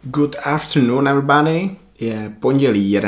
Good afternoon everybody, je pondělí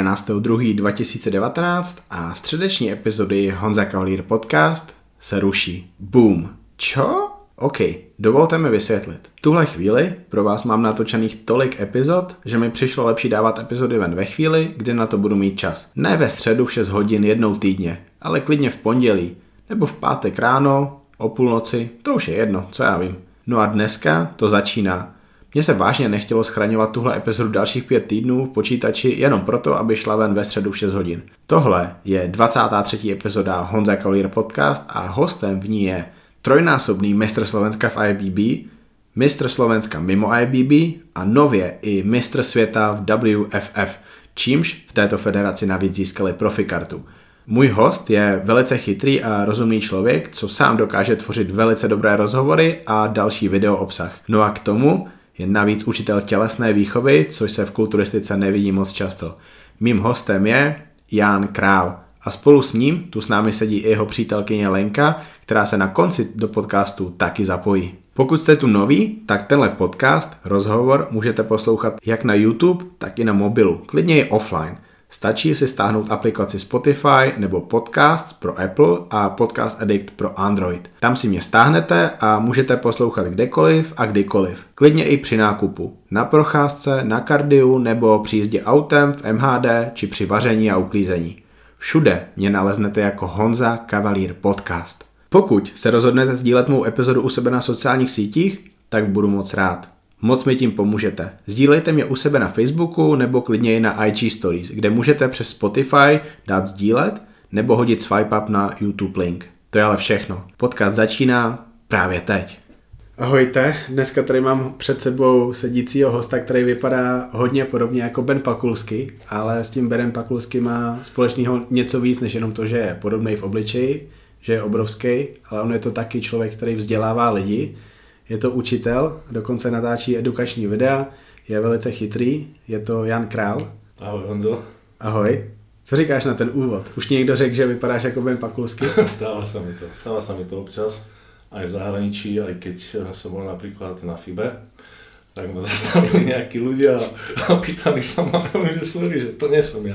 11.2.2019 a středeční epizody Honza Kavalír podcast se ruší. Boom. Čo? OK, dovolte mi vysvětlit. V tuhle chvíli pro vás mám natočených tolik epizod, že mi přišlo lepší dávat epizody ven ve chvíli, kdy na to budu mít čas. Ne ve středu v 6 hodin jednou týdně, ale klidně v pondělí, nebo v pátek ráno, o půlnoci, to už je jedno, co já vím. No a dneska to začíná. Mně se vážně nechtělo schraňovat tuhle epizodu dalších 5 týdnů v počítači jenom proto, aby šla ven ve středu v 6 hodin. Tohle je 23. epizoda Honza Kavalír podcast a hostem v ní je trojnásobný mistr Slovenska v IFBB, mistr Slovenska mimo IFBB a nově i mistr světa v WFF, čímž v této federaci navíc získali profikartu. Můj host je velice chytrý a rozumný člověk, co sám dokáže tvořit velice dobré rozhovory a další video obsah. No a k tomu je navíc učitel tělesné výchovy, což se v kulturistice nevidí moc často. Mým hostem je Jan Král a spolu s ním tu s námi sedí i jeho přítelkyně Lenka, která se na konci do podcastu taky zapojí. Pokud jste tu noví, tak tenhle podcast, rozhovor, můžete poslouchat jak na YouTube, tak i na mobilu, klidně i offline. Stačí si stáhnout aplikaci Spotify nebo Podcasts pro Apple a Podcast Addict pro Android. Tam si mě stáhnete a můžete poslouchat kdekoliv a kdykoliv. Klidně i při nákupu. Na procházce, na kardiu nebo při jízdě autem v MHD či při vaření a uklízení. Všude mě naleznete jako Honza Kavalír podcast. Pokud se rozhodnete sdílet mou epizodu u sebe na sociálních sítích, tak budu moc rád. Moc mi tím pomůžete. Sdílejte mě u sebe na Facebooku nebo klidně i na IG Stories, kde můžete přes Spotify dát sdílet nebo hodit swipe up na YouTube link. To je ale všechno. Podcast začíná právě teď. Ahojte, dneska tady mám před sebou sedícího hosta, který vypadá hodně podobně jako Ben Pakulský, ale s tím Benem Pakulským má společného něco víc, než jenom to, že je podobný v obličeji, že je obrovský, ale on je to taky člověk, který vzdělává lidi. Je to učitel, dokonce natáčí edukační videa, je velice chytrý, je to Jan Král. Ahoj Honzo. Ahoj. Co říkáš na ten úvod? Už ti někdo řekl, že vypadáš jako Ben Pakulský? Stáva sa mi to občas, aj v zahraničí, aj keď som bol napríklad na FIBE, tak ma zastavili nejakí ľudia a pýtali sa ma, že sorry, že to nie som ja.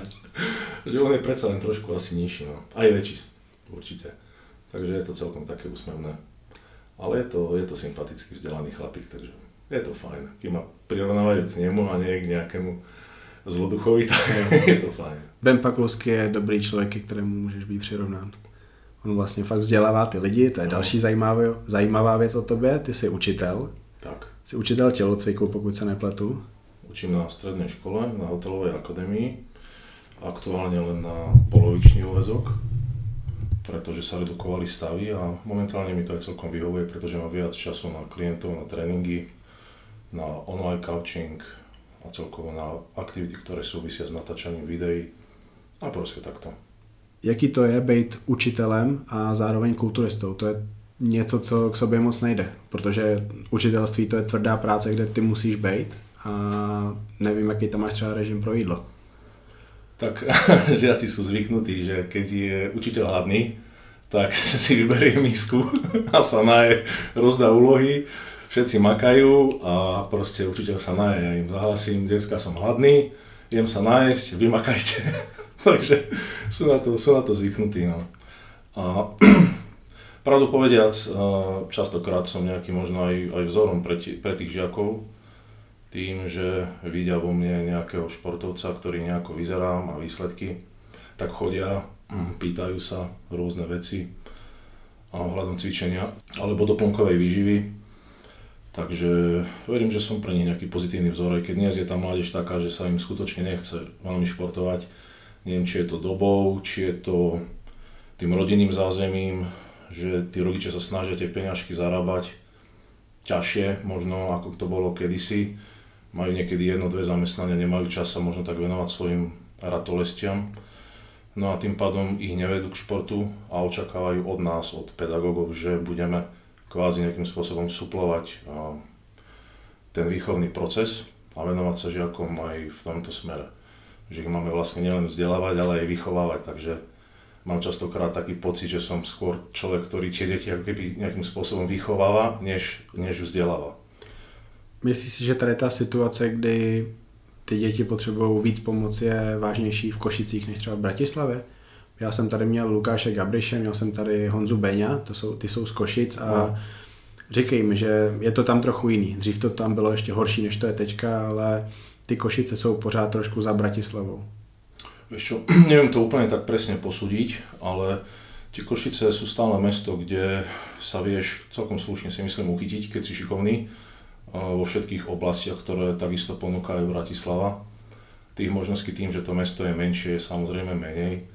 Že on je predsa len trošku asi nižší, no. Aj väčší, určite. Takže je to celkom také úsmevné. Ale je to sympatický vzdelaný chlapík, takže je to fajn. Keď ma prirovnávajú k nemu a nie k nejakému zloduchovi, tak je to fajn. Ben Pakulský je dobrý člověk, ke kterému můžeš být přirovnán. On vlastně fakt vzdělává ty lidi, to je další zajímavá věc o tobě. Ty jsi učitel. Tak. Jsi učitel tělocviku, pokud se nepletu. Učím na strednej škole, na hotelovej akadémii. Aktuálne len na polovičný úväzok, pretože sa redukovali stavy a momentálne mi to aj celkom vyhovuje, pretože mám viac času na klientov, na tréningy, na online coaching a celkovo na aktivity, ktoré súvisia s natáčaním videí a proste takto. Jaký to je být učitelem a zároveň kulturistou? To je něco, co k sobě moc nejde, protože učitelství to je tvrdá práce, kde ty musíš být a nevím, jaký tam máš třeba režim pro jídlo. Tak žiaci sú zvyknutí, že keď je učiteľ hladný, tak si vyberie misku a sa naje, rozdá úlohy, všetci makajú a proste učiteľ sa naje. Ja im zahlasím, decka, som hladný, idem sa najesť, vy makajte. Takže sú na to zvyknutí. No. A pravdu povediac, častokrát som nejaký možno aj vzorom pre tých žiakov, tým, že vidia vo mne nejakého športovca, ktorý nejako vyzerám a výsledky, tak chodia, pýtajú sa rôzne veci ohľadom cvičenia alebo doplnkovej výživy. Takže verím, že som pre nich nejaký pozitívny vzor, aj keď dnes je tá mládež taká, že sa im skutočne nechce veľmi športovať. Neviem, či je to dobou, či je to tým rodinným zázemím, že tí rodičia sa snažia tie peňažky zarábať ťažšie, možno ako to bolo kedysi. Majú niekedy 1-2 zamestnania, nemajú čas sa možno tak venovať svojim ratolestiam. No a tým pádom ich nevedú k športu a očakávajú od nás, od pedagógov, že budeme kvázi nejakým spôsobom suplovať ten výchovný proces a venovať sa žiakom aj v tomto smere. Že ich máme vlastne nielen vzdelávať, ale aj vychovávať, takže mám častokrát taký pocit, že som skôr človek, ktorý tie deti ako keby nejakým spôsobom vychováva, než vzdeláva. Myslíš si, že tady ta situace, kdy ty děti potřebují víc pomoci, je vážnější v Košicích než třeba v Bratislavě? Já jsem tady měl Lukáše Gabriše, měl jsem tady Honzu Beňa, ty jsou z Košic a říkej mi, že je to tam trochu jiný. Dřív to tam bylo ještě horší, než to je teďka, ale ty Košice jsou pořád trošku za Bratislavou. Vieš čo, neviem to úplne tak presne posúdiť, ale tie Košice sú stále mesto, kde sa vieš celkom slušne si myslím uchytiť, keď si šikovný vo všetkých oblastiach, ktoré takisto ponúka aj Bratislava. Tých možností tým, že to mesto je menšie, je samozrejme menej,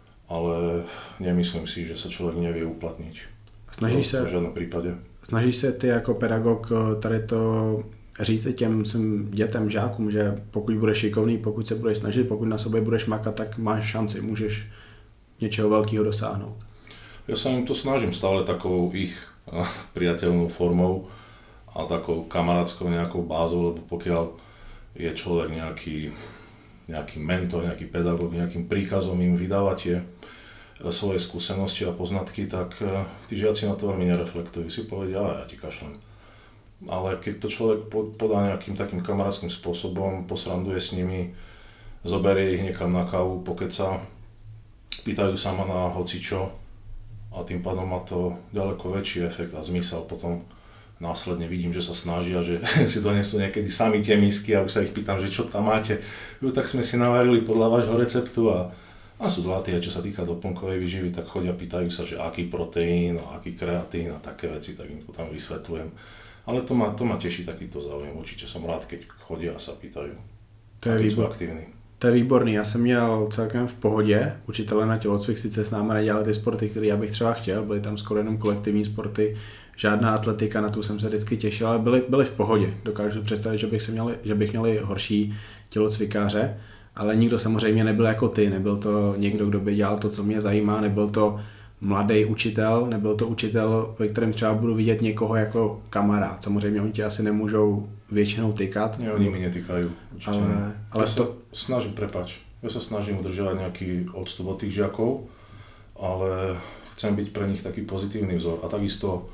ale nemyslím si, že sa človek nevie uplatniť. Snažíš se, v žádném prípade. Snažíš se ty jako pedagog tady to říct těm svým dětem, žákům, že pokud budeš šikovný, pokud se budeš snažit, pokud na sobě budeš makat, tak máš šanci, můžeš něčeho velkého dosáhnout. Ja sa im to snažím stále takou ich priateľnou formou a takou kamarátskou nejakou bázou, lebo pokiaľ je človek nejaký mentor, nejaký pedagóg, nejakým príkazom im vydávať tie svoje skúsenosti a poznatky, tak tí žiaci na to veľmi nereflektujú. Si povedia, ja ti kašlem. Ale keď to človek podá nejakým takým kamarátským spôsobom, posranduje s nimi, zoberie ich niekam na kávu, pokeca, pýtajú sa ma na hocičo a tým pádom má to ďaleko väčší efekt a zmysel. Potom následne vidím, že sa snažia, že si donesú niekedy sami tie misky a už sa ich pýtam, že čo tam máte. Jo, tak sme si navarili podľa vášho receptu a sú zlatí, a čo sa týka doplnkovej výživy, tak chodia, pýtajú sa, že aký proteín, aký kreatín a také veci, tak im to tam vysvetľujem. Ale to ma teší takýto záujem, určite som rád, keď chodia a sa pýtajú. To je sú aktivní. To je výborný, já jsem měl celkem v pohodě učitele na tělocvik, sice s námi nedělali ty sporty, které já bych třeba chtěl, byly tam skoro jenom kolektivní sporty, žádná atletika, na tu jsem se vždycky těšil, ale byly v pohodě. Dokážu představit, že bych měl horší tělocvikáře, ale nikdo samozřejmě nebyl jako ty, nebyl to někdo, kdo by dělal to, co mě zajímá, nebyl to mladý učitel, nebyl to učitel, ve kterém třeba budu vidět někoho jako kamarád. Samozřejmě oni ti asi nemůžou většinou tykat. Nie, oni mi netýkajú. Ale Ja sa snažím udržovať nejaký odstup od tých žiakov, ale chcem byť pre nich taký pozitívny vzor. A takisto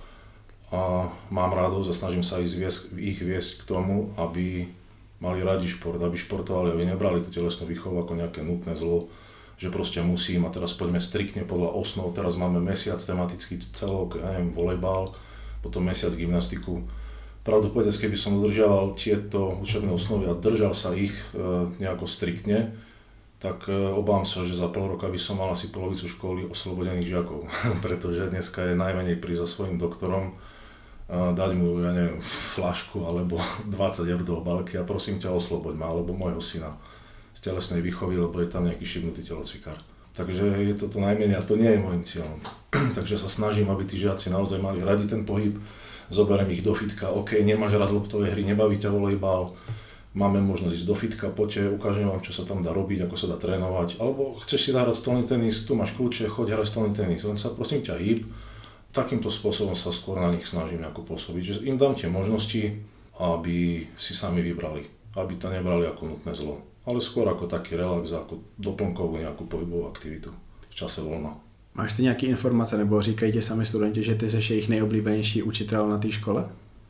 mám radosť a snažím sa ich viesť k tomu, aby mali radi šport, aby športovali, aby nebrali tú telesnú výchovu ako nejaké nutné zlo, že proste musím a teraz poďme striktne podľa osnov, teraz máme mesiac tematický celok, ja neviem, volejbal, potom mesiac gymnastiku. Pravdu povedec, keby som udržiaval tieto učebné osnovy a držal sa ich nejako striktne, tak obávam sa, že za pol roka by som mal asi polovicu školy oslobodených žiakov, pretože dneska je najmenej prísť za svojím doktorom, dať mu, ja neviem, flašku alebo 20 eur do obálky a prosím ťa osloboď ma, alebo môjho syna z telesnej výchovy, lebo je tam nejaký šibnutý telocvikár. Takže je to najmenej a to nie je môjim cieľom. Takže sa snažím, aby tí žiaci naozaj mali radi ten pohyb, zoberiem ich do fitka, OK, nemáš rád loptové hry, nebaví ťa volejbal, máme možnosť ísť do fitka, poďte, ukážem vám, čo sa tam dá robiť, ako sa dá trénovať, alebo chceš si zahrať stolný tenis, tu máš kľúče, choď hrať stolný tenis, len sa prosím ťa hýb. Takýmto spôsobom sa skôr na nich snažím nejako pôsobiť, že im dám tie možnosti, aby si sami vybrali, aby to nebrali ako nutné zlo, ale skôr ako taký relax, ako doplnkovú nejakú pohybovú aktivitu v čase voľna. Máš ty nějaké informace, nebo říkají ti sami studenti, že ty jsi jejich nejoblíbenější učitel na té škole?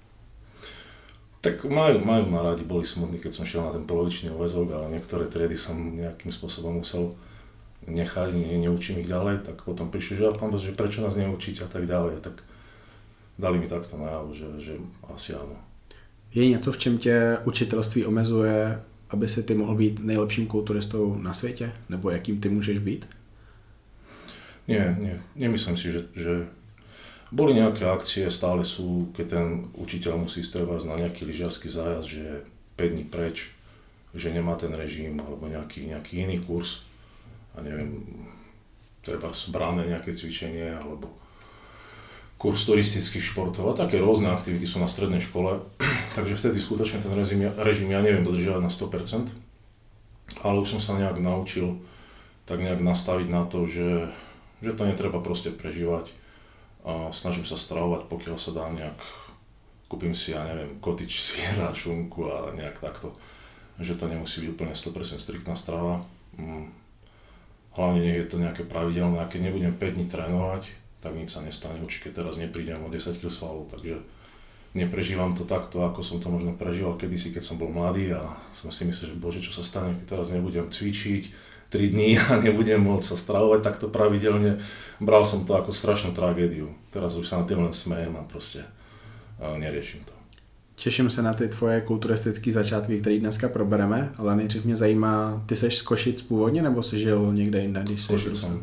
Tak majú ma rádi, boli smutní, keď som šiel na ten polovičný úväzok, ale niektoré triedy som nejakým spôsobom musel nechať, neučím ich ďalej, tak potom prišli, že pán Bože, prečo nás neučíte a tak ďalej. A tak dali mi takto najavo, že asi áno. Je něco, v čem tě učitelství omezuje, aby si ty mohl být nejlepším kulturistou na světě? Nebo jakým ty můžeš být? Nie, nemyslím si, že boli nejaké akcie, stále sú, keď ten učiteľ musí strebať na nejaký lyžiarsky zájazd, že je 5 dní preč, že nemá ten režim, alebo nejaký iný kurz, a neviem, treba zbrané nejaké cvičenie, alebo kurz turistických športov a také rôzne aktivity sú na strednej škole, takže vtedy skutočne ten režim ja neviem dodržiavať na 100%, ale už som sa nejak naučil tak nejak nastaviť na to, že to netreba proste prežívať a snažím sa stravovať, pokiaľ sa dá nejak, kúpim si, ja neviem, kotič, syra, šunku a nejak takto, že to nemusí byť úplne 100% striktná strava. Hlavne nie je to nejaké pravidelné, a keď nebudem 5 dní trénovať, tak nič sa nestane, určite teraz neprídem o 10 kg svalov, takže neprežívam to takto, ako som to možno prežíval kedysi, keď som bol mladý a som si myslel, že bože, čo sa stane, keď teraz nebudem cvičiť 3 dní a nebudem môcť sa stravovať takto pravidelne. Bral som to ako strašnú tragédiu. Teraz už sa na tým len smejem a proste neriešim to. Těším se na ty tvoje kulturistické začátky, které dneska probereme, ale nejdřív mě zajímá, ty seš z Košic původně, nebo jsi žil někde jinde, když jsi Košicom.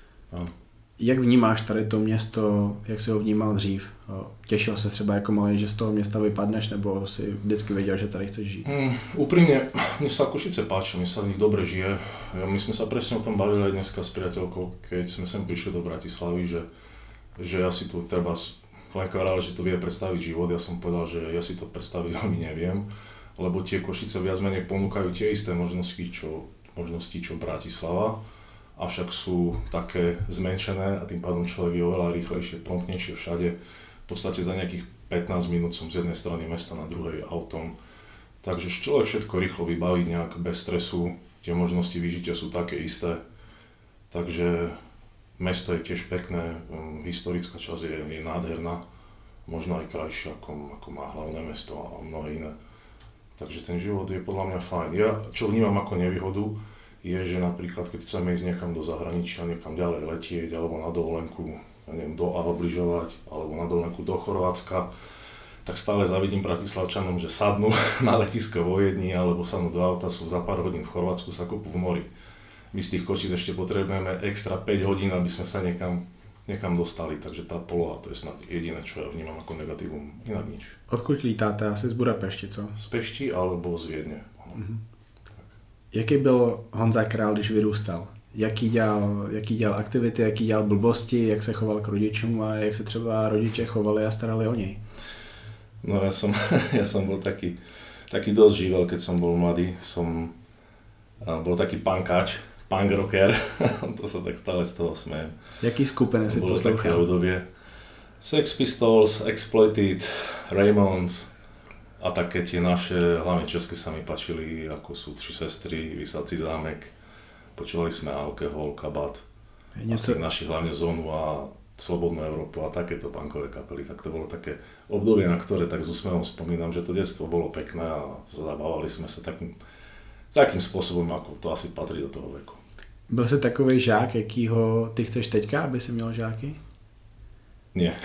Jak vnímáš tady to město, jak jsi ho vnímal dřív? Těšil se třeba jako malý, že z toho města vypadneš, nebo si vždycky věděl, že tady chceš žít? Úprimne, mne sa Košice páči, mne sa v nich dobre žije. My sme sa presne o tom bavili aj dneska s priateľkou, keď sme sem prišli do Bratislavy, že ja si tu treba Lenka vrala, že to vie predstaviť život. Ja som povedal, že ja si to predstaviť veľmi neviem, lebo tie Košice viac menej ponúkajú tie isté možnosti, čo Bratislava, avšak sú také zmenšené a tým pádom človek je oveľa rýchlejšie, promptnejšie všade. V podstate za nejakých 15 minút som z jednej strany mesta na druhej autom. Takže človek všetko rýchlo vybaví nejak bez stresu, tie možnosti vyžitia sú také isté. Takže mesto je tiež pekné, historická časť je nádherná, možno aj krajšia ako má hlavné mesto a mnohé iné. Takže ten život je podľa mňa fajn. Ja, čo vnímam ako nevýhodu, je, že napríklad keď chceme ísť niekam do zahraničia, niekam ďalej letieť, alebo na dovolenku, obližovať, alebo na dovolenku do Chorvátska, tak stále zavidím Bratislavčanom, že sadnú na letisko vo Viedni, alebo sadnú do auta, sú za pár hodín v Chorvátsku, sa kopú v mori. My z tých Košíc ešte potrebujeme extra 5 hodín, aby sme sa niekam dostali, takže tá poloha, to je snad jediné, čo ja vnímam ako negatívum, inak nič. Odkud lítáte? Asi z Budapešti, co? Z Pešti alebo z Viedne. Jaký byl Honza Král, když vyrůstal? Jaký dělal aktivity, jaký dělal blbosti, jak se choval k rodičům a jak se třeba rodiče chovali a starali o něj? No ja som bol taký dosť živel, keď som bol mladý. Bol taký punkáč, punk rocker, to sa tak stále z toho smejem. Jaký skupiny si poslouchal? Bolo také obdobie. Sex Pistols, Exploited, Ramones a také tie naše, hlavne české sa mi páčili, ako sú Tři sestry, Vysací zámek. Počúvali sme Alkohol, Kabát, asi naši hlavne Zónu a Slobodnú Európu a takéto punkové kapely. Tak to bolo také obdobie, na ktoré tak s úsmevom spomínam, že to detstvo bolo pekné a zabávali sme sa takým spôsobom, ako to asi patrí do toho veku. Byl jsi takovej žák, jakýho ty chceš teďka, aby si měl žáky? Nie.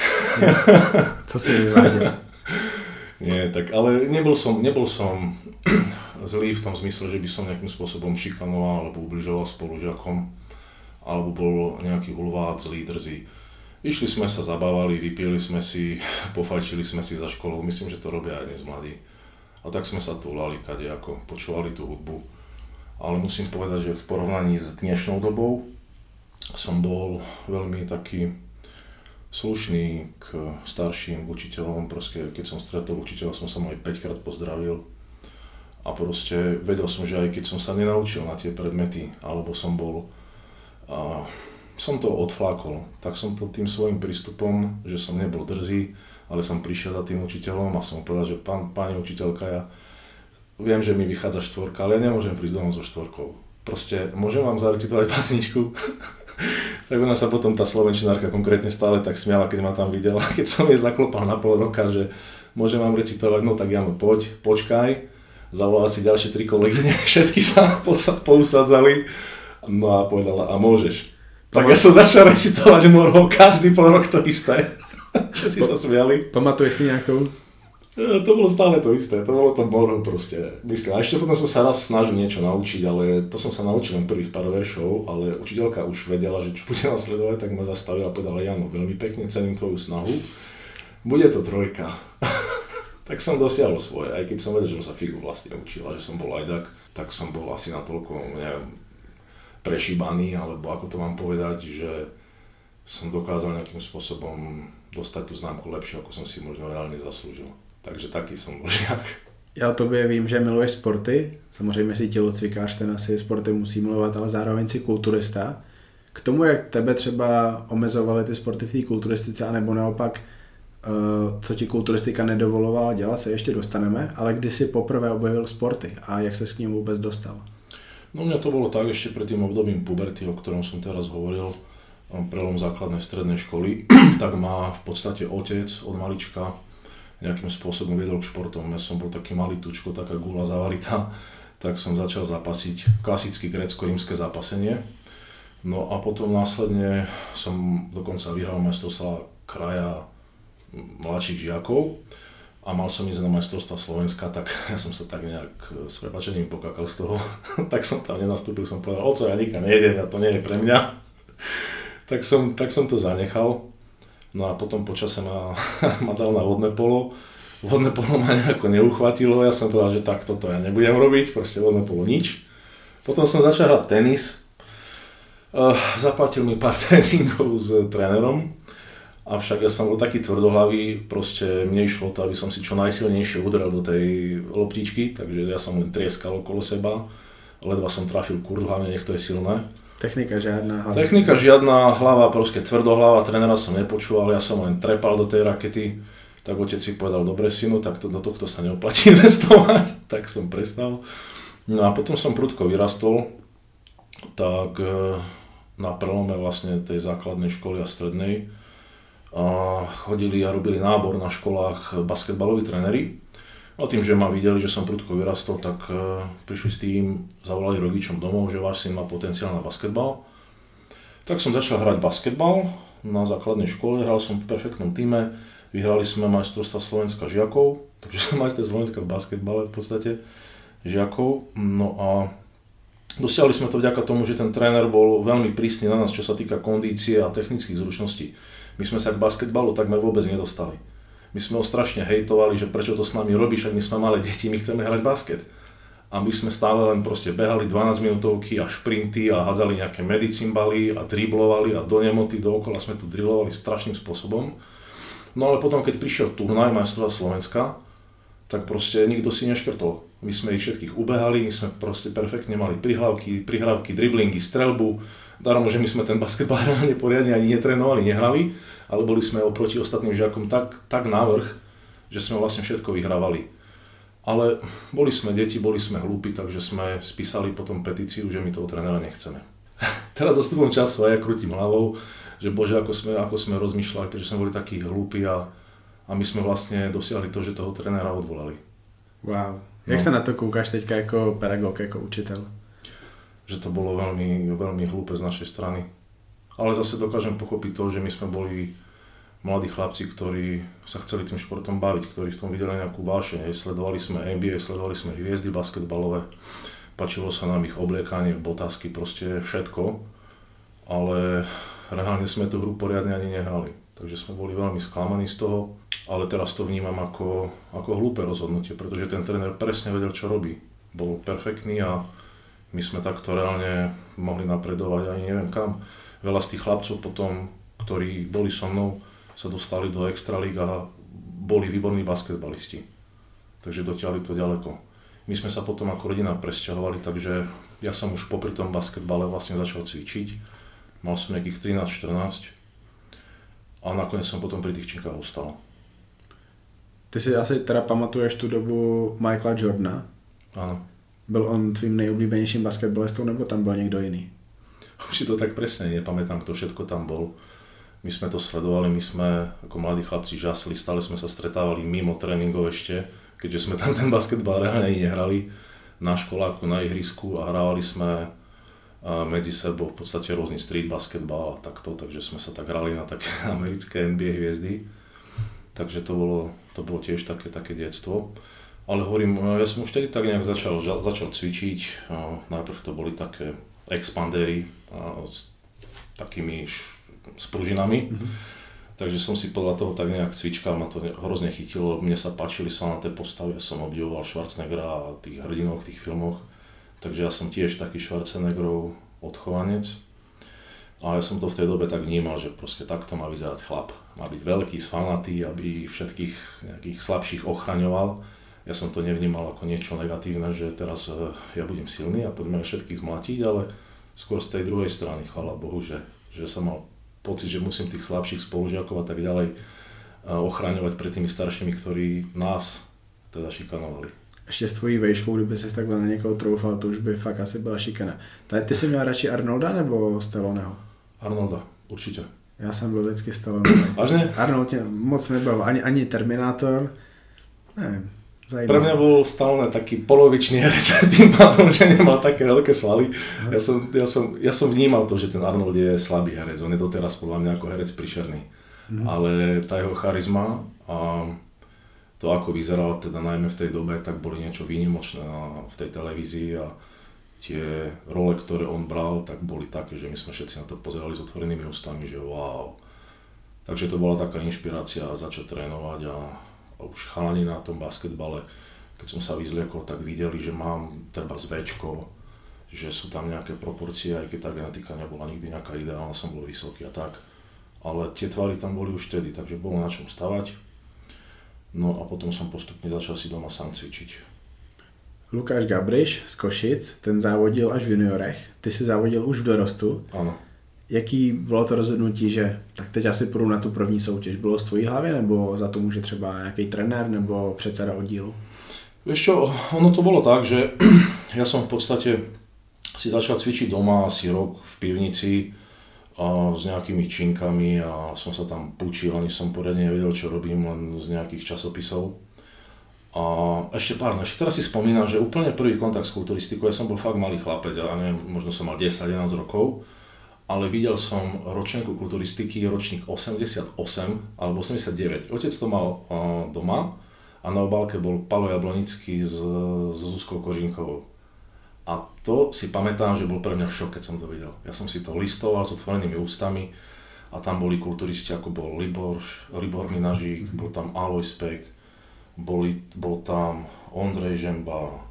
Co si vyváděl? Nie, tak ale nebol som zlý v tom zmysle, že by som nejakým spôsobom šikanoval alebo ubližoval spolužiakom alebo bol nejaký hulvát, zlý, drzý. Išli sme sa, zabávali, vypili sme si, pofajčili sme si za školou, myslím, že to robia aj dnes mladí. A tak sme sa túlali kadejako, počúvali tú hudbu. Ale musím povedať, že v porovnaní s dnešnou dobou som bol veľmi taký slušný k starším, k učiteľom. Proste, keď som stretol učiteľa, som sa mu aj 5-krát pozdravil. A proste vedel som, že aj keď som sa nenaučil na tie predmety, alebo som to odflákol, tak som to tým svojím prístupom, že som nebol drzý, ale som prišiel za tým učiteľom a som povedal, že pani učiteľka, ja viem, že mi vychádza 4, ale ja nemôžem prísť domov so 4. Proste, môžem vám zarecitovať básničku? Tak ona sa potom, tá slovenčinárka konkrétne stále tak smiala, keď ma tam videla, keď som jej zaklopal na pol roka, že môžem vám recitovať, no tak Jano, poď, počkaj, zavolala si ďalšie 3 kolegyne, všetky sa pousadzali, no a povedala, a môžeš. Tak ja som začal recitovať morho, každý pol rok to isté. Všetci sa smiali. Pamatuješ si nejakou? To bolo stále to isté, to bolo to morho proste. Myslím, a ešte potom som sa raz snažil niečo naučiť, ale to som sa naučil len prvých pár veršov, ale učiteľka už vedela, že čo bude nasledovať, tak ma zastavila a povedala, Jano, veľmi pekne cením tvoju snahu, bude to 3. Tak som dosiahol svoje, aj keď som vedel, že som sa figu vlastne učil a že som bol lajdak, tak som bol asi natoľko, neviem, prešíbaný, alebo ako to mám povedať, že som dokázal nejakým spôsobom dostať tú známku lepšie, ako som si možno reálne zaslúžil. Takže taký som bol žiak. Já o tobě vím, že miluješ sporty, samozřejmě si tělocvikář, ten asi sporty musí milovat, ale zároveň si kulturista. K tomu, jak tebe třeba omezovaly ty sporty v té kulturistice, anebo naopak, co ti kulturistika nedovolovala dělat, se ještě dostaneme, ale kdy si poprvé objevil sporty a jak ses k ním vůbec dostal? No mňa to bolo tak ešte pred tým obdobím puberty, o ktorom som teraz hovoril, prelom základnej strednej školy, tak ma v podstate otec od malička nejakým spôsobom viedol k športom. Ja som bol taký malý tučko, taká gula zavalitá, tak som začal zápasiť klasické grécko-rímske zápasenie. No a potom následne som dokonca vyhral majstrovstvá kraja mladších žiakov a mal som ísť na majstrovstvá Slovenska, tak ja som sa tak nejak s prepáčením pokakal z toho. Tak som tam nenastúpil, som povedal, oco, ja nikam nejdem, ja to nie je pre mňa. tak som to zanechal. No a potom počase ma dal na vodné polo. Vodné polo ma nejako neuchvatilo, ja som povedal, že tak toto ja nebudem robiť, proste vodné polo nič. Potom som začal hrať tenis. Zaplatil mi pár tréningov s trénerom, avšak ja som bol taký tvrdohlavý, proste mne išlo to, aby som si čo najsilnejšie udrel do tej loptičky, takže ja som len trieskal okolo seba, ledva som trafil kurz, hlavne nech to je silné. Technika žiadna. Technika žiadna, hlava proste tvrdohlava, trénera som nepočúval, ja som len trepal do tej rakety, tak otec si povedal, dobre synu, tak do tohto sa neoplatí investovať, tak som prestal. No a potom som prudko vyrastol, tak na prelome vlastne tej základnej školy a strednej chodili a robili nábor na školách basketbaloví tréneri. A tým, že ma videli, že som prudko vyrastol, tak prišli s tým, zavolali rodičom domov, že váš syn má potenciál na basketbal. Tak som začal hrať basketbal na základnej škole, hral som v perfektnom týme, vyhrali sme majstrovstvá Slovenska žiakov, takže som majster Slovenska v basketbale v podstate žiakov. No a dosiahli sme to vďaka tomu, že ten tréner bol veľmi prísny na nás, čo sa týka kondície a technických zručností. My sme sa k basketbalu takmer vôbec nedostali. My sme ho strašne hejtovali, že prečo to s nami robíš, ak my sme malé deti, my chceme hrať basket. A my sme stále len proste behali 12 minútovky a šprinty a hádzali nejaké medicimbaly a driblovali a do nemoty, dookola sme to drillovali strašným spôsobom. No ale potom, keď prišiel turnaj majstrovstvá Slovenska, tak proste nikto si neškrtol. My sme ich všetkých ubehali, my sme proste perfektne mali prihrávky, driblingy, strelbu. Darom, že my sme ten basketbal reálne poriadne ani netrénovali, nehrali, ale boli sme oproti ostatným žiakom tak navrch, že sme vlastne všetko vyhrávali. Ale boli sme deti, boli sme hlúpi, takže sme spísali potom petíciu, že my toho trénera nechceme. Teraz za stupom času aj ja krútim hlavou, že bože, ako sme rozmýšľali, prečo sme boli takí hlúpi a my sme vlastne dosiahli to, že toho trénera odvolali. Wow. Jak sa na to kúkaš teďka ako pedagóg, ako učiteľ? Že to bolo veľmi, veľmi hlúpe z našej strany. Ale zase dokážem pochopiť to, že my sme boli mladí chlapci, ktorí sa chceli tým športom baviť, ktorí v tom videli nejakú vášeň. Sledovali sme NBA, sledovali sme hviezdy basketbalové, páčilo sa nám ich obliekanie, botázky, proste všetko. Ale reálne sme tú hru poriadne ani nehrali. Takže sme boli veľmi sklamaní z toho, ale teraz to vnímam ako hlúpe rozhodnutie, pretože ten tréner presne vedel, čo robí. Bol perfektný a my sme takto reálne mohli napredovať ani neviem kam. Veľa z tých chlapcov potom, ktorí boli so mnou, sa dostali do extralíg a boli výborní basketbalisti. Takže dotiahli to ďaleko. My sme sa potom ako rodina presťahovali, takže ja som už popri tom basketbale vlastne začal cvičiť. Mal som nejakých 13-14 a nakoniec som potom pri tých činkách ostal. Ty si asi teda pamatuješ tu dobu Michaela Jordana? Áno. Byl on tvým nejoblíbenějším basketbalistou, nebo tam byl někdo jiný? Už si to tak presne nepamätám, kto všetko tam bol. My sme to sledovali, my sme ako mladí chlapci žasli, stále sme sa stretávali mimo tréningov ešte, keďže sme tam ten basketbal reálne nehrali na školáku, na ihrisku a hrávali sme medzi sebou v podstate rôzny street basketbal a takto, takže sme sa tak hrali na také americké NBA hviezdy. Takže to bolo tiež také detstvo. Ale hovorím, ja som už tedy tak nejak začal cvičiť, najprv to boli také expandéry s takými spružinami. Takže som si podľa toho tak nejak cvičkal, ma to hrozne chytilo, mne sa páčili svalnaté postavy, ja som obdivoval Schwarzeneggera a tých hrdinov v tých filmoch. Takže ja som tiež taký Schwarzeneggerov odchovanec. A ja som to v tej dobe tak vnímal, že proste takto má vyzerať chlap. Má byť veľký, svalnatý, aby všetkých nejakých slabších ochraňoval. Ja som to nevnímal ako niečo negatívne, že teraz ja budem silný a poďme všetkých zmlatiť, ale skôr z tej druhej strany, chvála Bohu, že som mal pocit, že musím tých slabších spolužiakov a tak ďalej ochraňovať pred tými staršími, ktorí nás teda šikanovali. Ještě s tvojí vejškou, kdyby ses takhle na někoho troufal, to už by fakt asi byla šikana. Ty jsi měl radši Arnolda nebo Stalloneho? Arnolda, určitě. Já jsem byl vždycky Stallone. Vážně? Arnold mě moc nebavil, ani Terminátor, Zajímavé. Pre mňa bol Stallone taký polovičný herec, tým pádom, že nemal také veľké svaly. Ja som vnímal to, že ten Arnold je slabý herec, on je doteraz podľa mňa ako herec príšerný. Ale tá jeho charizma a to, ako vyzeral teda najmä v tej dobe, tak boli niečo výnimočné v tej televízii a tie role, ktoré on bral, tak boli také, že my sme všetci na to pozerali s otvorenými ústami, že wow. Takže to bola taká inšpirácia začať trénovať a už chalani na tom basketbale, keď som sa vyzliekol, tak videli, že mám treba zväčko, že sú tam nejaké proporcie, aj keď tá genetika nebola nikdy nejaká ideálna, som bol vysoký a tak. Ale tie tvary tam boli už vtedy, takže bolo na čom stavať. No a potom som postupne začal si doma sám cvičiť. Lukáš Gabriš z Košic, ten závodil až v juniorech, ty si závodil už v dorostu. Áno. Jaký bylo to rozhodnutí, že tak teď asi půjdu na tu první soutěž? Bylo z tvojí hlavy, nebo za to může třeba nějaký trenér nebo předseda oddílu? Vieš čo, ono to bolo tak, že ja som v podstate si začal cvičiť doma asi rok v pivnici a s nejakými činkami a som sa tam púčil, ani som poriadne nevedel, čo robím, len z nejakých časopisov. A ešte teraz si spomínam, že úplne prvý kontakt s kulturistikou, ja som bol fakt malý chlapec, ja neviem, možno som mal 10-11 rokov, ale videl som ročenku kulturistiky, ročník 88 alebo 89. Otec to mal doma a na obálke bol Palo Jablonický s Zuzkou Kožínkovou. A to si pamätám, že bol pre mňa šok, keď som to videl. Ja som si to listoval s otvorenými ústami a tam boli kulturisti, ako bol Libor Minažík, bol tam Alojz Pek, bol tam Ondrej Žemba,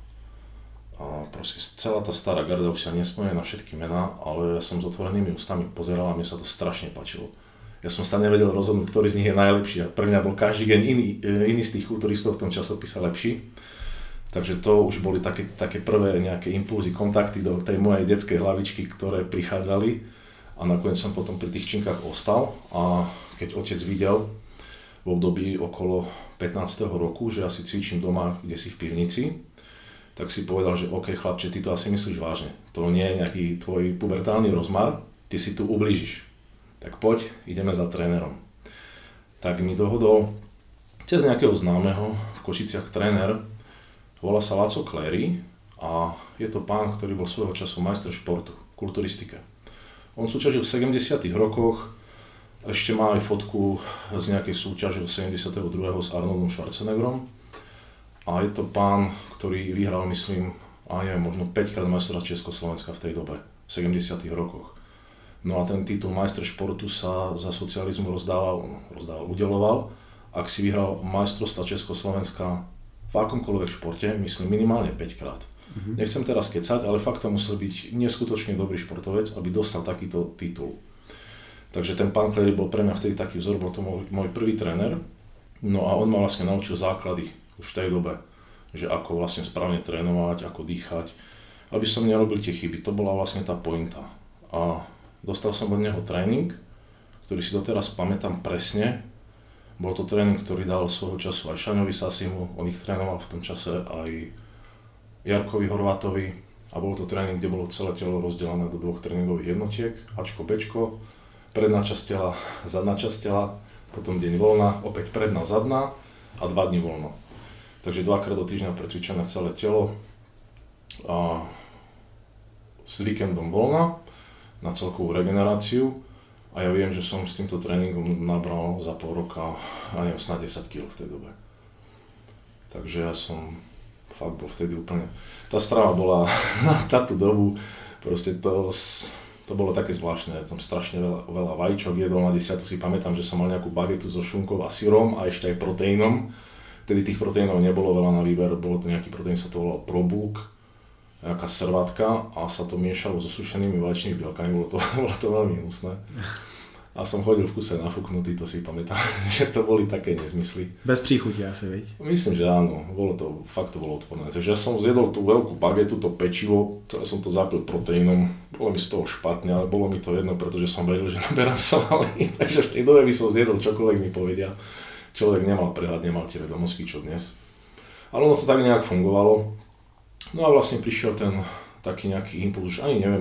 a proste celá tá stará garda, už sa nespomínam na všetky mená, ale ja som s otvorenými ústami pozeral a mne sa to strašne páčilo. Ja som sa nevedel rozhodnúť, ktorý z nich je najlepší a pre mňa bol každý deň iný z tých kulturistov v tom časopise lepší. Takže to už boli také prvé nejaké impulzy, kontakty do tej mojej detskej hlavičky, ktoré prichádzali a nakoniec som potom pri tých činkách ostal a keď otec videl v období okolo 15. roku, že ja si cvičím doma, kde si v pivnici, tak si povedal, že OK chlapče, ty to asi myslíš vážne. To nie je nejaký tvoj pubertálny rozmar, ty si tu ublížiš. Tak poď, ideme za trénerom. Tak mi dohodol cez nejakého známeho v Košiciach tréner, volá sa Laco Clery a je to pán, ktorý bol svojho času majster športu, kulturistike. On súťažil v 70. rokoch, ešte má aj fotku z nejakej súťaže 72. s Arnoldom Schwarzeneggerom. A je to pán, ktorý vyhral, myslím, možno 5-krát majstra Československa v tej dobe, v 70. rokoch. No a ten titul majster športu sa za socializmu udeľoval, ak si vyhral majstrovstvá Československa v akomkoľvek športe, myslím minimálne 5-krát. Nechcem teraz kecať, ale fakt to musel byť neskutočne dobrý športovec, aby dostal takýto titul. Takže ten pán Clery bol pre mňa vtedy taký vzor, bol to môj prvý tréner. No a on ma vlastne naučil základy už v tej dobe, že ako vlastne správne trénovať, ako dýchať, aby som nerobil tie chyby. To bola vlastne tá pointa. A dostal som od neho tréning, ktorý si doteraz pamätám presne. Bol to tréning, ktorý dal svojho času aj Šaňovi Sasimu, on ich trénoval v tom čase aj Jarkovi Horvátovi a bol to tréning, kde bolo celé telo rozdelené do 2 tréningových jednotiek, Ačko, Bčko, predná časť tela, zadná časť tela, potom deň voľna, opäť predná, zadná a 2 dni voľno. Takže 2-krát do týždňa precvičené celé telo a s víkendom voľna na celkovú regeneráciu a ja viem, že som s týmto tréningom nabral za pol roka snáď 10 kg v tej dobe. Takže ja som fakt bol vtedy úplne... Tá strava bola na táto dobu, proste to bolo také zvláštne, ja som strašne veľa vajíčok jedol, na 10 si pamätám, že som mal nejakú bagetu so šunkou a syrom a ešte aj proteínom. Vtedy tých proteínov nebolo veľa na výber, bolo to nejaký proteín, sa to volalo Probulk, nejaká servátka a sa to miešalo so sušenými vaječnými bielkami, bolo to veľmi hnusné. A som chodil v kuse nafúknutý, to si pamätám, že to boli také nezmysly. Bez príchuti asi, veď? Myslím, že áno, fakt to bolo odporné. Takže ja som zjedol tú veľkú bagetu, to pečivo, celé som to zapil proteínom, bolo mi z toho špatne, ale bolo mi to jedno, pretože som vedel, že naberám svaly, takže v tej dobe by som zjedol čokoľvek mi povedia. Človek nemal prehľad, nemal tie vedomosti, čo dnes. Ale ono to tak nejak fungovalo. No a vlastne prišiel ten taký nejaký impuls, ani neviem,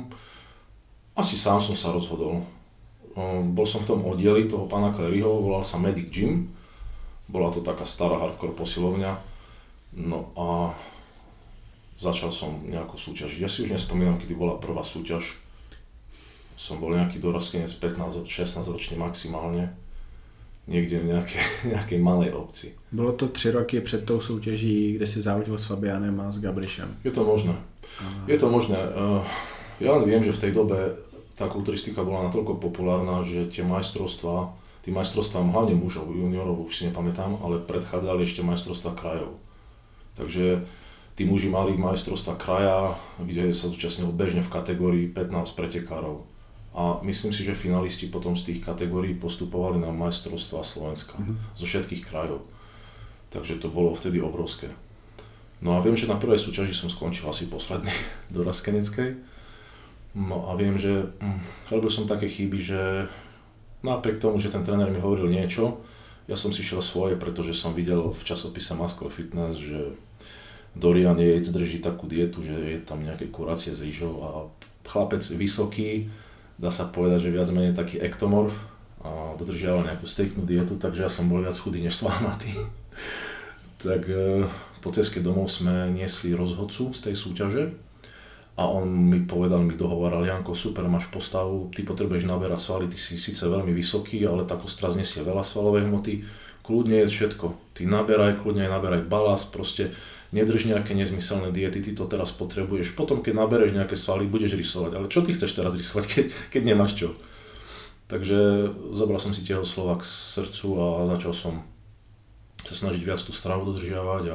asi sám som sa rozhodol. Bol som v tom oddieli toho pána Cleryho, volal sa Medic Gym. Bola to taká stará hardcore posilovňa. No a začal som nejakú súťaž. Ja si už nespomínam, kedy bola prvá súťaž. Som bol nejaký doraskenec 15-16 ročný maximálne. Niekde v nejakej malej obci. Bylo to 3 roky před tou soutěží, kde si závodil s Fabianem a s Gabrišem. Je to možné. Je to možné. Ja len viem, že v tej dobe tá kulturistika bola natoľko populárna, že tie majstrovstvám hlavne mužov, juniorov už si nepamätám, ale predchádzali ešte majstrovstvá krajov. Takže tí muži mali majstrovstvá kraja, kde sa zúčastnil bežne v kategórii 15 pretekárov. A myslím si, že finalisti potom z tých kategórií postupovali na majstrovstvá Slovenska zo všetkých krajov. Takže to bolo vtedy obrovské. No a viem, že na prvej súťaži som skončil asi posledný do Raskeneckej. No a viem, že robil som také chyby, že napriek tomu, že ten tréner mi hovoril niečo, ja som si šiel svoje, pretože som videl v časopise Muscle Fitness, že Dorian Yates drží takú dietu, že je tam nejaké kurácie s rýžou a chlapec vysoký, dá sa povedať, že viac menej taký ektomorf a dodržiaval nejakú striktnú dietu, takže ja som bol viac chudý než svalnatý. Tak po ceste domov sme niesli rozhodcu z tej súťaže a on mi povedal, mi dohovaral: Janko, super, máš postavu, ty potrebuješ naberať svaly, ty si síce veľmi vysoký, ale tá kostra znesie veľa svalovej hmoty, kľudne je všetko, ty naberaj, kľudne aj naberaj balast, proste nedrž nejaké nezmyselné diety, ty to teraz potrebuješ, potom keď nabereš nejaké svaly, budeš rysovať, ale čo ty chceš teraz rysovať, keď nemáš čo? Takže zobral som si tieho slova k srdcu a začal som sa snažiť viac tú stravu dodržiavať a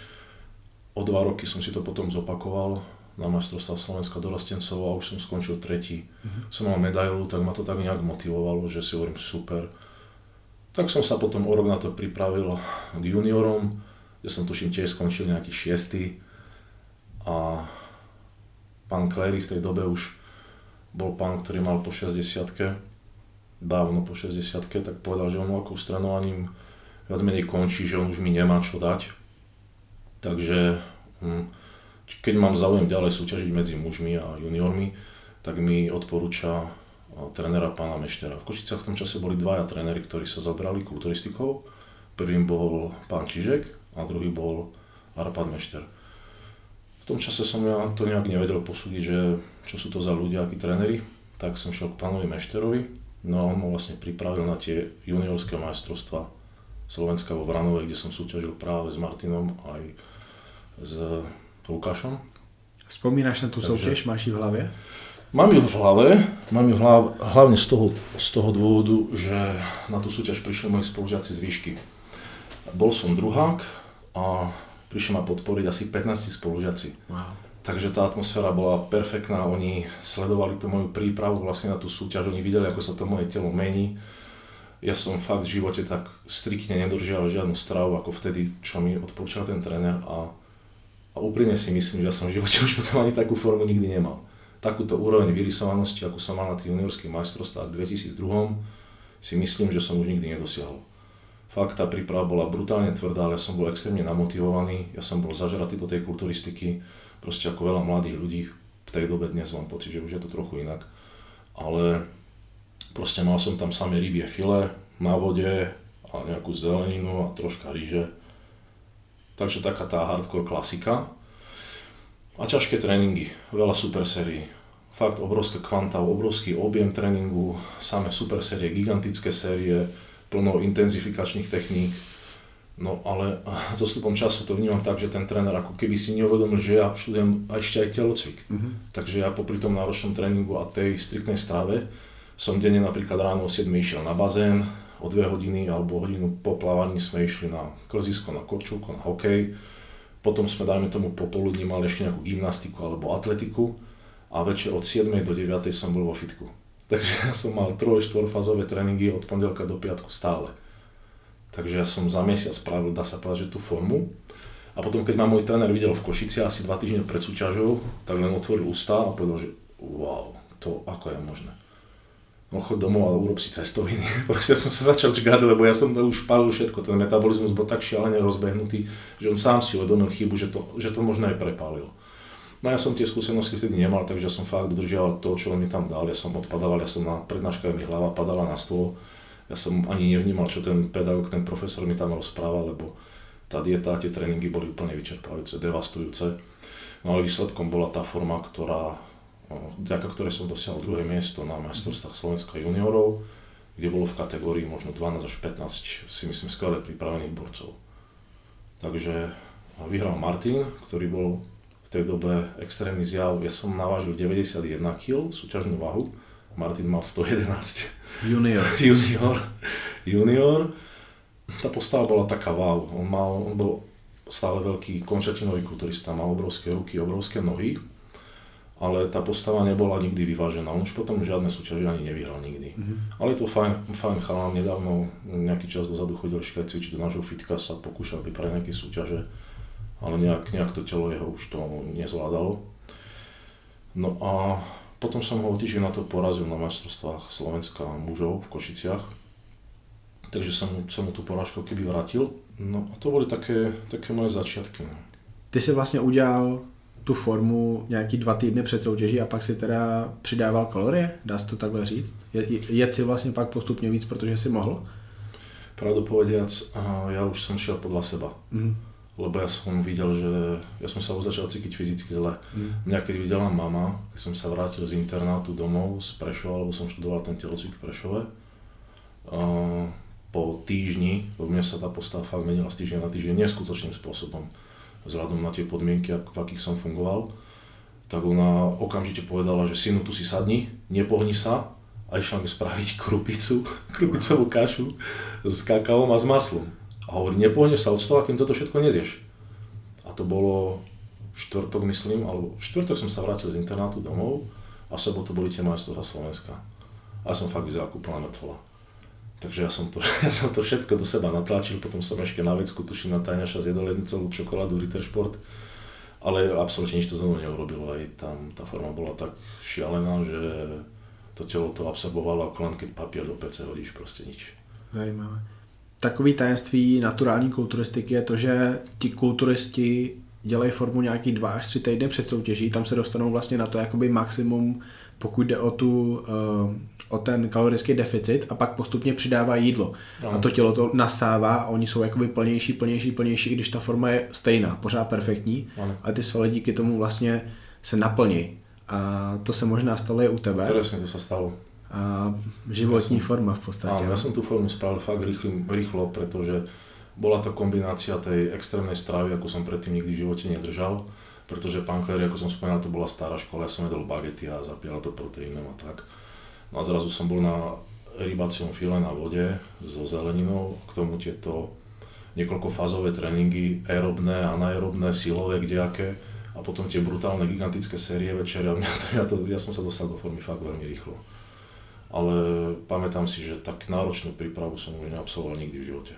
o 2 roky som si to potom zopakoval na majstrovstvá Slovenska dorastencov a už som skončil 3. Som mal medailu, tak ma to tak nejak motivovalo, že si hovorím super. Tak som sa potom o rok na to pripravil k juniorom, kde som tuším tiež skončil nejaký 6. A pán Clary v tej dobe už bol pán, ktorý mal po 60-ke, dávno po 60-ke, tak povedal, že on ako s trénovaním viac menej končí, že on už mi nemá čo dať. Takže keď mám záujem ďalej súťažiť medzi mužmi a juniormi, tak mi odporúča trénera pána Meštera. V Košicách v tom čase boli 2 tréneri, ktorí sa zabrali kulturistikou. Prvým bol pán Čižek a druhý bol Arpad Mešter. V tom čase som ja to nejak nevedel posúdiť, že čo sú to za ľudia, akí tréneri, tak som šiel k pánovi Mešterovi, no a on ma vlastne pripravil na tie juniorské majstrovstvá Slovenska vo Vranovej, kde som súťažil práve s Martinom aj s Lukášom. Vzpomínaš na tú soutěž, máš ji v hlavě? Mám ju v hlave, hlavne z toho dôvodu, že na tú súťaž prišli moji spolužiaci z výšky. Bol som druhák a prišli ma podporiť asi 15 spolužiaci. Wow. Takže tá atmosféra bola perfektná, oni sledovali tú moju prípravu vlastne na tú súťaž, oni videli, ako sa to moje telo mení. Ja som fakt v živote tak striktne nedržiaval žiadnu stravu ako vtedy, čo mi odporúčal ten tréner a úprimne si myslím, že ja som v živote už potom ani takú formu nikdy nemal. Takúto úroveň vyrysovanosti, akú som mal na tých juniorských majstrovstvách v 2002, si myslím, že som už nikdy nedosiahol. Fakt tá príprava bola brutálne tvrdá, ale ja som bol extrémne namotivovaný, ja som bol zažratý do tej kulturistiky, proste ako veľa mladých ľudí v tej dobe, dnes mám pocit, že už je to trochu inak. Ale proste mal som tam samé rybie file na vode a nejakú zeleninu a troška ryže. Takže taká tá hardcore klasika. A ťažké tréningy, veľa super sérií. Fakt obrovské kvanta, obrovský objem tréningu, samé super série, gigantické série, plno intenzifikačných techník. No ale so vstupom času to vnímam tak, že ten tréner ako keby si neuvedomil, že ja študujem ešte aj telocvik. Takže ja popri tom náročnom tréningu a tej striktnej strave som denne napríklad ráno o 7 išiel na bazén, o 2 hodiny alebo hodinu po plávaní sme išli na klzisko, na korčulku, na hokej. Potom sme, dajme tomu, popoludní mali ešte nejakú gymnastiku alebo atletiku a večer od 7 do 9 som bol vo fitku. Takže ja som mal 3-4 fázové tréningy od pondelka do piatku stále. Takže ja som za mesiac spravil, dá sa povedať, že tú formu. A potom, keď ma môj tréner videl v Košici asi 2 týždne pred súťažou, tak len otvoril ústa a povedal, že wow, to ako je možné. No choď domov a urob si cestoviny. Proste som sa začal čkať, lebo ja som to už palil všetko. Ten metabolizmus bol tak šialene rozbehnutý, že on sám si uvedomil chybu, že to možno aj prepálil. No ja som tie skúsenosti vtedy nemal, takže som fakt dodržiaval to, čo on mi tam dal. Ja som odpadával, ja som na prednáškach, mi hlava padala na stôl. Ja som ani nevnímal, čo ten pedagóg, ten profesor mi tam rozprával, lebo tá dieta a tie tréningy boli úplne vyčerpávajúce, devastujúce. No ale výsledkom bola tá forma, vďaka ktorej som dosiahol druhé miesto na majstrovstvách Slovenska juniorov, kde bolo v kategórii možno 12 až 15, si myslím, skvelé pripravených borcov. Takže vyhral Martin, ktorý bol v tej dobe extrémny zjav. Ja som navážil 91 kg, súťažnú váhu, Martin mal 111. Junior. Tá postava bola taká wow. On bol stále veľký končatinový kulturista, mal obrovské ruky, obrovské nohy, ale tá postava nebola nikdy vyvážená. On už potom žiadne súťaže ani nevyhral nikdy. Ale je to fajn chalán, nedávno nejaký čas dozadu chodil ešte aj cvičiť do nášho fitka, sa pokúšal vypraviť nejaké súťaže, ale nejak to telo jeho už to nezvládalo. No a potom som ho o týždeň na to porazil na majstrovstvách Slovenska mužov v Košiciach. Takže som mu tú porážku keby vrátil. No a to boli také moje začiatky. No. Ty si vlastně udělal tu formu nějaký 2 týdny před soutěží a pak si teda přidával kalorie? Dá se to takhle říct? Jet si vlastně pak postupně víc, protože si mohl? Pravdu povediac, ja už som šiel podľa seba. Lebo ja som videl, že ja som sa už začal cítiť fyzicky zle. Mňa keď videla mama, keď som sa vrátil z internátu domov z Prešova, lebo som študoval ten telocvik v Prešove, po týždni, lebo mne sa tá postava fakt menila z týždňa na týždeň neskutočným spôsobom, vzhľadom na tie podmienky, v akých som fungoval, tak ona okamžite povedala, že synu, tu si sadni, nepohni sa, a išla mi spraviť krupicovú kašu s kakaom a s maslom. A hovorí, nepohneš sa od stola, kým toto všetko nezieš. A to bolo štvrtok, myslím, alebo štvrtok som sa vrátil z internátu domov a v sobotu boli tie majstrovstvá Slovenska. A som fakt vyzeral ako plná mŕtvola. Takže ja som to všetko do seba natlačil, potom som ešte na vecku, tuším, na tajňaša zjedol jednu celú čokoládu Rittersport, ale absolútne nič to znovu neurobilo. Aj tam tá forma bola tak šialená, že to telo to absorbovalo, ako len keď papier do pece hodíš, proste nič. Zajímavé. Takový tajemství naturální kulturistiky je to, že ti kulturisti dělají formu nějaký 2 až 3 týdny před soutěží, tam se dostanou vlastně na to jakoby maximum, pokud jde o ten kalorický deficit a pak postupně přidávají jídlo. No. A to tělo to nasává a oni jsou jakoby plnější, i když ta forma je stejná, pořád perfektní, ale ty svaly díky tomu vlastně se naplní. A to se možná stalo i u tebe. Presne, to sa stalo. A životní forma v podstate. Áno, ja som tú formu spravil fakt rýchlo, pretože bola to kombinácia tej extrémnej stravy, ako som predtým nikdy v živote nedržal, pretože pán Kléry, ako som spomínal, to bola stará škola, ja som jedol bagety a zapíjal to proteínom a tak. No a zrazu som bol na rybacom file na vode so zeleninou, k tomu tieto niekoľkofázové tréningy, aerobné, anaerobné, silové, kdejaké, a potom tie brutálne, gigantické série večer a ja som sa dostal do formy fakt veľmi rýchlo. Ale pamätám si, že tak náročnú prípravu som už neabsolvoval nikdy v živote.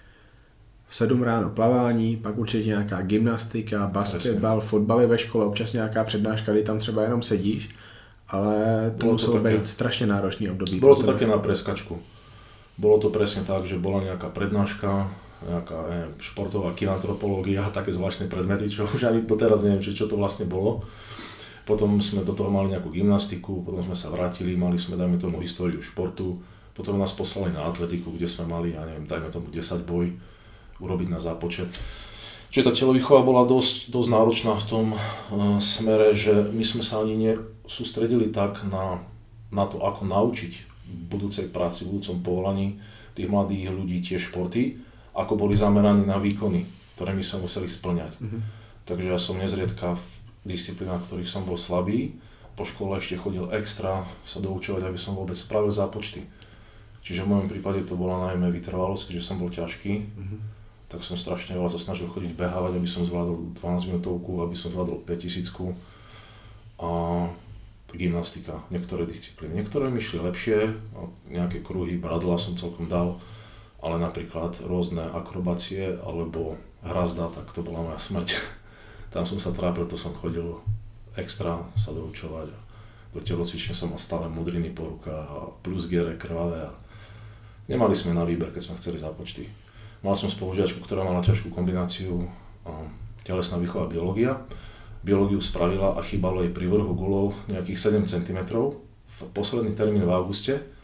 V 7 ráno plavání, pak určitě nějaká gymnastika, basketbal, fotbaly ve škole, občas nějaká přednáška, kdy tam třeba jenom sedíš, ale to muselo být strašně náročný období. Bolo to také na preskačku. Bolo to presne tak, že bola nejaká prednáška, nejaká športová kinantropológia a také zvláštne predmety, čo už ani doteraz neviem, čo to vlastne bolo. Potom sme do toho mali nejakú gymnastiku, potom sme sa vrátili, mali sme, dajme tomu, históriu športu, potom nás poslali na atletiku, kde sme mali, ja neviem, dajme tomu 10 boj urobiť na zápočet. Čiže tá telovýchova bola dosť náročná v tom smere, že my sme sa ani nesústredili tak na to, ako naučiť v budúcej práci, v budúcom povolaní tých mladých ľudí tie športy, ako boli zameraní na výkony, ktoré my sme museli splňať. Takže ja som nezriedka v disciplínach, ktorých som bol slabý, po škole ešte chodil extra sa doučovať, aby som vôbec spravil zápočty. Čiže v mojom prípade to bola najmä vytrvalosť, keďže som bol ťažký, tak som strašne veľa sa snažil chodiť behávať, aby som zvládol 12 minútovku, aby som zvládol 5000 a gymnastika, niektoré disciplíny. Niektoré mi šli lepšie, nejaké kruhy, bradla som celkom dal, ale napríklad rôzne akrobácie alebo hrazda, tak to bola moja smrť. Tam som sa trápil, to som chodil extra sa doučovať a do telocvične som mal stále modriny po rukách a plus giere krvavé a nemali sme na výber, keď sme chceli zápočty. Mal som spolužiačku, ktorá mala ťažkú kombináciu telesná výchova a biológia. Biológiu spravila a chýbalo jej pri vrhu gulov nejakých 7 cm v posledný termín v auguste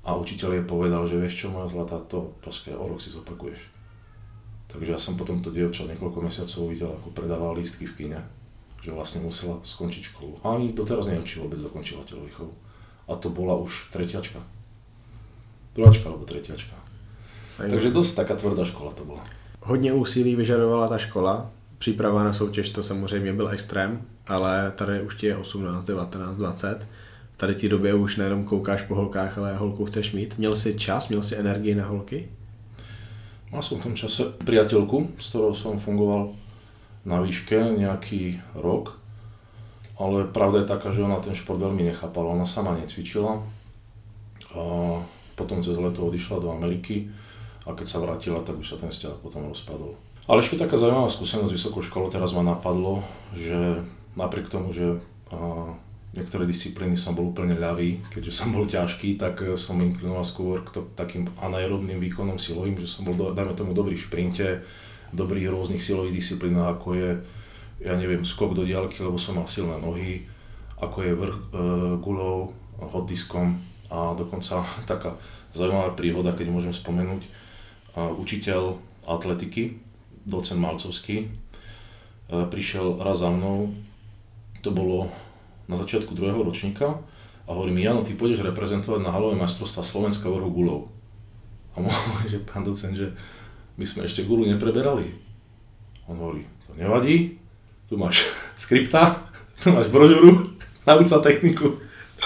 a učiteľ jej povedal, že vieš čo, moja zlatá, to proste o rok si zopakuješ. Takže ja som potom to dievča niekoľko mesiacov videl, ako predával lístky v kine, že vlastne musela skončiť školu. A ani doteraz neviem, či vôbec dokončila telovýchovu. A to bola už tretiačka. Druháčka alebo tretiačka. Takže dosť taká tvrdá škola to bola. Hodně úsilí vyžadovala ta škola. Příprava na soutěž to samozřejmě byl extrém, ale tady už ti je 18, 19, 20. V tady té době už nejenom koukáš po holkách, ale holku chceš mít. Měl jsi čas, měl jsi energii na holky? Mal som v tom čase priateľku, s ktorou som fungoval na výške nejaký rok, ale pravda je taká, že ona ten šport veľmi nechápala, ona sama necvičila a potom cez leto odišla do Ameriky a keď sa vrátila, tak už sa ten vzťah potom rozpadol. Ale ešte taká zaujímavá skúsenosť s vysokou školou, teraz ma napadlo, že napriek tomu, že niektoré disciplíny som bol úplne ľavý, keďže som bol ťažký, tak som inklinoval skôr k takým anaerobným výkonom silovým, že som bol, dajme tomu, dobrý v šprinte, dobrý v rôznych silových disciplínach, ako je, ja neviem, skok do diaľky, lebo som mal silné nohy, ako je vrch guľou, hot diskom a dokonca taká zaujímavá príhoda, keď môžem spomenúť, učiteľ atletiky, docent Malcovský, prišiel raz za mnou, to bolo na začiatku druhého ročníka a hovorí mi, Jano, ty pôjdeš reprezentovať na halové majstrovstvá Slovenska vrchu guľov. A môže, že pán docent, že my sme ešte guľu nepreberali. On hovorí, to nevadí, tu máš skripta, tu máš brožúru, nauč sa techniku.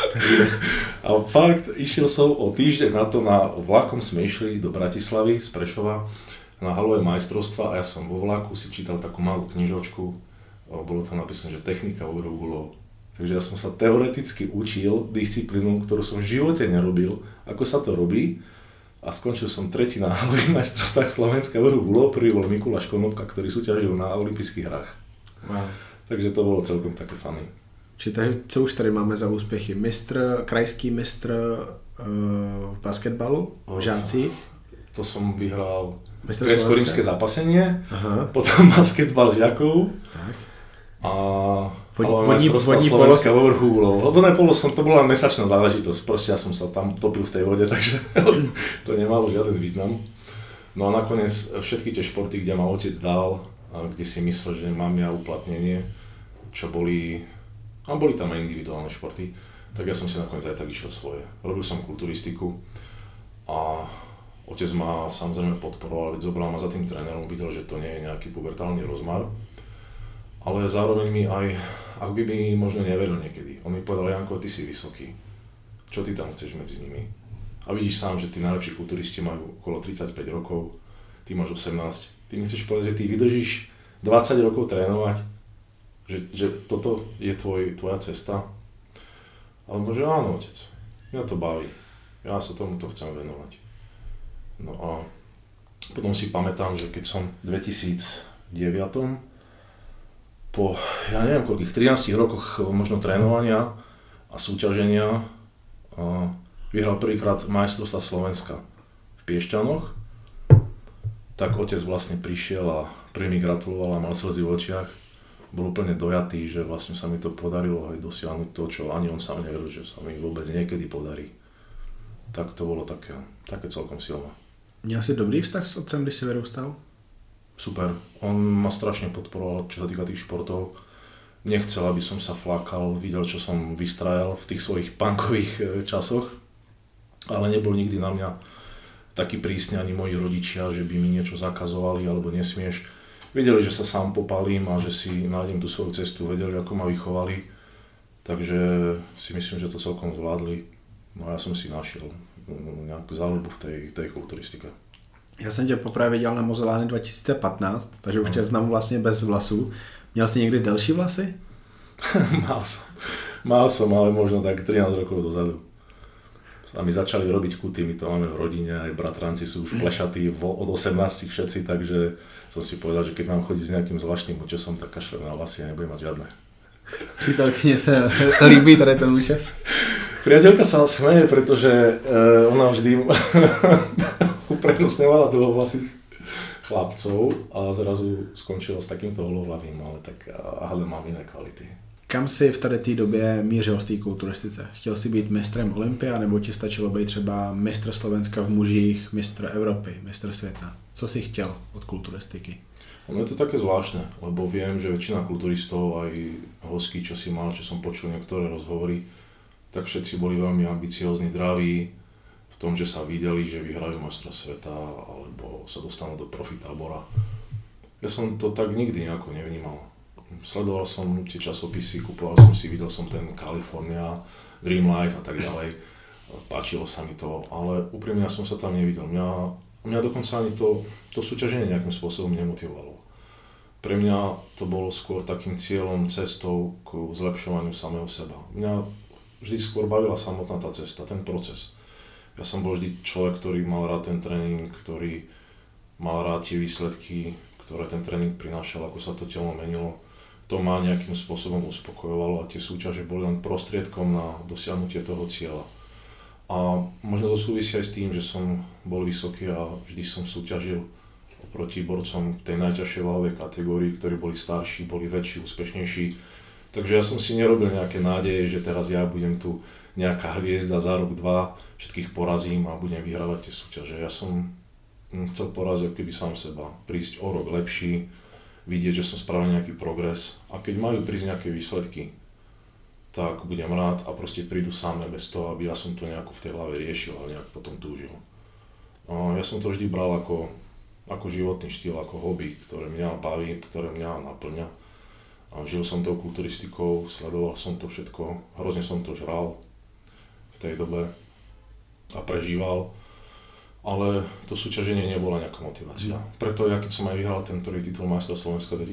A fakt, išiel som o týždeň na to, vlakom sme išli do Bratislavy z Prešova na halové majstrovstvá a ja som vo vlaku si čítal takú malú knižočku, bolo tam napísané, že technika vrchu guľov. Takže ja som sa teoreticky učil disciplínu, ktorú som v živote nerobil, ako sa to robí a skončil som tretí na halových majstrovstvách Slovenska vrchu guľov, prvý bol Mikuláš Konopka, ktorý súťažil na olympijských hrách. Wow. Takže to bolo celkom také funny. Čiže co už tady máme za úspěchy? Krajský mistr v basketbalu v žácích? To som vyhral grécko-rímske zápasenie, potom basketbal žiakov. Tak. A majstrovstvá Slovenska vo vrchu guľov. Vodné polo to bola mesačná záležitosť, proste ja som sa tam topil v tej vode, takže to nemalo žiaden význam. No a nakoniec všetky tie športy, kde ma otec dal, a kde si myslel, že mám ja uplatnenie, čo boli tam aj individuálne športy, tak ja som si nakoniec aj tak išiel svoje. Robil som kulturistiku a otec ma samozrejme podporoval, veď zobral ma za tým trénerom, videl, že to nie je nejaký pubertálny rozmar. Ale zároveň mi aj, ak by mi možno neveril niekedy. On mi povedal, Janko, ty si vysoký, čo ty tam chceš medzi nimi? A vidíš sám, že tí najlepší kulturisti majú okolo 35 rokov, ty máš 18. Ty mi chceš povedať, že ty vydržíš 20 rokov trénovať, že toto je tvoja cesta? Ale že áno, otec, mňa to baví, ja sa tomuto chcem venovať. No a potom si pamätám, že keď som v 2009 po, ja neviem koľkých, 13 rokoch možno trénovania a súťaženia vyhral prvýkrát majstrovstvá Slovenska v Piešťanoch, tak otec vlastne prišiel a prvý mi gratuloval a mal slzy v očiach. Bol úplne dojatý, že vlastne sa mi to podarilo aj dosiahnuť to, čo ani on sám neveril, že sa mi vôbec niekedy podarí. Tak to bolo také celkom silné. Měl jsi dobrý vztah s otcem, když si vyrůstal? Super. On ma strašne podporoval, čo sa týka tých športov. Nechcel, aby som sa flákal, videl, čo som vystrajal v tých svojich punkových časoch, ale nebol nikdy na mňa taký prísny ani moji rodičia, že by mi niečo zakazovali alebo nesmieš. Vedeli, že sa sám popálím a že si nájdem tú svoju cestu, vedeli, ako ma vychovali, takže si myslím, že to celkom zvládli. No a ja som si našiel nejakú záľubu v tej kulturistike. Já jsem tě poprvé viděl na Mozolány 2015, takže už tě znám vlastně bez vlasů. Měl jsi někdy delší vlasy? Mal som, ale možno tak 13 rokov dozadu. A my začali robiť kuty, my to máme v rodine, aj bratranci sú už plešatí od 18 všetci, takže som si povedal, že keď mám chodiť s nejakým zvláštnym účesom, tak kašlem na vlasy a nebudem mať žiadne. Přítelkyně se líbí tady ten účes? Priateľka sa smeje, pretože ona vždy uprednostňovala dlhovlasých chlapcov a zrazu skončila s takýmto holohlavým, ale tak mám iné kvality. Kam jsi v tady té době mířil v té kulturistice? Chtěl jsi být mistrem Olympia, nebo ti stačilo být třeba mistr Slovenska v mužích, mistr Evropy, mistr světa? Co jsi chtěl od kulturistiky? No je to také zvláštne, lebo viem, že väčšina kulturistov, aj hostí, čo si mal, čo som počul niektoré rozhovory, tak všetci boli veľmi ambiciózni, draví v tom, že sa videli, že vyhrajú majstra sveta alebo sa dostanú do profi tábora. Ja som to tak nikdy nejako nevnímal. Sledoval som tie časopisy, kupoval som si, videl som ten California, Dream Life a tak ďalej. Páčilo sa mi to, ale úprimne ja som sa tam nevidel. Mňa dokonca ani to súťaženie nejakým spôsobom nemotivovalo. Pre mňa to bolo skôr takým cieľom, cestou k zlepšovaniu samého seba. Mňa vždy skôr bavila samotná tá cesta, ten proces. Ja som bol vždy človek, ktorý mal rád ten tréning, ktorý mal rád tie výsledky, ktoré ten tréning prinášal, ako sa to telo menilo. To ma nejakým spôsobom uspokojovalo a tie súťaže boli len prostriedkom na dosiahnutie toho cieľa. A možno to súvisí aj s tým, že som bol vysoký a vždy som súťažil oproti borcom tej najťažšej váhovej kategórii, ktorí boli starší, boli väčší, úspešnejší. Takže ja som si nerobil nejaké nádeje, že teraz ja budem tu nejaká hviezda za rok, dva, všetkých porazím a budem vyhrávať tie súťaže. Ja som chcel poraziť keby sám seba, prísť o rok lepší, vidieť, že som spravil nejaký progres a keď majú prísť nejaké výsledky, tak budem rád a proste prídu samé bez toho, aby ja som to nejako v tej hlave riešil a nejak potom túžil. Ja som to vždy bral ako životný štýl, ako hobby, ktoré mňa baví, ktoré mňa naplňa. A žil som tou kulturistikou, sledoval som to všetko, hrozne som to žral v tej dobe a prežíval. Ale to súťaženie nebola nejaká motivácia. Preto ja keď som aj vyhral ten prvý titul majstra Slovenska v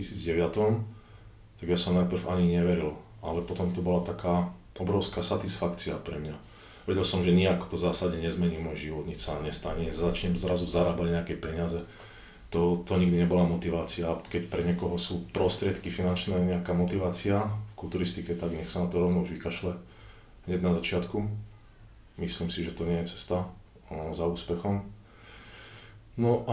2009, tak ja som najprv ani neveril. Ale potom to bola taká obrovská satisfakcia pre mňa. Vedel som, že nejako to v zásade nezmení môj život, nič sa nestane, začnem zrazu zarábať nejaké peniaze. To nikdy nebola motivácia. Keď pre niekoho sú prostriedky finančné nejaká motivácia v kulturistike, tak nech sa na to rovno už vykašle hneď na začiatku. Myslím si, že to nie je cesta za úspechom. No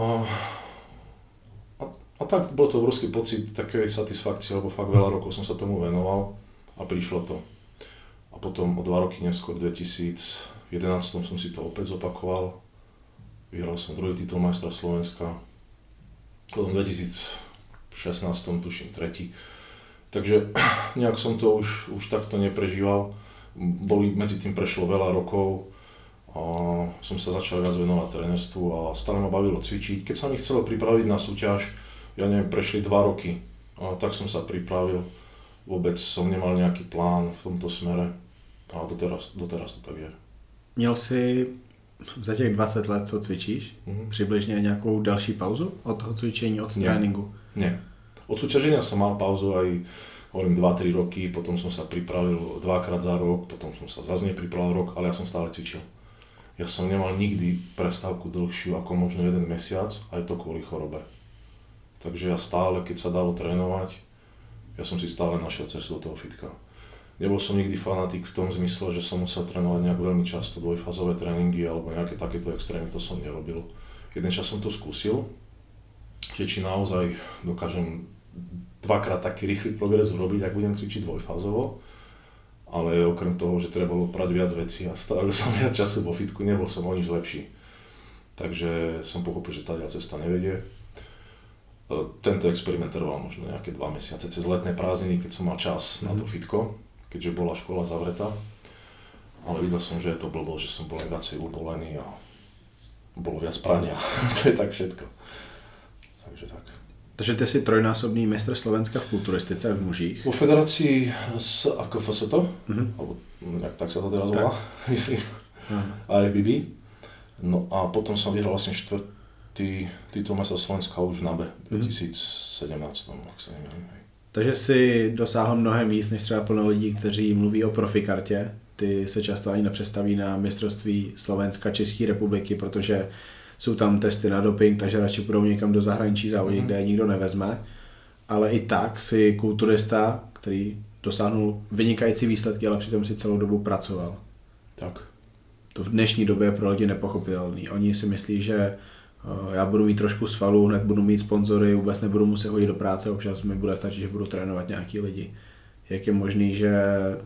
a tak bol to obrovský pocit takej satisfakcie, lebo fakt veľa rokov som sa tomu venoval a prišlo to. A potom o 2 roky neskôr, v 2011 som si to opäť zopakoval. Vyhral som druhý titul majstra Slovenska. Potom v 2016 tuším tretí. Takže nejak som to už takto neprežíval. Medzi tým prešlo veľa rokov. A som sa začal viac venovať trénerstvu a stále ma bavilo cvičiť. Keď sa mi chcelo pripraviť na súťaž, ja neviem, prešli 2 roky. A tak som sa pripravil. Vôbec som nemal nejaký plán v tomto smere. A doteraz to tak je. Měl jsi za těch 20 let, co cvičíš, přibližně nějakou další pauzu od toho cvičení, od tréninku? Nie. Od súťaženia som mal pauzu aj, hovorím, 2-3 roky, potom som sa pripravil 2-krát za rok, potom som sa zase nepripravil rok, ale ja som stále cvičil. Ja som nemal nikdy prestávku dlhšiu ako možno 1 mesiac, aj to kvôli chorobe. Takže ja stále, keď sa dalo trénovať, ja som si stále našiel cestu do toho fitka. Nebol som nikdy fanatik v tom zmysle, že som musel trénovať nejak veľmi často dvojfázové tréningy alebo nejaké takéto extrémy, to som nerobil. Jeden čas som to skúsil, že či naozaj dokážem 2-krát taký rýchly progres urobiť, ak budem cvičiť dvojfázovo. Ale okrem toho, že treba bolo prať viac vecí a strávil som viac času vo fitku, nebol som o nič lepší. Takže som pochopil, že tá cesta nevedie. Tento experiment trval možno nejaké 2 mesiace cez letné prázdniny, keď som mal čas na to fitko, keďže bola škola zavretá. Ale videl som, že je to blbo, že som bol viacej ubolený a bolo viac prania. To je tak všetko. Takže tak. Takže ty jsi trojnásobný mistr Slovenska v kulturistice v mužích. Vo federácii ako FST, alebo tak sa to teraz volá, myslím, IFBB. No a potom som vyhral vlastne 4. titul majstra Slovenska už v NABE v 2017, ak sa neviem. Takže si dosáhl mnohem víc než třeba plno lidí, kteří mluví o profikartě. Ty se často ani nepředstaví na mistrovství Slovenska, České republiky, protože jsou tam testy na doping, takže radši půjdou někam do zahraničí závodit, kde je nikdo nevezme. Ale i tak si kulturista, který dosáhnul vynikající výsledky, ale přitom si celou dobu pracoval. Tak. To v dnešní době je pro lidi nepochopitelný. Oni si myslí, že já budu mít trošku svalů, hned budu mít sponzory, vůbec nebudu muset chodit do práce, občas mi bude stačit, že budu trénovat nějaký lidi. jak je možný, že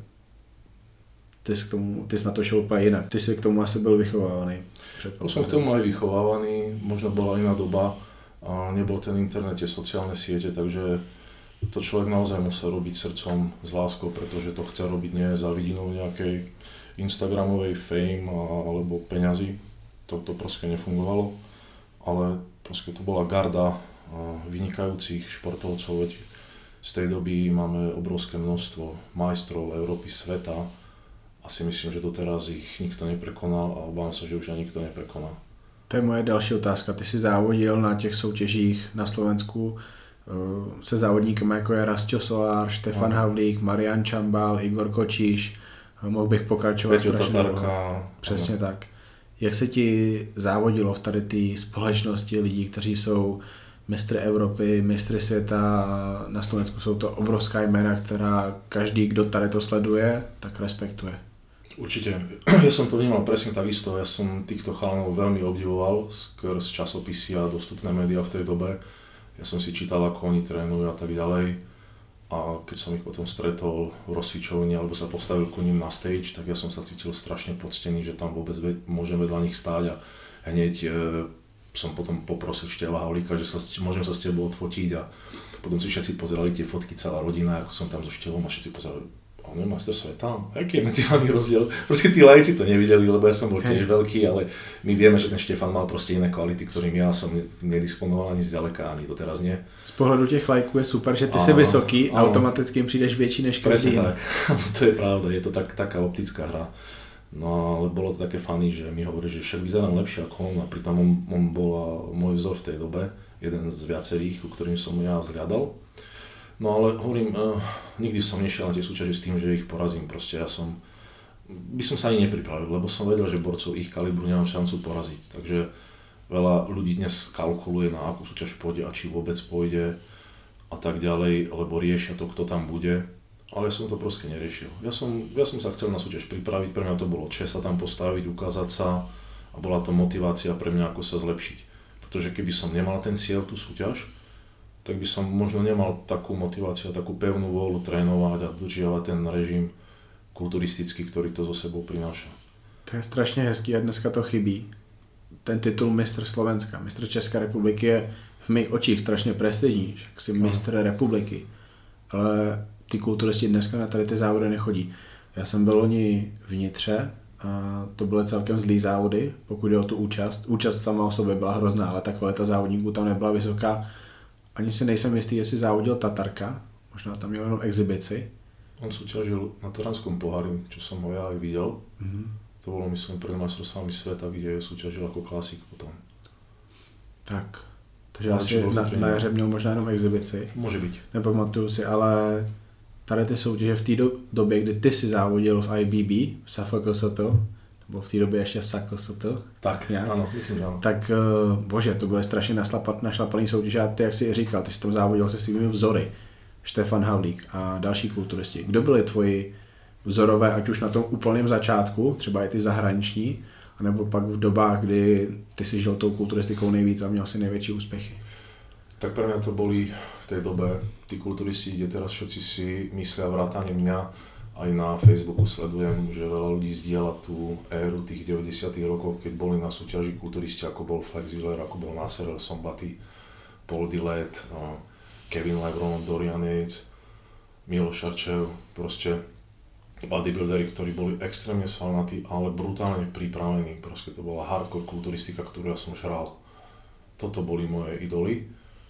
ty jsi na to šel úplně jinak. Ty jsi k tomu asi byl vychovávaný. Som k tomu aj vychovávaný, možno bola iná doba a nebol ten internet, tie sociálne siete, takže to človek naozaj musel robiť srdcom s láskou, pretože to chce robiť nie za vidinou nejakej instagramovej fame alebo peňazí. To proste nefungovalo, ale proste to bola garda vynikajúcich športovcov, veď z tej doby máme obrovské množstvo majstrov Európy, sveta a si myslím, že doteraz ich nikto neprekonal a obávam sa, že už ani nikto neprekoná. To je moje další otázka. Ty jsi závodil na těch soutěžích na Slovensku se závodníkama jako je Rastio Solár, Štefan Havlík, Marian Čambal, Igor Kočíš, mohl bych pokračovat strašně dlouho. Přesně tak. Jak se ti závodilo v tady té společnosti lidí, kteří jsou mistry Evropy, mistry světa a na Slovensku jsou to obrovská jména, která každý, kdo tady to sleduje, tak respektuje. Určite. Ja som to vnímal presne takisto. Ja som týchto chalanov veľmi obdivoval skrz časopisy a dostupné médiá v tej dobe. Ja som si čítal, ako oni trénujú a tak ďalej. A keď som ich potom stretol v rozcvičovni alebo sa postavil ku ním na stage, tak ja som sa cítil strašne poctený, že tam vôbec môžem vedľa nich stáť a hneď som potom poprosil Števa Havlíka, že môžem sa s tebou odfotiť a potom si všetci pozerali tie fotky, celá rodina, ako som tam so Števom a všetci pozerali. On je majster sveta, aký je medzi vami rozdiel? Proste tí lajci to nevideli, lebo ja som bol tiež veľký, ale my vieme, že ten Štefan mal proste iné kvality, ktorým ja som nedisponoval ani zďaleka, ani doteraz nie. Z pohledu těch lajků je super, že ty jsi vysoký, automaticky jim přijdeš větší než každý. Presne tak, to je pravda, je to taká optická hra. No ale bolo to také funny, že mi hovorí, že však vyzerám lepšie ako on a pritom on bol môj vzor v tej dobe, jeden z viacerých, ku ktorým som ja vzhľadal. No ale hovorím, nikdy som nešiel na tie súťaže s tým, že ich porazím, proste by som sa ani nepripravil, lebo som vedel, že borcov ich kalibru nemám šancu poraziť, takže veľa ľudí dnes kalkuluje, na akú súťaž pôjde a či vôbec pôjde a tak ďalej, lebo riešia to, kto tam bude, ale ja som to proste neriešil. Ja som sa chcel na súťaž pripraviť, pre mňa to bolo čest sa tam postaviť, ukázať sa a bola to motivácia pre mňa, ako sa zlepšiť, pretože keby som nemal ten cieľ, tú súťaž, tak by som možno nemal takú motiváciu, takú pevnú vôľu trénovať a dodržiavať ten režim kulturistický, ktorý to so sebou prináša. To je strašně hezký a dneska to chybí. Ten titul mistr Slovenska, mistr České republiky je v mých očích strašně prestižní, že jsi mistr republiky, ale ty kulturisti dneska na tady ty závody nechodí. Já jsem byl loni v Nitře a to byly celkem zlý závody, pokud jde o tu účast. Účast sama o sobě byla hrozná, ale ta kvalita závodníků tam nebyla vysoká. Ani si nejsem jistý, jestli závodil Tatarka, možná tam měl jenom exibici. On súťažil na Taranskom pohári, čo som ho ja aj videl. To bolo myslím pred majstrovstvami sveta, kde súťažil ako klasik potom. Tak, takže asi na jaře měl možná jenom exibici. Môže byť. Nepamatuju si, ale tady ty soutěže v té době, kdy ty si závodil v IBB, v SFKST, nebo v té době ještě SAKST. Tak, áno, myslím, že áno. Tak bože, to byly strašně našlapaný soutěže a ty, jak jsi říkal, ty jsi tam závodil se svými vzory. Štefan Havlík a další kulturisti. Kdo byli tvoji vzorové, ať už na tom úplném začátku, třeba i ty zahraniční, anebo pak v dobách, kdy ty si žil tou kulturistikou nejvíc a měl si největší úspěchy? Tak pre mňa to boli v tej dobe tí kulturisti, kde teraz všetci si myslia vrátane mňa. Aj na Facebooku sledujem, že veľa ľudí zdieľa tú éru tých 90. rokov, keď boli na súťaži kulturisti, ako bol Flex Wheeler, ako bol Nasser El Sombaty, Paul Dillett, Kevin Lebron, Dorian Yates, Milo Šarčev, proste bodybuildery, ktorí boli extrémne svalnatí, ale brutálne pripravení. Proste to bola hardcore kulturistika, ktorú ja som žral. Toto boli moje idoly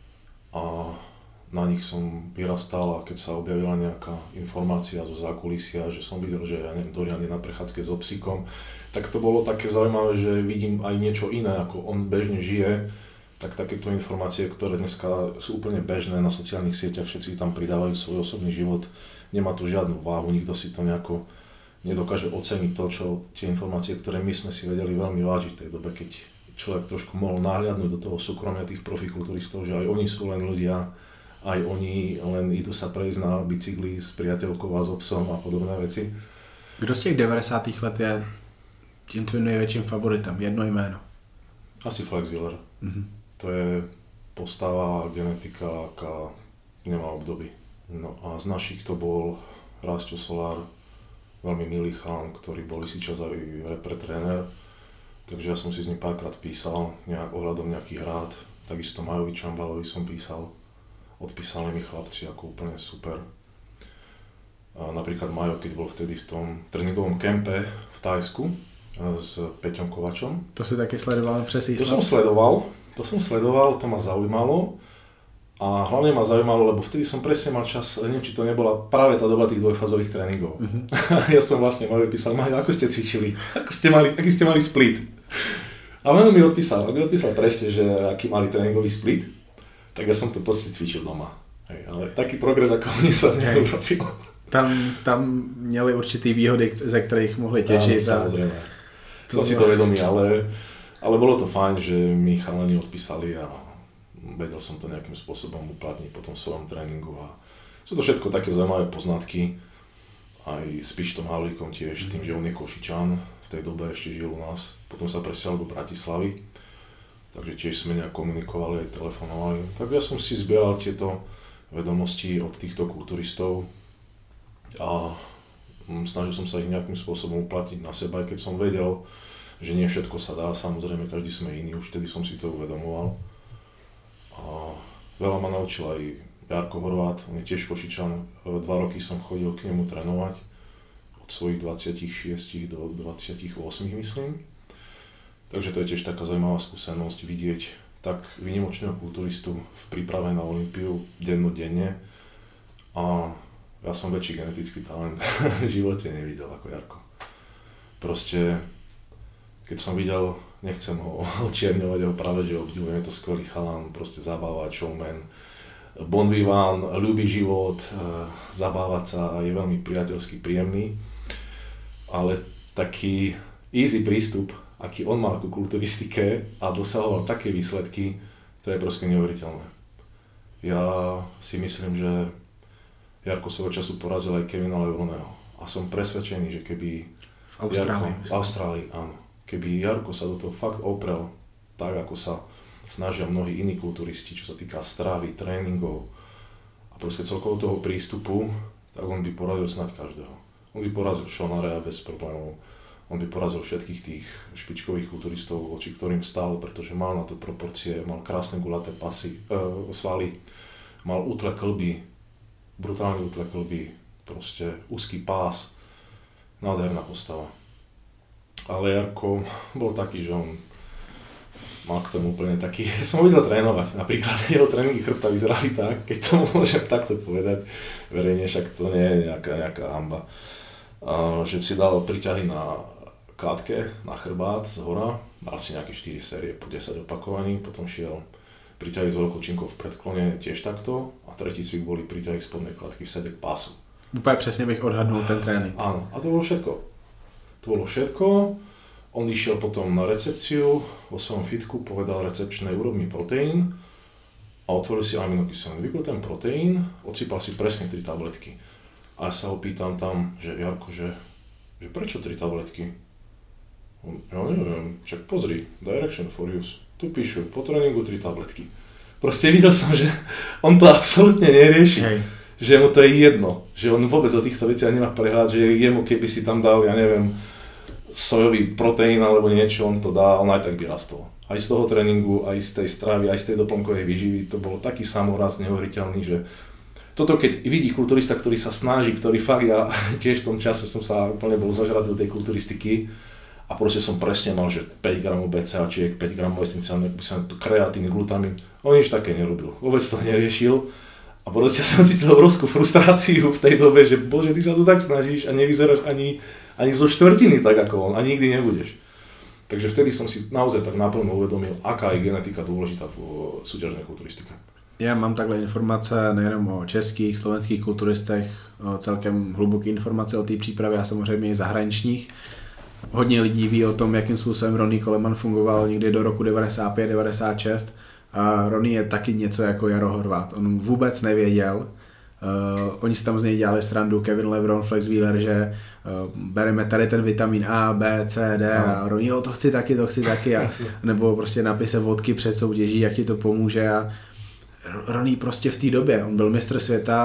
a na nich som vyrastal a keď sa objavila nejaká informácia zo zákulisia, že som videl, že ja neviem, Dorian je na prechádzke so psíkom, tak to bolo také zaujímavé, že vidím aj niečo iné, ako on bežne žije, tak takéto informácie, ktoré dneska sú úplne bežné na sociálnych sieťach, všetci tam pridávajú svoj osobný život, nemá to žiadnu váhu, nikto si to nejako nedokáže oceniť to, čo tie informácie, ktoré my sme si vedeli veľmi vážiť v tej dobe, keď človek trošku mohol nahliadnúť do toho súkromia tých profikulturistov, že aj oni sú len ľudia, aj oni len idú sa prejsť na bicykli s priateľkou a s obsom a podobné veci. Kdo z těch 90. let je tím tvým největším favoritem? Jedno jméno. Asi Flex Wheeler. To je postava, genetika, aká nemá obdoby. No a z našich to bol Rásťo Solár, veľmi milý chalan, ktorý bol si čas aj repre-tréner. Takže ja som si s ním párkrát písal ohľadom nejakých rád. Takisto Majovi Čambalovi som písal. Odpísali mi chlapci ako úplne super. A napríklad Majo, keď bol vtedy v tom tréningovom kempe v Thajsku s Peťom Kovačom. To si taky sledoval přes Island? To som sledoval, to ma zaujímalo. A hlavne ma zaujímalo, lebo vtedy som presne mal čas, neviem, či to nebola práve tá doba tých dvojfázových tréningov. Ja som vlastne Majovi písal, Majo, ako ste cvičili? Aký ste mali split? A on mi odpísal presne, že aký mali tréningový split. Tak ja som to proste cvičil doma. Hej, ale taký progres ako mne sa neurobil. Tam měli určitý výhody, ze kterých mohli těžit. Samozrejme. Som si to vedomý, ale bolo to fajn, že mi chalani odpísali a vedel som to nejakým spôsobom uplatniť po tom svojom tréningu. A sú to všetko také zaujímavé poznatky. Aj s Pištom Havlíkom tiež, tým, že on je Košičan, v tej dobe ešte žil u nás. Potom sa presťahoval do Bratislavy. Takže tiež sme nejak komunikovali, aj telefonovali. Tak ja som si zbieral tieto vedomosti od týchto kulturistov a snažil som sa ich nejakým spôsobom uplatniť na seba, aj keď som vedel, že nie všetko sa dá, samozrejme každý sme iný, už vtedy som si to uvedomoval. A veľa ma naučil aj Jarko Horvát, on je tiež Košičan, 2 roky som chodil k nemu trénovať, od svojich 26 do 28 myslím. Takže to je tiež taká zaujímavá skúsenosť vidieť tak výnimočného kulturistu v príprave na Olympiu dennodenne. A ja som väčší genetický talent v živote nevidel ako Jarko. Proste, keď som videl, nechcem ho očierňovať, ho práve že obdivujem, je to skvelý chalan, proste zabávať, showman, bon vivant, ľúbi život, zabávať sa a je veľmi priateľský, príjemný. Ale taký easy prístup, aký on mal ku kulturistike a dosahoval také výsledky, to je proste neuveriteľné. Ja si myslím, že Jarko svojho času porazil aj Kevina Lebroneho a som presvedčený, že keby v Austrálii, áno. Keby Jarko sa do toho fakt oprel tak, ako sa snažia mnohí iní kulturisti, čo sa týka stravy, tréningov a proste celkovo toho prístupu, tak on by porazil snáď každého. On by porazil Shona Rhea bez problémov. On by porazil všetkých tých špičkových kulturistov, voči ktorým stál, pretože mal na to proporcie, mal krásne gulaté pasy, svaly, mal útle klby, brutálne útle klby, proste úzky pás, nádherná postava. Ale Jarko bol taký, že on mal k tomu úplne taký, ja som ho videl trénovať, napríklad jeho tréningy chrbta vyzerali tak, keď to môžem takto povedať verejne, však to nie je nejaká hamba, že si dal príťahy na klátke, na chrbát z hora, dal si nejaké 4 série po 10 opakovaní, potom šiel príťahy s veľkou činkou v predklone tiež takto a tretí cvik boli príťahy spodnej klátky v sede k pásu. Úplně přesně bych odhadnul ten trénink. Áno, a to bolo všetko. On išiel potom na recepciu vo svojom fitku, povedal recepčnej urob mi proteín a otvoril si aminokyseliny. Vypil ten proteín, odsypal si presne 3 tabletky. A ja sa ho pýtam tam, že Jarko, že prečo 3 tabletky? Ja neviem, však pozri, direction for use. Tu píšu, po tréningu 3 tabletky. Proste videl som, že on to absolútne nerieši. Hej. Že mu to je jedno, že on vôbec o týchto veciach nemá prehľad, že jemu keby si tam dal, ja neviem, sojový proteín alebo niečo, on to dá, on aj tak by rastol. Aj z toho tréningu, aj z tej stravy, aj z tej doplnkovej výživy, to bol taký samorast neuveriteľný, že toto keď vidí kulturista, ktorý sa snaží, ktorý fakt, ja tiež v tom čase som sa úplne bol zažratý do tej kulturistiky a proste som presne mal, že 5 gramov BCAčiek, 5 gramov esenciálnych, kreatín, glutamin, on nič také nerobil, vôbec to neriešil. A proste som cítil obrovskú frustráciu v tej dobe, že bože, ty sa to tak snažíš a nevyzeráš ani zo štvrtiny tak ako on, ani nikdy nebudeš. Takže vtedy som si naozaj tak naplno uvedomil, aká je genetika dôležitá v súťažnej kulturistike. Já mám takhle informace nejenom o českých, slovenských kulturistech, celkem hluboké informace o té přípravě a samozřejmě i zahraničních. Hodně lidí ví o tom, jakým způsobem Ronnie Coleman fungoval někdy do roku 95-96. A Ronnie je taky něco jako Jaro Horvát. On vůbec nevěděl. Oni si tam z něj dělali srandu, Kevin Lebron, Flex Wheeler, že bereme tady ten vitamin A, B, C, D a Ronnie, to chci taky. A, nebo prostě napij se vodky před soutěží, jak ti to pomůže. A Ronnie prostě v té době, on byl mistr světa,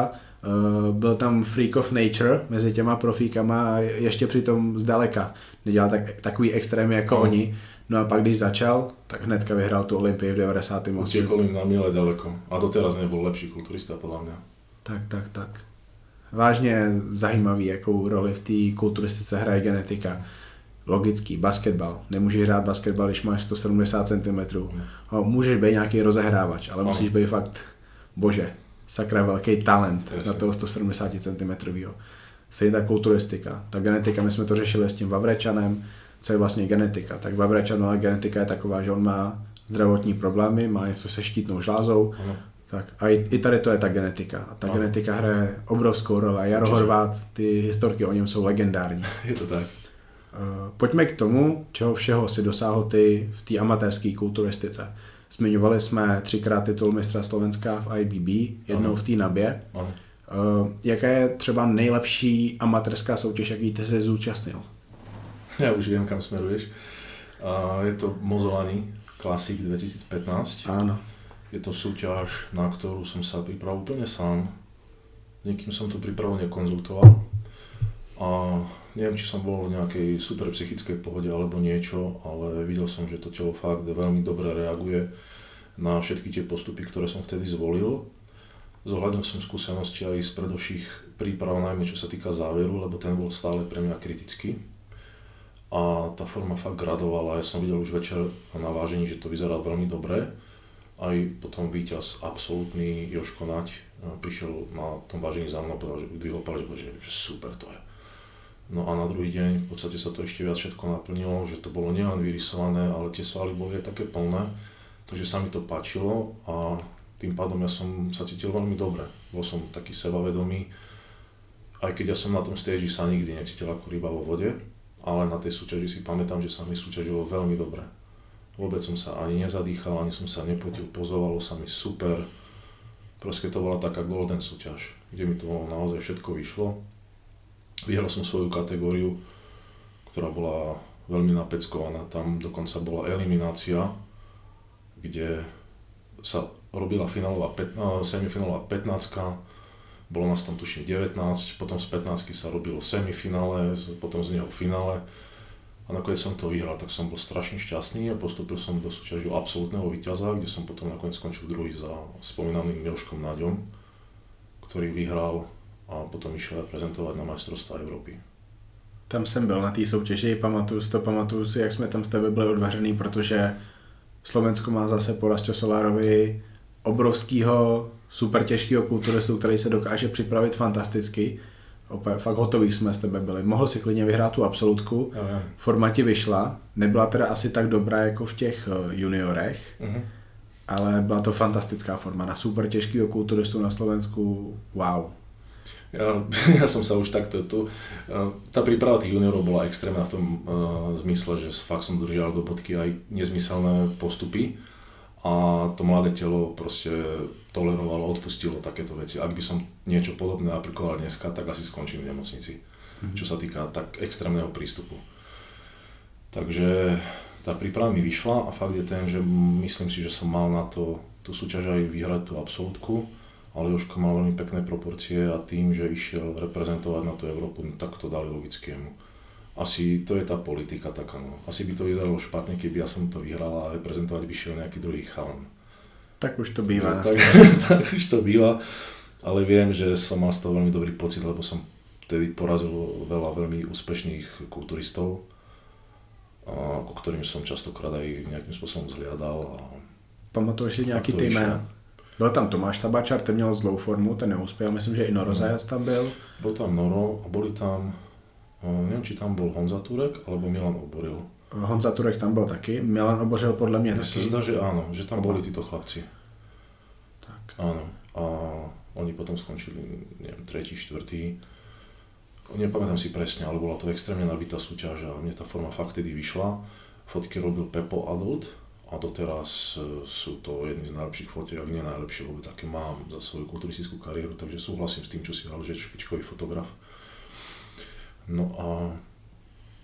byl tam freak of nature mezi těma profíkama a ještě přitom zdaleka nedělal takový extrémy jako oni. No a pak když začal, tak hnedka vyhrál tu Olympii v 98. Utiekol im na miele ďaleko. A doteraz nebol lepší kulturista podľa mňa. Tak. Vážně zajímavý, jakou roli v té kulturistice hraje genetika. Logický, basketbal. Nemůžeš hrát basketbal, když máš 170 cm. Můžeš být nějaký rozehrávač, ale musíš být fakt, bože, sakra velký talent na toho 170 cm. Stejně ta kulturistika. Ta genetika, my jsme to řešili s tím Vavrečanem, co je vlastně genetika. Tak Vavrečanova genetika je taková, že on má zdravotní problémy, má něco se štítnou žlázou. Tak a i tady to je ta genetika. A ta genetika hraje obrovskou roli. Jaro Horvát, ty historky o něm jsou legendární. Je to tak. Pojďme k tomu, čeho všeho si dosáhl ty v té amatérské kulturistice. Zmiňovali jsme 3krát titul mistra Slovenska v IBB, jednou v té Nabě. Jaká je třeba nejlepší amatérská soutěž, jaký ty jsi zúčastnil? Ja už viem, kam smeruješ. Je to Mozolani Classic 2015. Áno. Je to súťaž, na ktorú som sa pripravil úplne sám. Niekým som tú prípravu nekonzultoval. A neviem, či som bol v nejakej super psychickej pohode alebo niečo, ale videl som, že to telo fakt veľmi dobre reaguje na všetky tie postupy, ktoré som vtedy zvolil. Zohľadnil som skúsenosti aj z predošlých príprav, najmä čo sa týka záveru, lebo ten bol stále pre mňa kritický. A tá forma fakt gradovala. Ja som videl už večer na vážení, že to vyzerá veľmi dobre. Aj potom víťaz absolútny Joško Nať prišiel na tom vážení za mnou a povedal, že dvihol palec, že super to je. No a na druhý deň v podstate sa to ešte viac všetko naplnilo, že to bolo nielen vyrysované, ale tie svaly boli aj také plné, takže sa mi to páčilo a tým pádom ja som sa cítil veľmi dobre. Bol som taký sebavedomý, aj keď ja som na tom stage sa nikdy necítil ako ryba vo vode, ale na tej súťaži si pamätám, že sa mi súťažilo veľmi dobre. Vôbec som sa ani nezadýchal, ani som sa nepotil, pozovalo sa mi super. Proste to bola taká golden súťaž, kde mi to naozaj všetko vyšlo. Vyhral som svoju kategóriu, ktorá bola veľmi napeckovaná. Tam dokonca bola eliminácia, kde sa robila semifinálová 15, bolo nás tam tuším 19, potom z 15 sa robilo semifinále, potom z neho finále. A nakoniec som to vyhral, tak som bol strašne šťastný a postúpil som do súťaži absolútneho víťaza, kde som potom nakoniec skončil druhý za spomínaným Joškom Naďom, ktorý vyhral a potom išiel reprezentovať na majstrovstvá Európy. Tam jsem byl na té soutěži, pamatuju si, jak jsme tam s tebe byli odvařený, protože Slovensko má zase po Rastio Solárovi obrovskýho, super těžkého kulturistu, který se dokáže připravit fantasticky. Opět, fakt hotový jsme s tebe byli. Mohl si klidně vyhrát tu absolutku, forma ti vyšla, nebyla teda asi tak dobrá jako v těch juniorech, ale byla to fantastická forma na super těžkého kulturistu na Slovensku, wow. Ja som sa už takto, tá príprava tých juniorov bola extrémna v tom zmysle, že fakt som držal do bodky aj nezmyselné postupy a to mladé telo proste tolerovalo, odpustilo takéto veci. Ak by som niečo podobné aplikoval dneska, tak asi skončím v nemocnici, čo sa týka tak extrémneho prístupu. Takže tá príprava mi vyšla a fakt je ten, že myslím si, že som mal na to tú súťaž aj vyhrať tú absolútku. Ale Jožko mal veľmi pekné proporcie a tým, že išiel reprezentovať na tú Európu, tak to dali logickému. Asi to je tá politika taká, no. Asi by to vyzeralo špatne, keby ja som to vyhral a reprezentovať by šiel nejaký druhý chalan. Tak už to býva. No, tak už to býva, ale viem, že som mal z toho veľmi dobrý pocit, lebo som vtedy porazil veľa veľmi úspešných kulturistov, ku ktorým som častokrát aj nejakým spôsobom zhliadal. Pamatuješ si nějaký ty jména? Byl tam Tomáš Tabačar, ten měl zlou formu, ten neuspěl, myslím, že i Noro Zajac tam byl. Byl tam Noro a boli tam, nevím, či tam byl Honza Turek, alebo Milan Oboril. Honza Turek tam byl taky, Milan Oboril podle mě taky. Mně se zdá, že áno, že tam boli títo chlapci. Tak. Áno, a oni potom skončili, neviem, tretí, štvrtý. Nepamätám si presne, ale bola to extrémne nabitá súťaž a mne tá forma fakt tedy vyšla. Fotky robil Pepo Adult. A doteraz sú to jedny z najlepších fotiek, ak nie najlepšie vôbec, aké mám za svoju kulturistickú kariéru, takže súhlasím s tým, čo si dal, že je špičkový fotograf. No a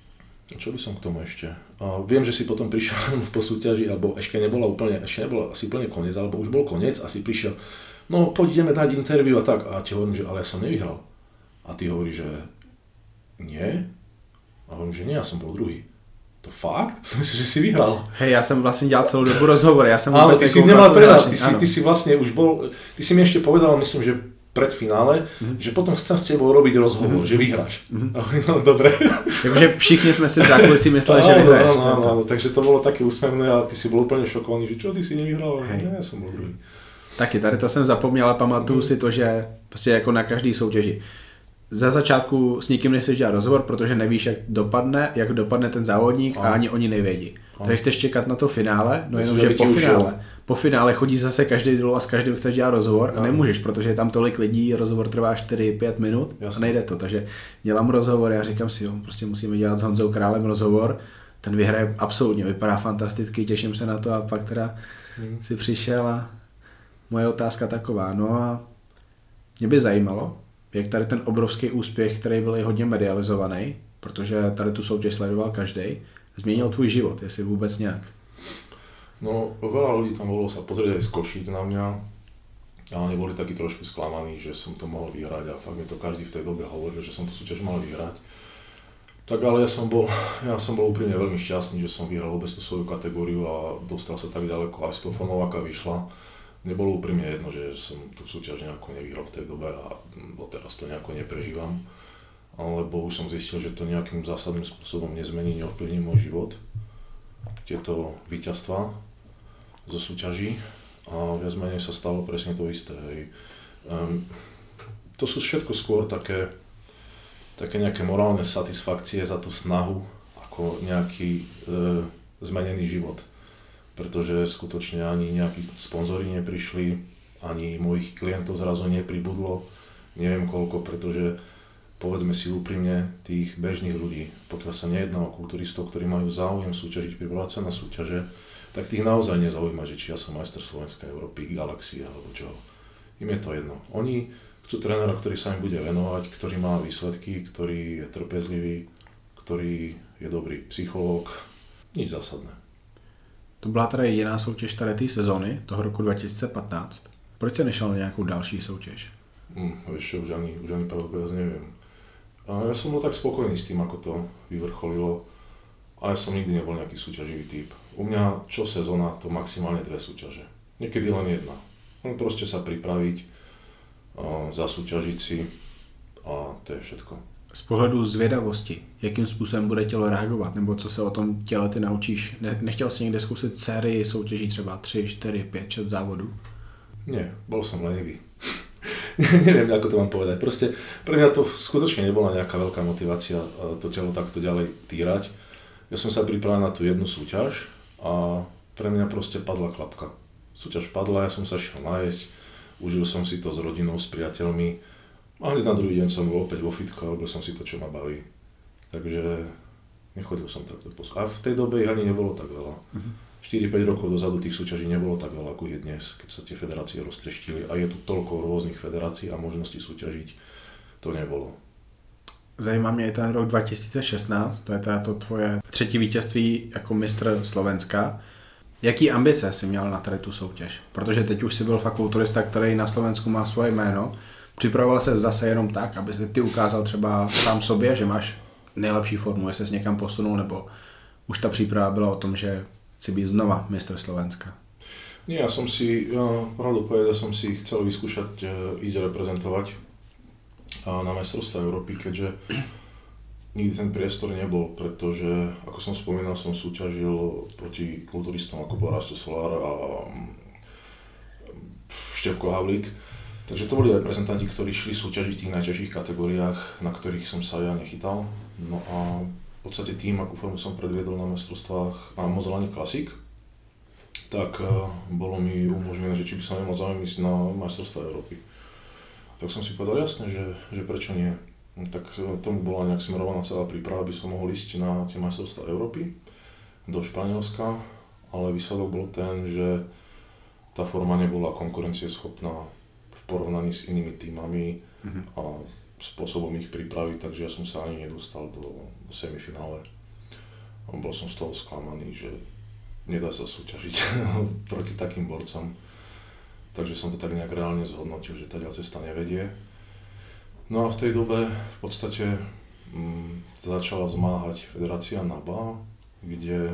Čo by som k tomu ešte? Viem, že si potom prišiel po súťaži, alebo ešte nebolo asi úplne koniec, alebo už bol koniec a si prišiel, no poď ideme dať interview a tak. A ti hovorím, že ale ja som nevyhral. A ty hovoríš, že nie? A hovorím, že nie, ja som bol druhý. To fakt? Som myslel, že si vyhral. Hej, já jsem vlastně dělal celou dobu rozhovor, já jsem vůbec ty si nemal prehľad, ty si vlastne už bol, ty si mi ešte povedal, myslím, že pred finále, že potom chcem s tebou robiť rozhovor, že vyhráš. No dobre. Jakože všichni jsme si v zákulisí mysleli, že vyhráš. Áno, takže to bolo také úsmevné a ty si bol úplne šokovaný, že čo, ty si nevyhral? Ne, ja som bol druhý. Taky, tady to jsem zapomněl, ale pamatuju si to, že prostě jako na každý soutěži. Za začátku s nikým nechceš dělat rozhovor, protože nevíš, jak dopadne ten závodník a ani oni nevědí. Takže chceš čekat na to finále, no jenom, že po finále chodí zase každý dolů a s každým chceš dělat rozhovor a nemůžeš, protože je tam tolik lidí, rozhovor trvá 4-5 minut a nejde to. Takže dělám rozhovor, já říkám si, jo, prostě musíme dělat s Honzou Králem rozhovor, ten vyhraje absolutně, vypadá fantasticky, těším se na to a pak teda si přišel a moje otázka taková, no a mě by zajímalo, jak tady ten obrovský úspěch, který byl i hodně medializovaný, protože tady tu soutěž sledoval každý, změnil tvůj život, jestli vůbec nějak? No, veľa ľudí tam bolo sa pozrieť aj z Košíc na mňa, ale neboli takí trošku sklamaní, že som to mohol vyhrať a fakt mi to každý v tej dobe hovoril, že som tú súťaž mal vyhrať. Tak ale ja som bol úprimne veľmi šťastný, že som vyhral vôbec tú svoju kategóriu a dostal sa tak ďaleko aj s tou Fonováka vyšla. Nebolo úprimne jedno, že som tú súťaž nejako nevyhral v tej dobe a doteraz to nejako neprežívam. Lebo už som zistil, že to nejakým zásadným spôsobom nezmení, neovplyvní môj život. Tieto víťazstvá zo súťaží a viac menej sa stalo presne to isté. To sú všetko skôr také nejaké morálne satisfakcie za tú snahu ako nejaký zmenený život. Pretože skutočne ani nejakí sponzori neprišli, ani mojich klientov zrazu nepribudlo, neviem koľko, pretože povedzme si úprimne tých bežných ľudí, pokiaľ sa nejedná o kulturistov, ktorí majú záujem súťažiť, pripravovať sa na súťaže, tak tých naozaj nezaujíma, že či ja som majster Slovenska, Európy, Galaxie alebo čoho. Im je to jedno. Oni chcú trénera, ktorý sa im bude venovať, ktorý má výsledky, ktorý je trpezlivý, ktorý je dobrý psychológ, nič zásadné. To byla teda jediná soutěž tady té sezóny, toho roku 2015. Proč se nešel na nějakou další soutěž? Ešte už ani pravdepodobne neviem. Ja som bol tak spokojný s tým, ako to vyvrcholilo, ale som nikdy nebol nejaký súťaživý typ. U mňa čo sezóna, to maximálne 2 súťaže. Niekedy len jedna. Proste sa pripraviť, zasúťažiť si a to je všetko. Z pohledu zvědavosti, jakým způsobem bude tělo reagovat, nebo co se o tom těle ty naučíš? Nechtěl jsi někde zkusit sérii soutěží třeba 3, 4, 5, 6 závodů? Nie, bol som lenivý. Neviem, ako to mám povedať. Proste pre mňa to skutočne nebola nejaká veľká motivácia to telo takto ďalej týrať. Ja som sa pripravil na tú jednu súťaž a pre mňa proste padla klapka. Súťaž padla, ja som sa šiel nájsť, užil som si to s rodinou, s priateľmi a hneď na druhý deň som bol opäť vo fitku a robil som si to, čo ma baví. Takže nechodil som takto posúť. A v tej dobe ich ani nebolo tak veľa. 4-5 rokov dozadu tých súťaží nebolo tak veľa, ako je dnes, keď sa tie federácie roztreštili a je tu toľko rôznych federácií a možností súťažiť, to nebolo. Zajímá mě i ten rok 2016, to je teda to tvoje 3. vítězství jako mistr Slovenska. Jaký ambice jsi měl na tady tu soutěž? Protože teď už jsi byl fakt kulturista, který na Slovensku má svoje jméno. Připravoval se zase jenom tak, aby ty ukázal třeba sám sobě, že máš nejlepší formu, jestli jsi někam posunul, nebo už ta příprava byla o tom, že chci být znova mistr Slovenska? Nie, pravdu povedať, som si chcel vyskúšať ísť reprezentovať na majstrovstvá Európy, keďže nikdy ten priestor nebol, pretože, ako som spomínal, som súťažil proti kulturistom ako bol Rasto Solár a Števko Havlík. Takže to boli reprezentanti, ktorí šli súťažiť v tých najťažších kategóriách, na ktorých som sa ja nechytal. No a v podstate tým, akú formu som predviedol na majstrovstvách na Mozolani Classic, tak bolo mi umožnené, že či by som nemal záujem ísť na majstrovstvá Európy. Tak som si povedal jasne, že prečo nie. Tak tomu bola nejak smerovaná celá príprava, aby som mohol ísť na tie majstrovstvá Európy do Španielska, ale výsledok bol ten, že tá forma nebola konkurencieschopná v porovnaní s inými tímami a spôsobom ich pripraviť, takže ja som sa ani nedostal do semifinále. bol som z toho sklamaný, že nedá sa súťažiť proti takým borcom. Takže som to tak nejak reálne zhodnotil, že tá cesta nevedie. No a v tej dobe v podstate začala vzmáhať federácia NABA, kde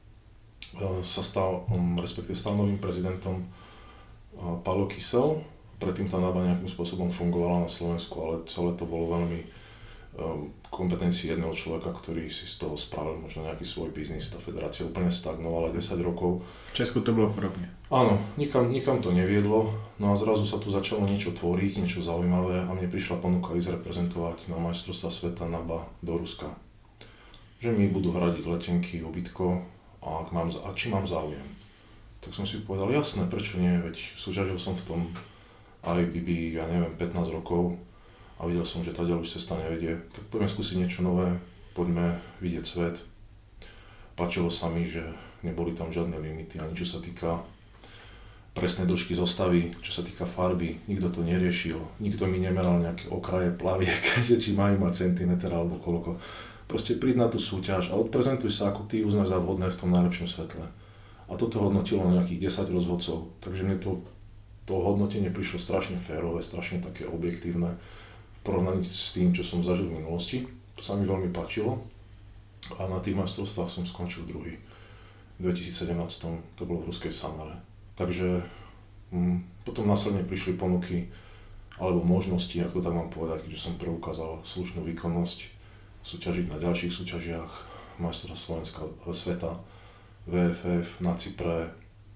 sa stal novým prezidentom Paolo Kysel. Predtým tá NABA nejakým spôsobom fungovala na Slovensku, ale celé to bolo veľmi kompetencii jedného človeka, ktorý si z toho spravil možno nejaký svoj biznis. Tá federácia úplne stagnovala 10 rokov. V Česku to bolo podobne. Áno, nikam to neviedlo, no a zrazu sa tu začalo niečo tvoriť, niečo zaujímavé a mne prišla ponuka ísť reprezentovať na majstrovstvá sveta NABA do Ruska. Že mi budú hradiť letenky, ubytko a či mám záujem. Tak som si povedal, jasné, prečo nie, veď súťažil som v tom IBB, 15 rokov a videl som, že tá už cesta nevedie, tak poďme skúsiť niečo nové, poďme vidieť svet. Páčilo sa mi, že neboli tam žiadne limity, ani čo sa týka presnej dĺžky zostavy, čo sa týka farby, nikto to neriešil, nikto mi nemeral nejaké okraje plaviek, že či majú mať centimeter alebo koľko. Proste príď na tú súťaž a odprezentuj sa, ako ty uznáš za vhodné v tom najlepšom svetle. A toto hodnotilo nejakých 10 rozhodcov, takže mne to hodnotenie prišlo strašne férové, strašne také objektívne. Porovnaní s tým, čo som zažil v minulosti. To sa mi veľmi páčilo a na tých majstrovstvách som skončil druhý. V 2017 to bolo v ruskej Samare. Takže potom následne prišli ponuky alebo možnosti, ako to tak mám povedať, keďže som preukázal slušnú výkonnosť, súťažiť na ďalších súťažiach majstrovstvá sveta, VFF na Cypre,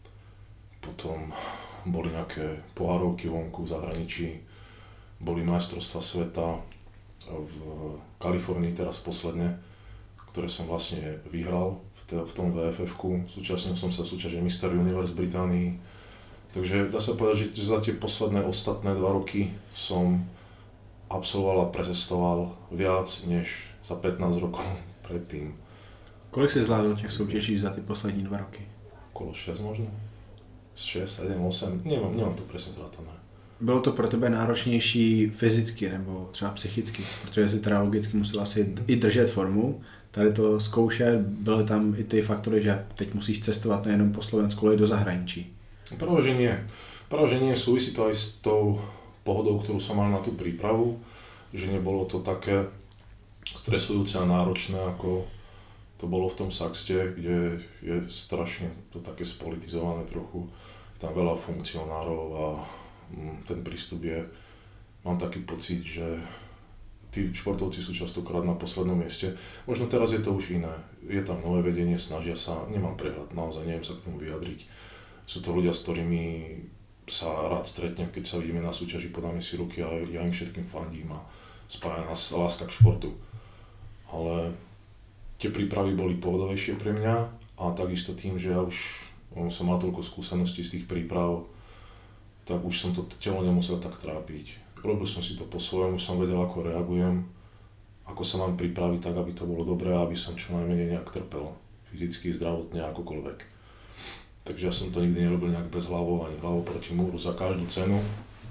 potom boli nejaké pohárovky vonku v zahraničí, boli majstrovstvá sveta v Kalifornii teraz posledne, ktoré som vlastne vyhral v tom VFF-ku. Súčasnil som sa súťaže Mr. Universe v Británii. Takže dá sa povedať, že za tie posledné ostatné 2 roky som absolvoval a precestoval viac než za 15 rokov predtým. Kolik si zvládol těch soutěží za ty poslední 2 roky? Okolo 6 možno? 6, 7, 8, nemám to presne zrátané. Bylo to pro tebe náročnější fyzicky nebo třeba psychicky, protože si teda logicky musel asi i držet formu, tady to zkoušet, byly tam i ty faktory, že teď musíš cestovat nejenom po Slovensku, ale i do zahraničí. Práve, že nie, súvisí to aj s tou pohodou, ktorú som mal na tú prípravu, že nebolo to také stresujúce a náročné, ako to bolo v tom Saxte, kde je strašne to také spolitizované trochu, tam veľa funkcionárov a ten prístup je, mám taký pocit, že tí športovci sú častokrát na poslednom mieste. Možno teraz je to už iné, je tam nové vedenie, snažia sa, nemám prehľad, naozaj neviem sa k tomu vyjadriť. Sú to ľudia, s ktorými sa rád stretnem, keď sa vidíme na súťaži, podáme si ruky a ja im všetkým fandím a spája nás láska k športu. Ale tie prípravy boli pohodovejšie pre mňa a takisto tým, že ja už som mal toľko skúseností z tých príprav, tak už som to telo nemusel tak trápiť. Robil som si to po svojom, som vedel, ako reagujem, ako sa mám pripraviť tak, aby to bolo dobré a aby som čo najmenej nejak trpel. Fyzicky, zdravotne, akokoľvek. Takže ja som to nikdy nerobil nejak bez hlavou, ani hlavou proti múru za každú cenu.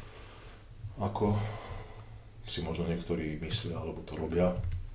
Ako si možno niektorí myslia, alebo to robia.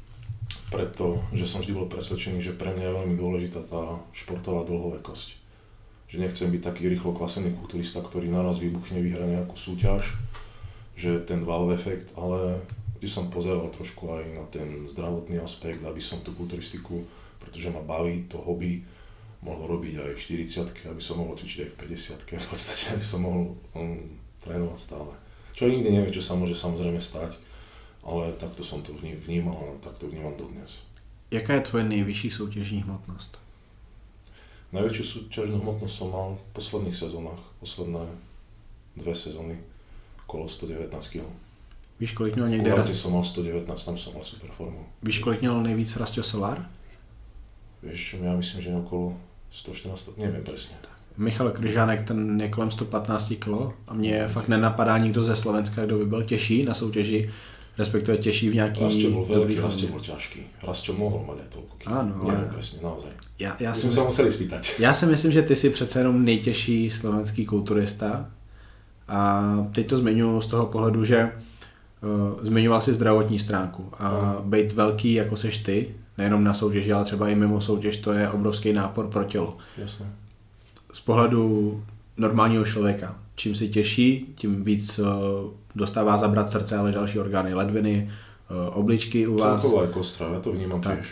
Pretože som vždy bol presvedčený, že pre mňa je veľmi dôležitá tá športová dlhovekosť. Že nechcem byť taký rýchlo kvasený kulturista, ktorý naraz vybuchne, vyhra nejakú súťaž, že ten wow efekt, ale vždy som pozeral trošku aj na ten zdravotný aspekt, aby som tú kulturistiku, pretože ma baví to hobby, mohol robiť aj v 40-ke, aby som mohol cvičiť aj v 50-ke, v podstate, aby som mohol trénovať stále. Čo nikdy nevie, čo sa môže samozrejme stať, ale takto som to vnímal a takto vnímam dodnes. Jaká je tvoje nejvyšší soutěžní hmotnost? Najväčšiu súťažnú hmotnosť som mal v posledných sezónach, posledné 2 sezóny, okolo 119 kg. Víš, kolik měl někde? V Kulate som mal 119, tam som mal super formu. Víš, kolik měl nejvíc Rastio Solar? Vieš čo, ja myslím, že okolo 114, neviem presne. Michal Kryžánek, ten je kolem 115 kg a mě fakt nenapadá nikdo ze Slovenska, kdo by byl těžší na soutěži, respektive těžší v nějaký... Rastio bol veľký, Rastio bol ťažký. Rastio mohol mať aj toľko kg. Áno, neviem presne, naozaj. Já si sa museli spýtať. Já si myslím, že ty jsi přece jenom nejtěžší slovenský kulturista a teď to zmiňuji z toho pohledu, že zmiňoval si zdravotní stránku a být velký jako seš ty nejenom na soutěži, ale třeba i mimo soutěž, to je obrovský nápor pro tělo. Jasné. Z pohledu normálního člověka, čím si těžší, tím víc dostává zabrat srdce, ale další orgány, ledviny, obličky u vás. Celková kostra, já to vnímám tiež.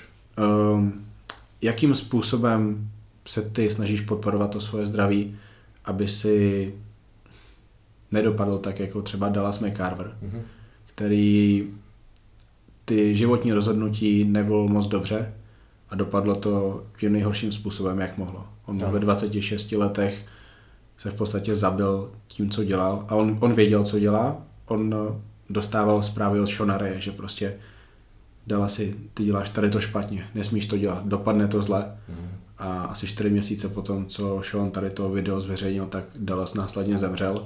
Jakým způsobem se ty snažíš podporovat to svoje zdraví, aby si nedopadl tak jako třeba Dallas McCarver, který ty životní rozhodnutí nevolil moc dobře a dopadlo to tím nejhorším způsobem, jak mohlo. On ve 26 letech se v podstatě zabil tím, co dělal a on věděl, co dělá. On dostával zprávy od Shona Raye, že prostě Dallasi, ty děláš tady to špatně, nesmíš to dělat, dopadne to zle. A asi 4 měsíce potom, co Sean tady to video zveřejnil, tak Dallas následně zemřel.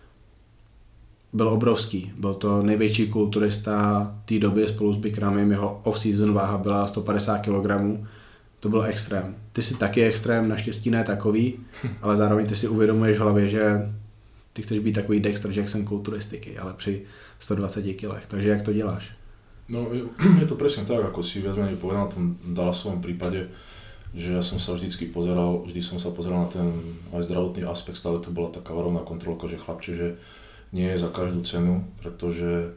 Byl obrovský, byl to největší kulturista té doby spolu s Bikramem, jeho off-season váha byla 150 kg. To byl extrém. Ty jsi taky extrém, naštěstí ne takový, ale zároveň ty si uvědomuješ v hlavě, že ty chceš být takový Dexter Jackson kulturistiky, ale při 120 kg. Takže jak to děláš? No je to presne tak, ako si viac menej povedal na tom Dallasovom prípade, že ja som sa vždy som sa pozeral na ten aj zdravotný aspekt, stále to bola taká varovná kontrolka, že chlapče, že nie je za každú cenu, pretože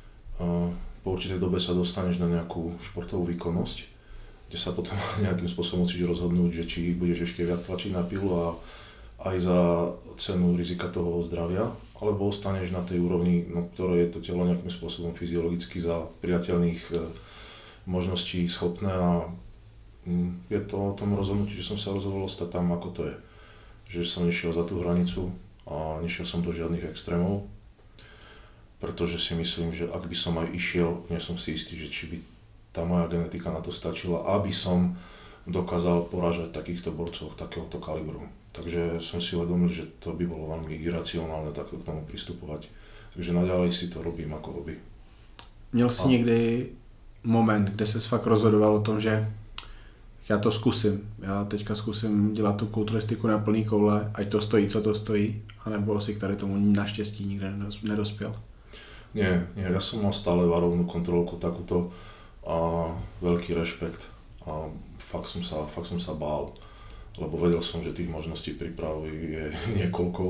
po určitej dobe sa dostaneš na nejakú športovú výkonnosť, kde sa potom nejakým spôsobom musíš rozhodnúť, že či budeš ešte viac tlačiť na pilu a aj za cenu rizika toho zdravia, alebo ostaneš na tej úrovni, no, ktoré je to telo nejakým spôsobom fyziologicky za priateľných možností schopné a je to o tom rozhodnutí, že som sa rozhodol ostať tam, ako to je. Že som nešiel za tú hranicu a nešiel som do žiadnych extrémov, pretože si myslím, že ak by som aj išiel, nie som si istý, že či by tá moja genetika na to stačila, aby som dokázal porážať takýchto borcov takéhoto kalibru. Takže som si uvedomil, že to by bolo veľmi iracionálne takto k tomu pristupovať. Takže naďalej si to robím ako hobby. Měl jsi někdy moment, kde ses fakt rozhodoval o tom, že já to zkusím. Já teďka zkusím dělat tu kulturistiku na plný koule, ať to stojí, co to stojí, anebo si k tady tomu naštěstí nikde nedospěl? Nie, ja som mal stále varovnú kontrolku takúto a veľký rešpekt a fakt som sa bál, lebo vedel som, že tých možností prípravy je niekoľko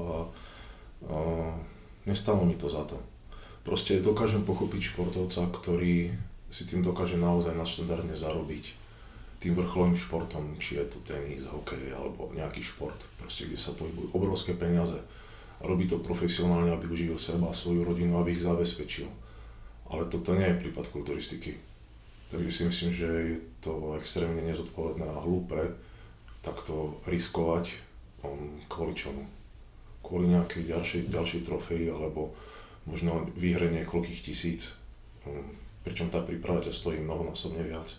a nestalo mi to za to. Proste dokážem pochopiť športovca, ktorý si tým dokáže naozaj nadštandardne zarobiť tým vrcholovým športom, či je to tenis, hokej alebo nejaký šport, proste kde sa pohybujú obrovské peniaze. A robí to profesionálne, aby uživil seba a svoju rodinu, aby ich zabezpečil. Ale toto nie je prípad kulturistiky. Takže si myslím, že je to extrémne nezodpovedné a hlúpe takto riskovať kvôli čomu. Kvôli nejakej ďalšej trofeji alebo možno výhre niekoľkých tisíc. Pričom tá príprava ťa stojí mnohonásobne viac.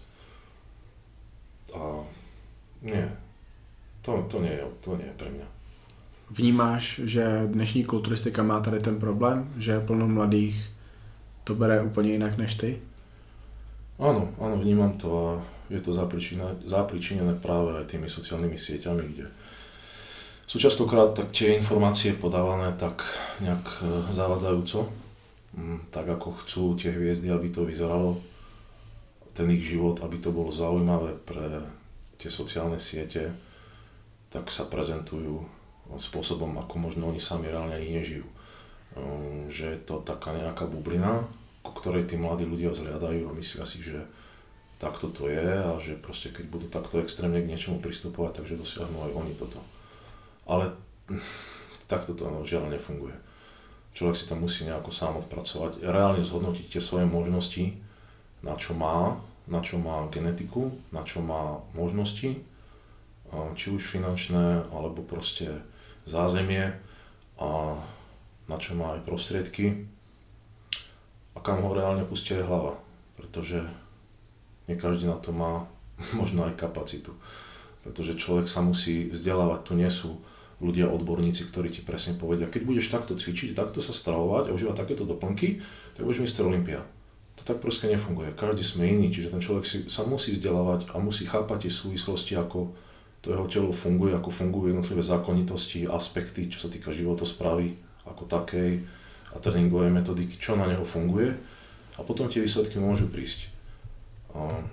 A nie, to nie je pre mňa. Vnímáš, že dnešní kulturistika má tady ten problém, že plno mladých to bere úplně jinak než ty? Áno, vnímam to a je to zapričinené práve aj tými sociálnymi sieťami, kde sú častokrát tak tie informácie podávané tak nejak zavadzajúco, tak ako chcú tie hviezdy, aby to vyzeralo, ten ich život, aby to bolo zaujímavé pre tie sociálne siete, tak sa prezentujú spôsobom, ako možno oni sami reálne ani nežijú. Že je to taká nejaká bublina, ku ktorej tí mladí ľudia vzhliadajú a myslia si, že takto to je a že proste keď budú takto extrémne k niečomu pristupovať, takže dosiahnu aj oni toto. Ale takto to žiaľ nefunguje. Človek si to musí nejako sám odpracovať, reálne zhodnotiť tie svoje možnosti, na čo má genetiku, na čo má možnosti, či už finančné, alebo proste zázemie a na čo má aj prostriedky a kam ho reálne pustí aj hlava, pretože nie každý na to má možno aj kapacitu, pretože človek sa musí vzdelávať, tu nie sú ľudia, odborníci, ktorí ti presne povedia, keď budeš takto cvičiť, takto sa stravovať a užívať takéto doplnky, tak budeš Mr. Olympia. To tak proste nefunguje, každý sme iný, čiže ten človek sa musí vzdelávať a musí chápať tie súvislosti, ako to jeho telo funguje, ako fungujú jednotlivé zákonitosti, aspekty, čo sa týka životosprávy ako takej a tréningovej metodiky, čo na neho funguje a potom tie výsledky môžu prísť.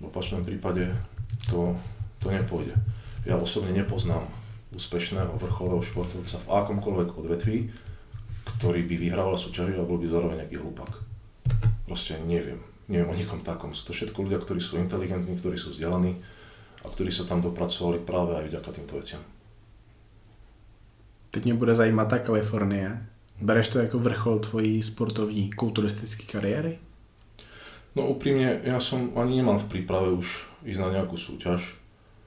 V opačnom prípade to nepôjde. Ja osobne nepoznám úspešného vrcholového športovca v akomkoľvek odvetví, ktorý by vyhrával súťaži a bol by zároveň nejaký hlupák. Proste neviem o nikom takom. Sú to všetko ľudia, ktorí sú inteligentní, ktorí sú vzdelaní a ktorí sa tam dopracovali práve aj vďaka týmto veciam. Teď mě bude zajímat ta Kalifornie. Bereš to jako vrchol tvojí sportovní kulturistické kariéry? No úprimne, ja som ani nemal v príprave už ísť na nejakú súťaž.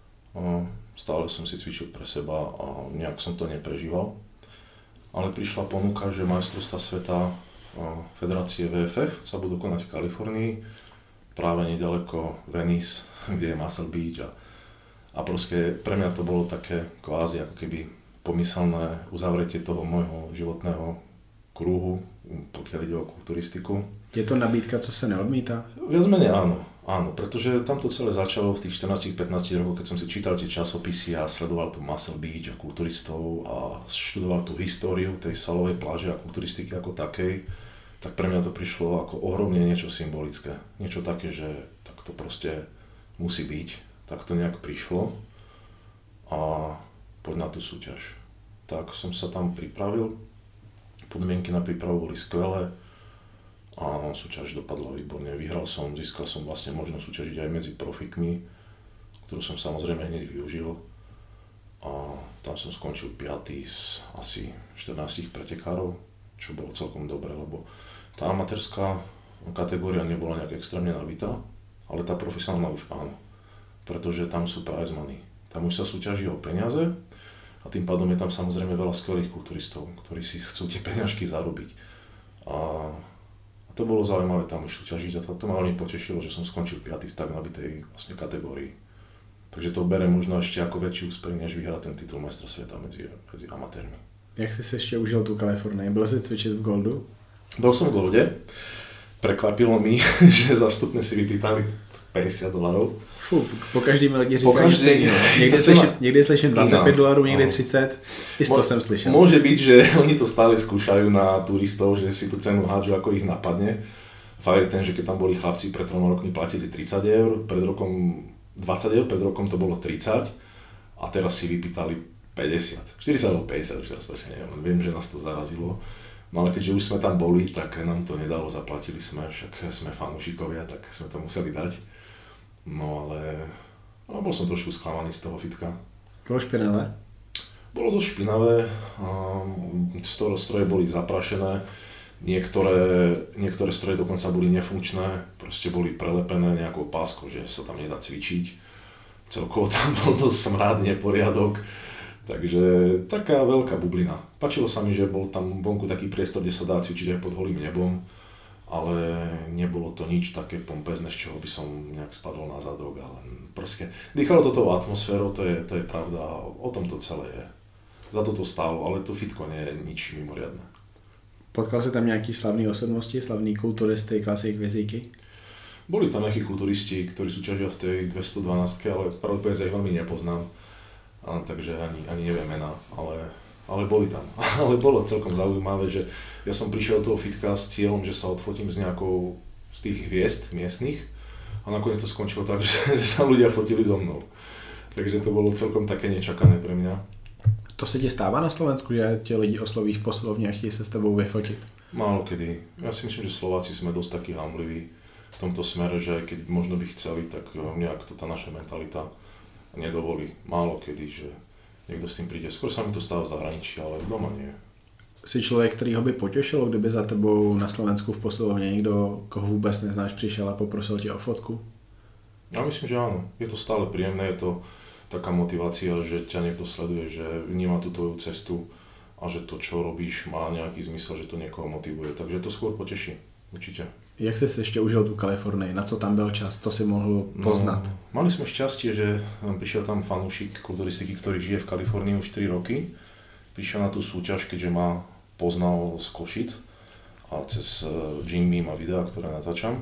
Stále som si cvičil pre seba a nejak som to neprežíval. Ale prišla ponuka, že majstrovstvá sveta Federácie VFF sa budú konať v Kalifornii, práve nedaleko Venice, kde je Muscle Beach a proste pre mňa to bolo také kvázi ako keby pomyselné uzavretie toho môjho životného kruhu, pokiaľ ide o kulturistiku. Je to nabídka, co sa neodmýta? Viac menej áno, pretože tam to celé začalo v tých 14-15 rokoch, keď som si čítal tie časopisy a sledoval tu Muscle Beach a kulturistov a študoval tú históriu tej salovej pláže a kulturistiky ako takej, tak pre mňa to prišlo ako ohromne niečo symbolické. Niečo také, že tak to proste musí byť, tak to nejak prišlo a poď na tú súťaž. Tak som sa tam pripravil, podmienky na prípravu boli skvelé a súťaž dopadla výborne. Vyhral som, získal som vlastne možnosť súťažiť aj medzi profikmi, ktorú som samozrejme hneď využil a tam som skončil 5. z asi 14 pretekárov, čo bolo celkom dobre, lebo tá amatérská kategória nebola nejak extrémne nabitá, ale tá profesionálna už áno, pretože tam sú prize money. Tam už sa súťaží o peniaze a tým pádom je tam samozrejme veľa skvelých kulturistov, ktorí si chcú tie peňažky zarobiť. A to bolo zaujímavé tam už súťažiť a to ma veľmi potešilo, že som skončil 5. v tak nabitej vlastne kategórii. Takže to berem možno ešte ako väčší úspech, než vyhrať ten titul majstra sveta medzi amatérmi. Jak jsi se ještě užil tu Kalifornii? Byl jsi cvičit v Goldu? Bol som v Golde. Prekvapilo mi, že za vstupné si vypýtali $50. Po každý mi lidi říkají cenu. Někdy slyším $25, někdy 30, i 100 jsem slyšel. Môže byť, že oni to stále skúšajú na turistov, že si tú cenu hádžu, ako ich napadne. Fakt je ten, že keď tam boli chlapci pred 3 rokmi platili €30, pred rokom €20, pred rokom to bolo 30 a teraz si vypýtali 50. 40 alebo 50, už teraz presne neviem, viem, že nás to zarazilo. No ale keďže už sme tam boli, tak nám to nedalo, zaplatili sme, však sme fanúšikovia, tak sme to museli dať. No ale bol som trošku sklamaný z toho fitka. Bolo špinavé? Bolo dosť špinavé, stroje boli zaprašené, niektoré stroje dokonca boli nefunkčné, proste boli prelepené nejakou páskou, že sa tam nedá cvičiť. Celkovo tam bol dosť smrad, neporiadok, takže taká veľká bublina. Páčilo sa mi, že bol tam vonku taký priestor, kde sa dá cvičiť aj pod holým nebom, ale nebolo to nič také pompezné, z čoho by som nejak spadol na zadok, ale proste dýchalo to tou atmosférou, to je pravda, o tom to celé je. Za to stálo, ale to fitko nie je nič mimoriadne. Potkal si tam nejaký slavný osobnosti, slavní kulturisty, klasik, vizíky? Boli tam nejakí kulturisti, ktorí súťažia v tej 212, ale pravdepodobne ich veľmi nepoznám, takže ani neviem mená, ale boli tam. Ale bolo celkom zaujímavé, že ja som prišiel do toho fitka s cieľom, že sa odfotím s nejakou z tých hviezd miestnych a nakoniec to skončilo tak, že sa ľudia fotili so mnou. Takže to bolo celkom také nečakané pre mňa. To se ti stává na Slovensku, že tě lidi osloví v posilovně a chtějí se s tebou vyfotit? Málo kedy. Ja si myslím, že Slováci sme dosť takí hamliví v tomto smere, že keď možno by chceli, tak nejak to tá naša mentalita nedovolí. Málo kedy, že niekto s tým príde. Skôr sa mi to stáva v zahraničí, ale doma nie. Jsi člověk, který ho by potěšilo, kdyby za tebou na Slovensku v posilovně někdo, koho vůbec neznáš, přišel a poprosil tě o fotku? Ja myslím, že áno. Je to stále príjemné, je to taká motivácia, že ťa niekto sleduje, že vníma tú tvoju cestu a že to, čo robíš, má nejaký zmysel, že to niekoho motivuje. Takže to skôr poteší, určite. Jak jsi ještě užil tu Kalifornii? Na co tam byl čas? Co si mohl poznat? No, mali sme šťastie, že prišiel tam fanúšik kulturistiky, ktorý žije v Kalifornii už 4 roky. Prišiel na tú súťaž, keďže ma poznal z Košic a cez Jimmy a videá, ktoré natáčam.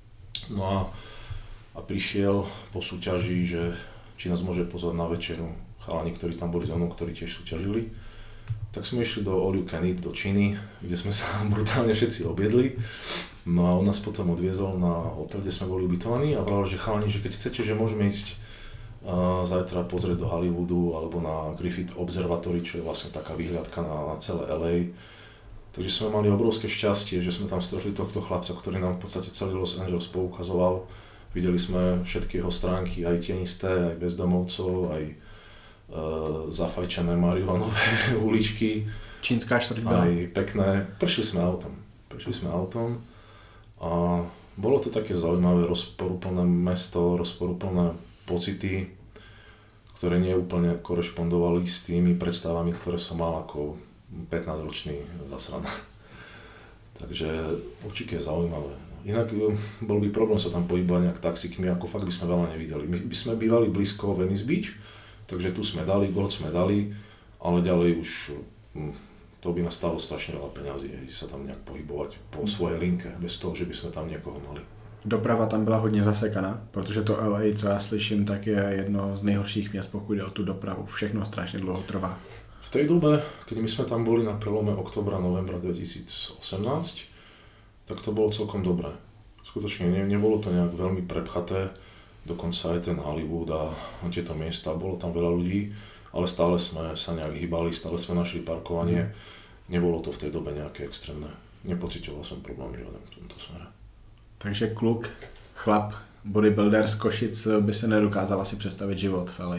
No a prišiel po súťaži, že či nás môže pozvať na večeru. Chalani, ktorí tam boli so mnou, ktorí tiež súťažili. Tak sme išli do All You Can Eat, do Číny, kde sme sa brutálne všetci objedli. No a on nás potom odviezol na hotel, kde sme boli ubytovaní a vravel, že chalani, že keď chcete, že môžeme ísť zajtra pozrieť do Hollywoodu alebo na Griffith Observatory, čo je vlastne taká výhľadka na celé LA. Takže sme mali obrovské šťastie, že sme tam stretli tohto chlapca, ktorý nám v podstate celý Los Angeles poukazoval. Videli sme všetky jeho stránky, aj tienisté, aj bezdomovcov, aj zafajčené marihuanové uličky. Čínská štvrť bola. Aj pekné. Prešli sme autom a bolo to také zaujímavé, rozporuplné mesto, rozporuplné pocity, ktoré nie úplne korešpondovali s tými predstavami, ktoré som mal ako 15-ročný zasran. Takže určite je zaujímavé. Inak bol by problém sa tam pohybovať nejak taxikmi, ako fakt by sme veľa nevideli. My by sme bývali blízko Venice Beach, takže tu sme dali, Gold sme dali, ale ďalej už to by nás stalo strašne veľa peňazí, sa tam nejak pohybovať po svojej linke, bez toho, že by sme tam niekoho mali. Doprava tam byla hodně zasekaná, protože to LA, co já slyším, tak je jedno z nejhorších měst, pokud jde o tu dopravu. Všechno strašně dlouho trvá. V tej dobe, keď my sme tam boli na prelome oktobra, novembra 2018, tak to bolo celkom dobré. Skutočne nebolo to nejak veľmi prepchaté, dokonca aj ten Hollywood a tieto miesta, bolo tam veľa ľudí, ale stále sme sa nejak hýbali, stále sme našli parkovanie. Nebolo to v tej dobe nejaké extrémne. Nepocitoval som problém žiaden v tomto smere. Takže kluk, chlap, bodybuilder z Košic by se nedokázal asi představit život v LA.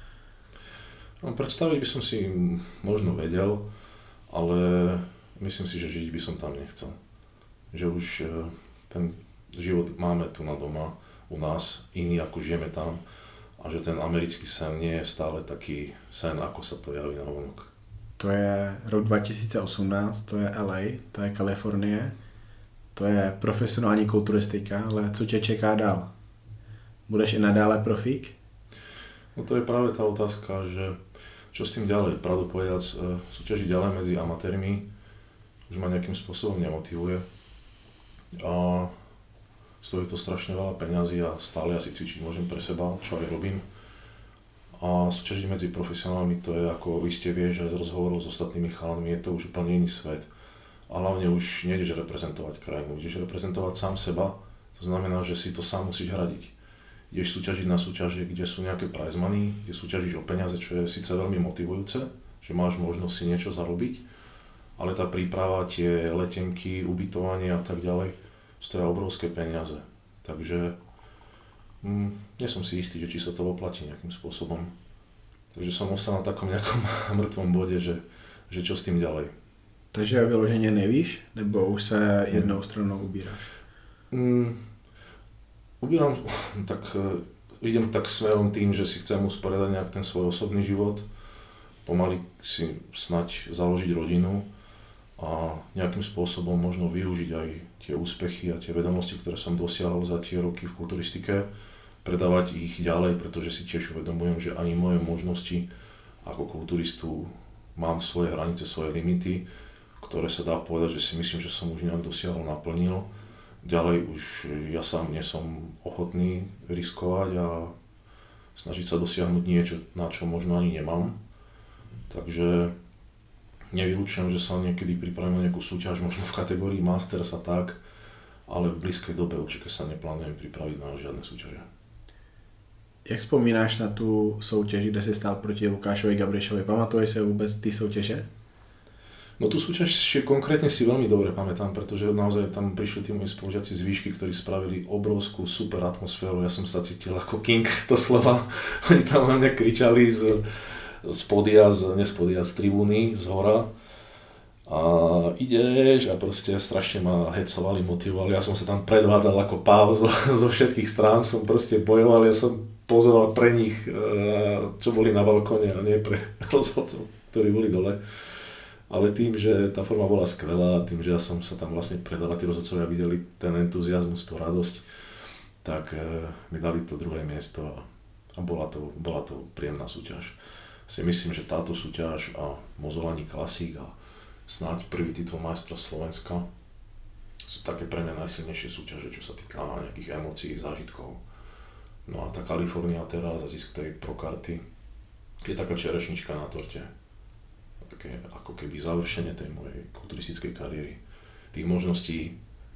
No, predstaviť by som si možno vedel, ale myslím si, že žiť by som tam nechcel. Že už ten život máme tu na doma, u nás, iný ako žijeme tam a že ten americký sen nie je stále taký sen, ako sa to javí na vonok. To je rok 2018, to je LA, to je Kalifornie. To je profesionální kulturistika, ale co tě čeká dál? Budeš i nadále profík? No to je práve tá otázka, že čo s tým ďalej? Pravdu povedac, súťažiť ďalej medzi amatérmi už ma nejakým spôsobom nemotivuje. A stojí to strašne veľa peňazí a stále asi cvičiť môžem pre seba, čo aj robím. A súťažiť medzi profesionálmi, to je ako iste vieš aj z rozhovorov s ostatnými chalami, je to už úplne iný svet. A hlavne už nejdeš reprezentovať krajinu, ideš reprezentovať sám seba, to znamená, že si to sám musíš hradiť. Ideš súťažiť na súťaže, kde sú nejaké prize money, kde súťažíš o peniaze, čo je síce veľmi motivujúce, že máš možnosť si niečo zarobiť, ale tá príprava, tie letenky, ubytovanie a tak ďalej, stoja obrovské peniaze. Takže nie som si istý, že či sa to oplatí nejakým spôsobom. Takže som ostal na takom nejakom mŕtvom bode, že čo s tým ďalej. Takže vyloženě nevíš, nebo už se jednou stranou ubíráš? Ubírám, tak idem tak smerom tým, že si chcem usporiadať nejak ten svoj osobný život, pomaly si snať založiť rodinu a nejakým spôsobom možno využiť aj tie úspechy a tie vedomosti, ktoré som dosiahol za tie roky v kulturistike, predávať ich ďalej, pretože si tiež uvedomujem, že ani moje možnosti ako kulturistu mám svoje hranice, svoje limity, ktoré sa dá povedať, že si myslím, že som už nejak dosiahol, naplnil. Ďalej už ja sám nie som ochotný riskovať a snažiť sa dosiahnuť niečo, na čo možno ani nemám. Takže nevylučujem, že sa niekedy pripravím na nejakú súťaž, možno v kategórii Masters a tak, ale v blízkej dobe určite sa neplánujem pripraviť na žiadne súťaže. Jak vzpomínáš na tu soutěž, kde jsi stál proti Lukášovi Gabrišovi? Pamatuješ se vůbec ty soutěže? No tú súťaž konkrétne si veľmi dobre pamätám, pretože naozaj tam prišli tí moji spolužiaci z výšky, ktorí spravili obrovskú super atmosféru. Ja som sa cítil ako king doslova. Oni tam na mňa kričali z tribúny, z hora. A ideš a proste strašne ma hecovali, motivovali. Ja som sa tam predvádzal ako páv zo všetkých strán, som proste bojoval, ja som pozoval pre nich, čo boli na balkóne a nie pre rozhodcov, ktorí boli dole. Ale tým, že tá forma bola skvelá, tým, že ja som sa tam vlastne predal a tí rozhodcovia videli ten entuziazmus, tú radosť, tak mi dali to druhé miesto a bola to príjemná súťaž. Si myslím, že táto súťaž a Mozolani Classic a snáď prvý titul majstra Slovenska sú také pre mňa najsilnejšie súťaže, čo sa týka nejakých emócií, zážitkov. No a tá Kalifornia teraz a zisk tej prokarty je taká čerešnička na torte. Také ako keby završenie tej mojej kulturistickej kariéry. Tých možností,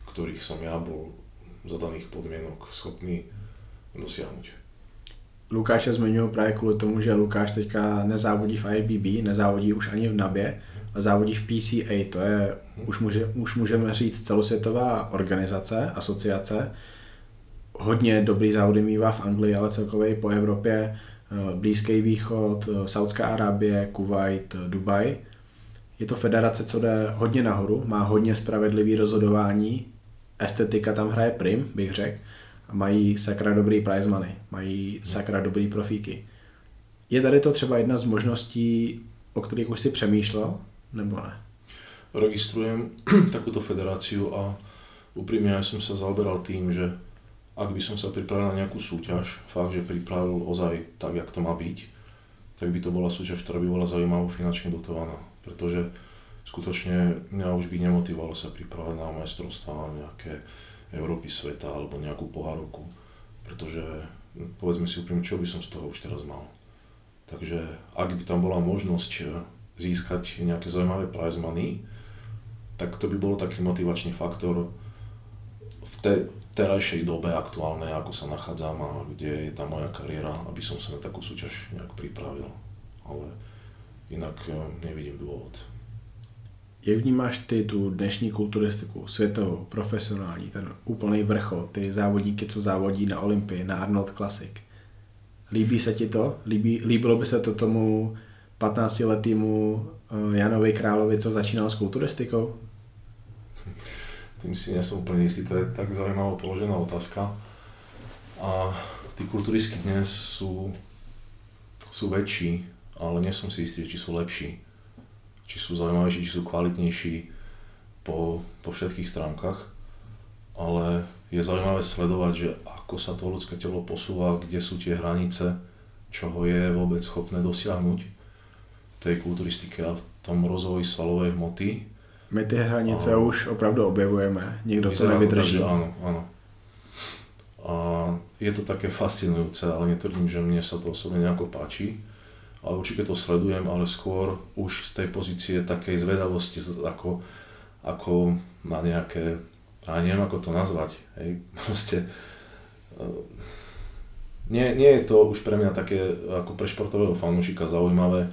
ktorých som ja bol za daných podmienok schopný dosiahnuť. Lukáše zmiňuji právě kvůli tomu, že Lukáš teďka nezávodí v IBB, nezávodí už ani v NABě, ale závodí v PCA, to je, už můžeme říct, celosvětová organizace, asociace. Hodně dobrý závody mívá v Anglii, ale celkově po Evropě, Blízký východ, Saudská Arábie, Kuwait, Dubaj. Je to federace, co jde hodně nahoru, má hodně spravedlivý rozhodování, estetika tam hraje prim, bych řekl, a mají sakra dobrý prize money, mají sakra dobrý profíky. Je tady to třeba jedna z možností, o kterých už si přemýšlel, nebo ne? Registrujem takúto federáciu a úprimne ja som sa zaoberal tým, že ak by som sa pripravil na nejakú súťaž, fakt, že pripravil ozaj tak, jak to má byť, tak by to bola súťaž, ktorá by bola zaujímavá finančne dotovaná. Pretože skutočne mňa už by nemotivovalo sa pripravať na majstrovstvá, na nejaké Európy sveta alebo nejakú pohárovku. Pretože povedzme si úprimne, čo by som z toho už teraz mal. Takže ak by tam bola možnosť získať nejaké zaujímavé prize money, tak to by bolo taký motivačný faktor v terajšej dobe aktuálnej, ako sa nachádzam a kde je tá moja kariéra, aby som sa na takú súťaž nejak pripravil. Ale inak nevidím dôvod. Jak vnímáš ty tu dnešní kulturistiku, světovou, profesionální, ten úplný vrchol, ty závodníky, co závodí na Olympii, na Arnold Classic? Líbí se ti to? Líbilo by se to tomu 15-letýmu Janovi Královi, co začínal s kulturistikou? Tým si nie som úplne istý, to je tak zaujímavo položená otázka. A tí kulturisti dnes sú väčší, ale nie som si istý, či sú lepší, či sú zaujímavejší, či sú kvalitnejší po všetkých stránkach. Ale je zaujímavé sledovať, že ako sa to ľudské telo posúva, kde sú tie hranice, čoho je vôbec schopné dosiahnuť v tej kulturistike a v tom rozvoji svalovej hmoty. My ty hranice už opravdu objevujeme, nikdo to nevydrží. Tak, áno. A je to také fascinujúce, ale netvrdím, že mne sa to osobne nejako páči. Ale určite to sledujem, ale skôr už z tej pozície takej zvedavosti, ako na nejaké, a neviem ako to nazvať, hej, proste nie je to už pre mňa také ako pre športového fanúšika zaujímavé,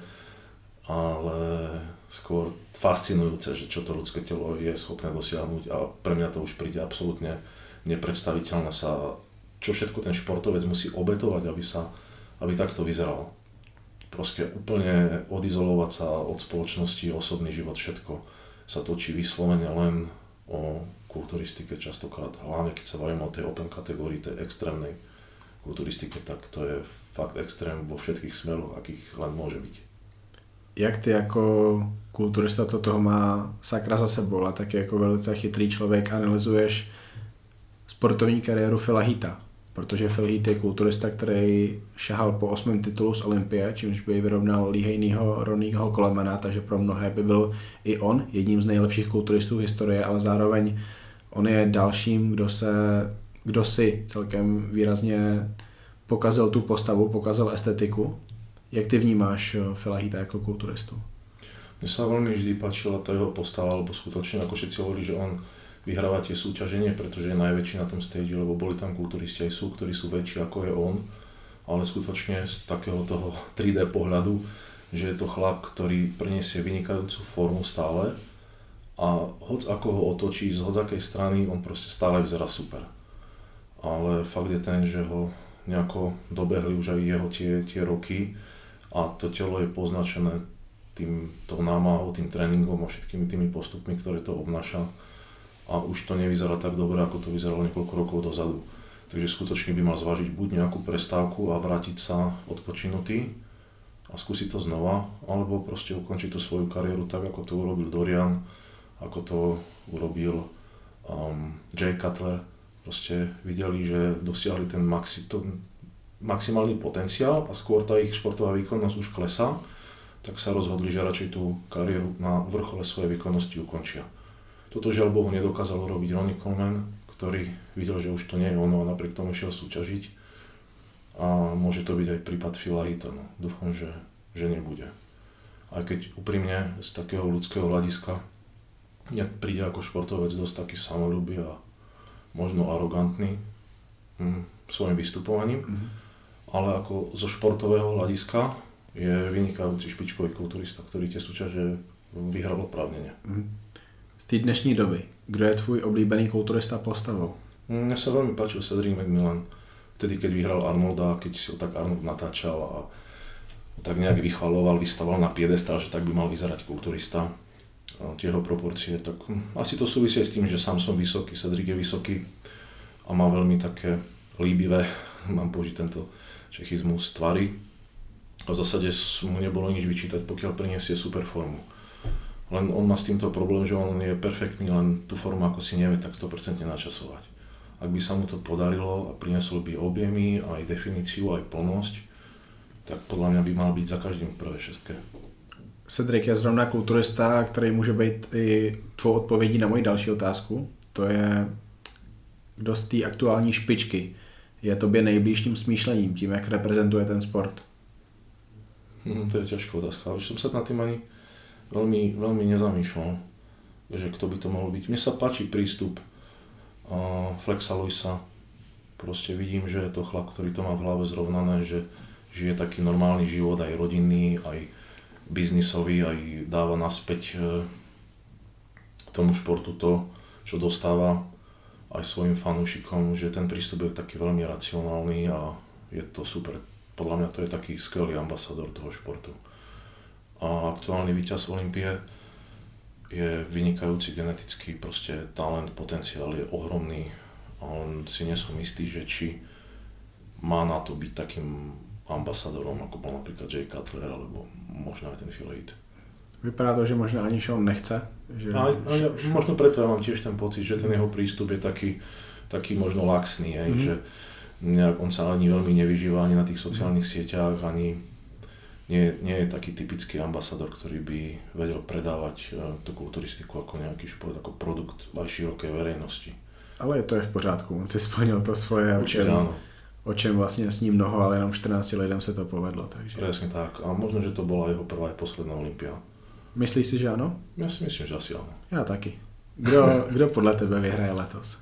ale skôr fascinujúce, že čo to ľudské telo je schopné dosiahnuť a pre mňa to už príde absolútne nepredstaviteľné sa, čo všetko ten športovec musí obetovať, aby takto vyzeral. Proste úplne odizolovať sa od spoločnosti, osobný život, všetko sa točí vyslovene len o kulturistike častokrát, hlavne keď sa bavíme o tej open kategórii, tej extrémnej kulturistike, tak to je fakt extrém vo všetkých smeroch, akých len môže byť. Jak ty jako kulturista, co toho má sakra za sebou, a taky jako velice chytrý člověk analyzuješ sportovní kariéru Phila Heatha, protože Phil Heath je kulturista, který šahal po 8. titulu z Olympie, čímž by vyrovnal Lihejnýho, Ronnieho Colemana, takže pro mnohé by byl i on jedním z nejlepších kulturistů historie, ale zároveň on je dalším, kdo si celkem výrazně pokazil tu postavu, pokazil estetiku. Jak ty vnímáš Phila Heatha jako kulturistu? Mne sa veľmi vždy páčila tá jeho postava, lebo skutočne, ako všetci hovorili, že on vyhráva tie súťaženie, pretože je najväčší na tom stage, lebo boli tam kulturisti aj sú, ktorí sú väčší ako je on, ale skutočne z takého toho 3D pohľadu, že je to chlap, ktorý prinesie vynikajúcu formu stále a hoď ako ho otočí, z hodzakej strany, on proste stále vyzerá super. Ale fakt je ten, že ho nejako dobehli už aj jeho tie roky a to telo je poznačené tou námahou, tým tréningom a všetkými tými postupmi, ktoré to obnáša. A už to nevyzerá tak dobre, ako to vyzeralo niekoľko rokov dozadu. Takže skutočne by mal zvážiť buď nejakú prestávku a vrátiť sa odpočinutý a skúsiť to znova, alebo proste ukončiť tú svoju kariéru tak, ako to urobil Dorian, ako to urobil Jay Cutler. Proste videli, že dosiahli ten maximálny potenciál a skôr tá ich športová výkonnosť už klesá, tak sa rozhodli, že radšej tú kariéru na vrchole svojej výkonnosti ukončia. Toto žiaľ Bohu nedokázal urobiť Ronnie Coleman, ktorý videl, že už to nie je ono a napriek tomu šiel súťažiť. A môže to byť aj prípad Phila Heatha, no. Dúfam, že nebude. Aj keď úprimne z takého ľudského hľadiska mne príde ako športovec dosť taký samoľúbý a možno arogantný svojim vystupovaním, ale ako zo športového hľadiska je vynikajúci špičkový kulturista, ktorý tie súťaže vyhral oprávnene. Z té dnešní doby, kdo je tvůj oblíbený kulturista postavou? Mne sa veľmi páčil Cedric McMillan. Vtedy, keď vyhral Arnolda, keď si ho tak Arnold natáčal a tak nejak vychvaloval, vystaval na piedestal, že tak by mal vyzerať kulturista. Tie jeho proporcie, tak asi to súvisí s tým, že sám som vysoký, Cedric je vysoký a má veľmi také líbivé, mám použiť tento čechizmus, tvary. A v zásade mu nebolo nič vyčítať, pokiaľ priniesie super formu. Len on má s týmto problém, že on je perfektný, len tú formu ako si nevie tak 100% načasovať. Ak by sa mu to podarilo a priniesol by objemy, aj definíciu, aj plnosť, tak podľa mňa by mal byť za každým v prvej šestke. Cedric je zrovna kulturista, který může být i tvou odpovědí na moji další otázku. To je, kdo z té aktuální špičky je tobě nejbližším smýšlením, tím, jak reprezentuje ten sport? To je ťažká otázka. Už som sa nad tým ani veľmi nezamýšľal, že kto by to mohol byť. Mne sa páči prístup Flexa Lewisa. Proste vidím, že je to chlap, ktorý to má v hlave zrovnané, že žije taký normálny život, aj rodinný, aj biznisový, aj dáva naspäť tomu športu to, čo dostáva aj svojim fanúšikom, že ten prístup je taký veľmi racionálny a je to super. Podľa mňa to je taký skvelý ambasador toho športu. A aktuálny víťaz Olympie je vynikajúci genetický proste talent, potenciál je ohromný a on si nie som istý, že či má na to byť takým ambasadorom, ako bol napríklad Jay Cutler, alebo možno aj ten Phil Heath. Vypadá to, že možno ani Sean nechce. Že... Možno preto ja mám tiež ten pocit, že ten jeho prístup je taký možno laxný, že on sa ani veľmi nevyžíva ani na tých sociálnych sieťach, ani nie je taký typický ambasador, ktorý by vedel predávať tú kulturistiku ako nejaký šport, ako produkt aj širokej verejnosti. Ale to je v pořádku, on si splnil to svoje, o čem vlastně sní mnoho, ale jenom 14 lidem se to povedlo. Takže... Presne tak, a možno, že to bola jeho prvá aj posledná Olympia. Myslíš si, že ano? Ja si myslím, že asi áno. Já taky. Kdo podle tebe vyhraje letos?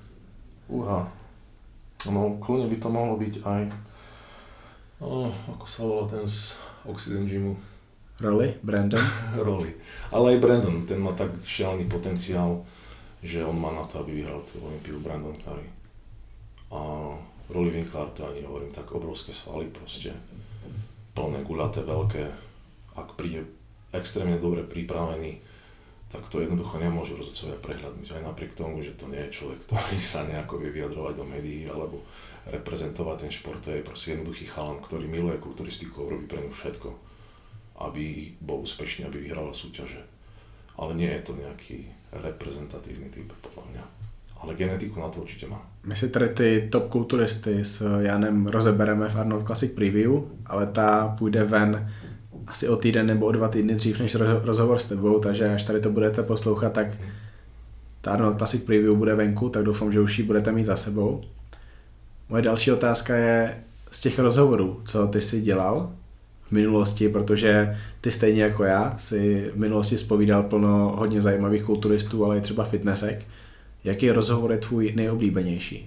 No, kľudne by to mohlo byť aj ako sa volá ten z Oxygen Gymu? Rolly? Brandon? Rolly. Ale aj Brandon, ten má tak šialený potenciál, že on má na to, aby vyhral tú Olympiu, Brandon Curry. A Rolly Winkler, to ani hovorím, tak obrovské svaly proste, plné, guľaté, veľké. Ak príde extrémne dobre pripravený, tak to jednoducho nemôžu rozhodcovia prehľadnúť. Aj napriek tomu, že to nie je človek, ktorý sa nejako vie vyjadrovať do médií alebo reprezentovať ten šport, to je proste jednoduchý chalan, ktorý miluje kulturistiku a robí pre ňu všetko, aby bol úspešný, aby vyhral súťaže. Ale nie je to nejaký reprezentatívny typ, podľa mňa. Ale genetiku na to určite má. My si tady ty top kulturisty s Janem rozebereme v Arnold Classic Preview, ale ta půjde ven asi o týden nebo o 2 týdny dřív než rozhovor s tebou, takže až tady to budete poslouchat, tak ta Arnold Classic Preview bude venku, tak doufám, že už ji budete mít za sebou. Moje další otázka je z těch rozhovorů, co ty jsi dělal v minulosti, protože ty stejně jako já si v minulosti zpovídal plno hodně zajímavých kulturistů, ale i třeba fitnessek. Jaký rozhovor je tvůj nejoblíbenější?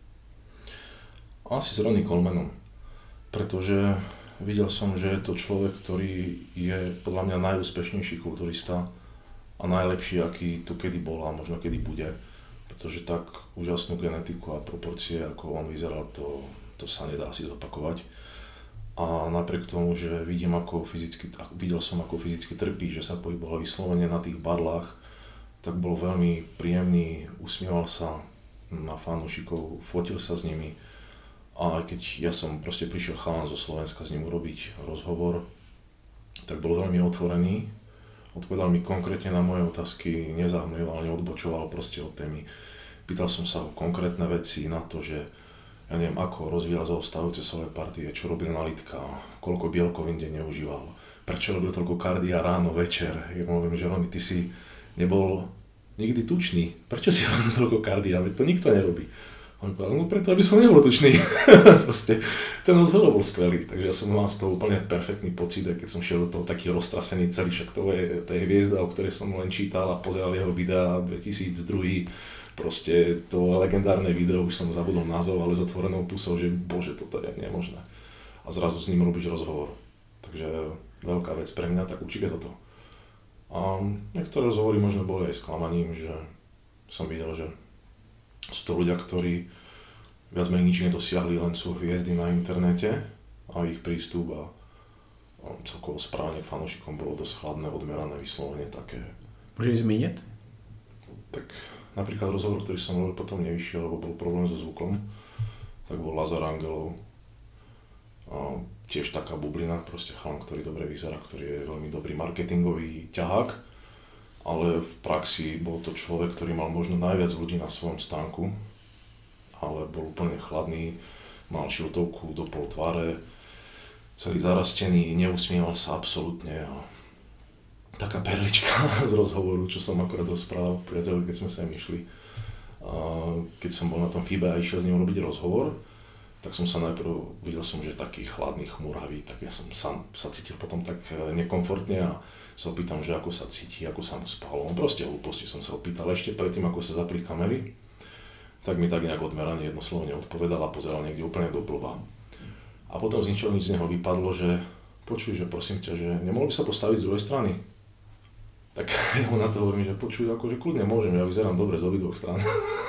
Asi s Ronnie Colemanom, pretože videl som, že je to človek, ktorý je podľa mňa najúspešnejší kulturista a najlepší, aký tu kedy bol a možno kedy bude. Pretože tak úžasnú genetiku a proporcie, ako on vyzeral, to sa nedá si zopakovať. A napriek tomu, že videl som, ako fyzicky trpí, že sa pohyboval vyslovene na tých barlách, tak bol veľmi príjemný, usmieval sa na fanúšikov, fotil sa s nimi. A aj keď ja som proste prišiel chalan zo Slovenska s ním urobiť rozhovor, tak bol veľmi otvorený. Odpovedal mi konkrétne na moje otázky, nezahmlieval, neodbočoval proste od témy. Pýtal som sa o konkrétne veci na to, že ja neviem, ako rozvíjal zaostávajúce svalové partie, čo robil na litka, koľko bielkovín deň neužíval, prečo robil toľko kardia ráno, večer. Ja poviem, že Roni, ty si nebol nikdy tučný, prečo si robil toľko kardia, veď to nikto nerobí. On povedal, no preto, aby som nebol tučný. Proste, ten rozhovor bol skvelý, takže ja som mal z toho úplne perfektný pocit, keď som šiel do toho taký roztrasený celý, však to je hviezda, o ktorej som len čítal a pozeral jeho videá 2002, Proste to legendárne video, už som zabudol názov, ale s otvorenou pusou, že bože, toto je nemožné. A zrazu s ním robíš rozhovor. Takže veľká vec pre mňa, tak určite toto. A niektoré rozhovory možno boli aj sklamaním, že som videl, že sú to ľudia, ktorí viac menej nič nedosiahli, len sú hviezdy na internete a ich prístup a celkovo správanie k fanúšikom bolo dosť chladné, odmerané, vyslovene také. Môžeš zmeniť? Tak napríklad rozhovor, ktorý som robil, potom nevyšiel, lebo bol problém so zvukom, tak bol Lazar Angelov. A tiež taká bublina, proste chalan, ktorý dobre vyzerá, ktorý je veľmi dobrý marketingový ťahák, ale v praxi bol to človek, ktorý mal možno najviac ľudí na svojom stánku, ale bol úplne chladný, mal šiltovku do pol tváre, celý zarastený, neusmieval sa absolútne a taká perlička z rozhovoru, čo som akorát rozprával priateľovi, keď sme sa im išli. A keď som bol na tom FIBE a išiel s ním robiť rozhovor, tak som sa najprv, videl som, že taký chladný, chmúravý, tak ja som sám sa cítil potom tak nekomfortne a sa opýtam, že ako sa cíti, ako sa mu spalo. On proste hlúposti som sa opýtal ešte predtým, ako sa zapli kamery, tak mi tak nejak odmerane jednoslovne odpovedal a pozeral niekde úplne do blba. A potom z ničoho nič z neho vypadlo, že počuj, že prosím ťa, že nemohol by sa postaviť z druhej strany. Tak ja mu na to hovorím, že počuj, akože kľudne môžem, ja vyzerám dobre z obidvoch strán.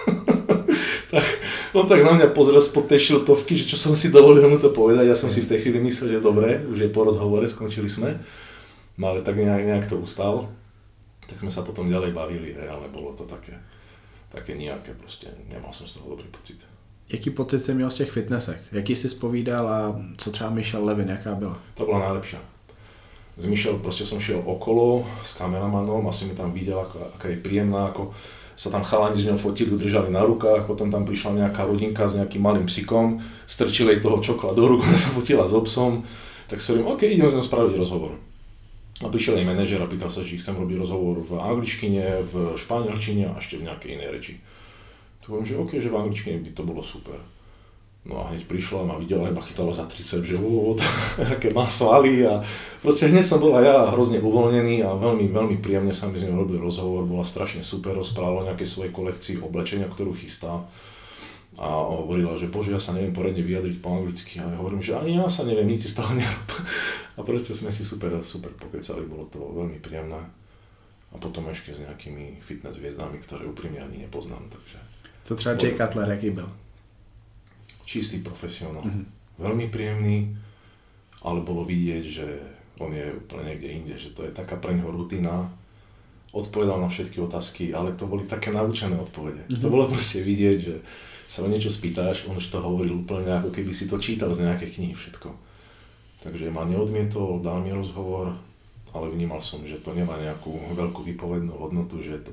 Tak on tak na mňa pozrel spod tej šiltovky, že čo som si dovolil mu to povedať, ja som si v tej chvíli myslel, že dobre, už je po rozhovore, skončili sme. No ale tak nejak to ustal, tak sme sa potom ďalej bavili, ale bolo to také nejaké, proste nemal som z toho dobrý pocit. Jaký pocit jsi měl z těch fitnessek? Jaký jsi zpovídal a co třeba Michelle Levin, jaká byla? To bola najlepšia. Z Michelle proste som šiel okolo s kameramanom a som mi tam videl, aká je príjemná, ako sa tam chalani z ňou fotili, držali na rukách, potom tam prišla nejaká rodinka s nejakým malým psikom, strčili jej toho čokla do rúk, sa fotila s obsom, tak sa hovorím, OK, ideme s ňou spraviť rozhovor. A prišiel jej manažer a pýtal sa, či chcem robiť rozhovor v angličtine, v španielčine a ešte v nejakej inej reči. Tu hovorím, že OK, že v angličtine by to bolo super. No a hneď prišla a ma videla, iba chytala za tricep, že aké má svaly a proste hneď som bol aj ja hrozne uvoľnený a veľmi, veľmi príjemne sa mi s ňou robil rozhovor, bola strašne super, rozprávala o nejakej svojej kolekcii oblečenia, ktorú chystá a hovorila, že bože, ja sa neviem poriadne vyjadriť po anglicky a ja hovorím, že ani ja sa neviem, nič z toho nerob. A proste sme si super pokecali, bolo to veľmi príjemné a potom ešte s nejakými fitness hviezdami, ktoré úprimne ani nepoznám, takže... Co třeba Jay Cutler, jaký byl? Čistý profesionál. Veľmi príjemný, ale bolo vidieť, že on je úplne niekde inde, že to je taká pre neho rutina. Odpovedal na všetky otázky, ale to boli také naučené odpovede. To bolo proste vidieť, že sa o niečo spýtáš, on už to hovoril úplne ako keby si to čítal z nejakej knihy všetko. Takže ma neodmietol, dal mi rozhovor, ale vnímal som, že to nemá nejakú veľkú výpovednú hodnotu, že je to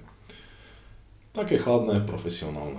také chladné, profesionálne.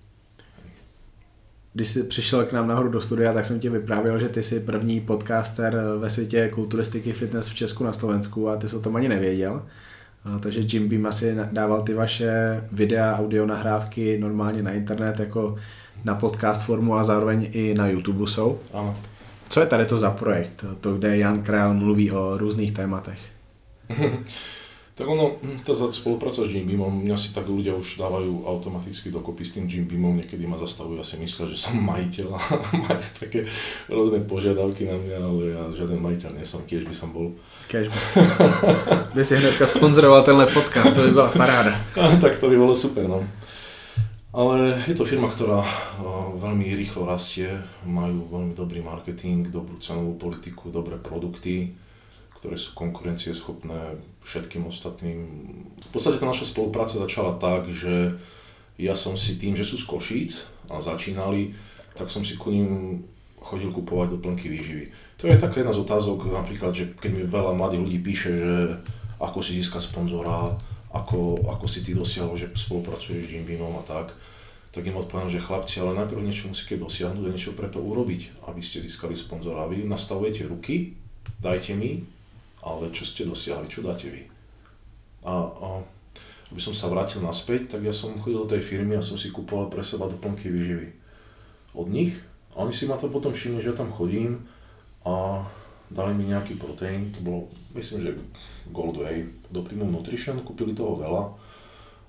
Když jsi přišel k nám nahoru do studia, tak jsem ti vyprávěl, že ty jsi první podcaster ve světě kulturistiky fitness v Česku na Slovensku a ty jsi o tom ani nevěděl. Takže Jim Beam asi dával ty vaše videa, audio nahrávky normálně na internet jako na podcast formu a zároveň i na YouTube jsou. Ano. Co je tady to za projekt? To, kde Jan Král mluví o různých tématech. Tak ono, tá spolupráca s Jim Beamom, mňa si tak ľudia už dávajú automaticky dokopy s tým Jim Beamom, niekedy ma zastavujú a si myslia, že som majiteľ a majú také rôzne požiadavky na mňa, ale ja žiaden majiteľ nie som, tiež by som bol. Kežby. By si hnedka sponzoroval tenhle podcast, to by bola paráda. Tak to by bolo super, no. Ale je to firma, ktorá veľmi rýchlo rastie, majú veľmi dobrý marketing, dobrú cenovú politiku, dobré produkty, ktoré sú konkurencieschopné všetkým ostatným. V podstate tá naša spolupráca začala tak, že ja som si tým, že sú z Košíc a začínali, tak som si ku ním chodil kupovať doplnky výživy. To je taká jedna z otázok, napríklad, že keď mi veľa mladých ľudí píše, že ako si získať sponzora, ako si ty dosiahol, že spolupracuješ s Jim Beamom a tak im odpoviem, že chlapci, ale najprv niečo musíte dosiahnuť a niečo preto urobiť, aby ste získali sponzora. Vy nastavujete ruky, dajte mi, ale čo ste dosiahli, čo dáte vy? A aby som sa vrátil naspäť, tak ja som chodil do tej firmy a som si kupoval pre seba doplnky výživy od nich. A oni si ma to potom všimli, že ja tam chodím a dali mi nejaký proteín, to bolo, myslím, že Gold Whey, od Optimum Nutrition, kúpili toho veľa.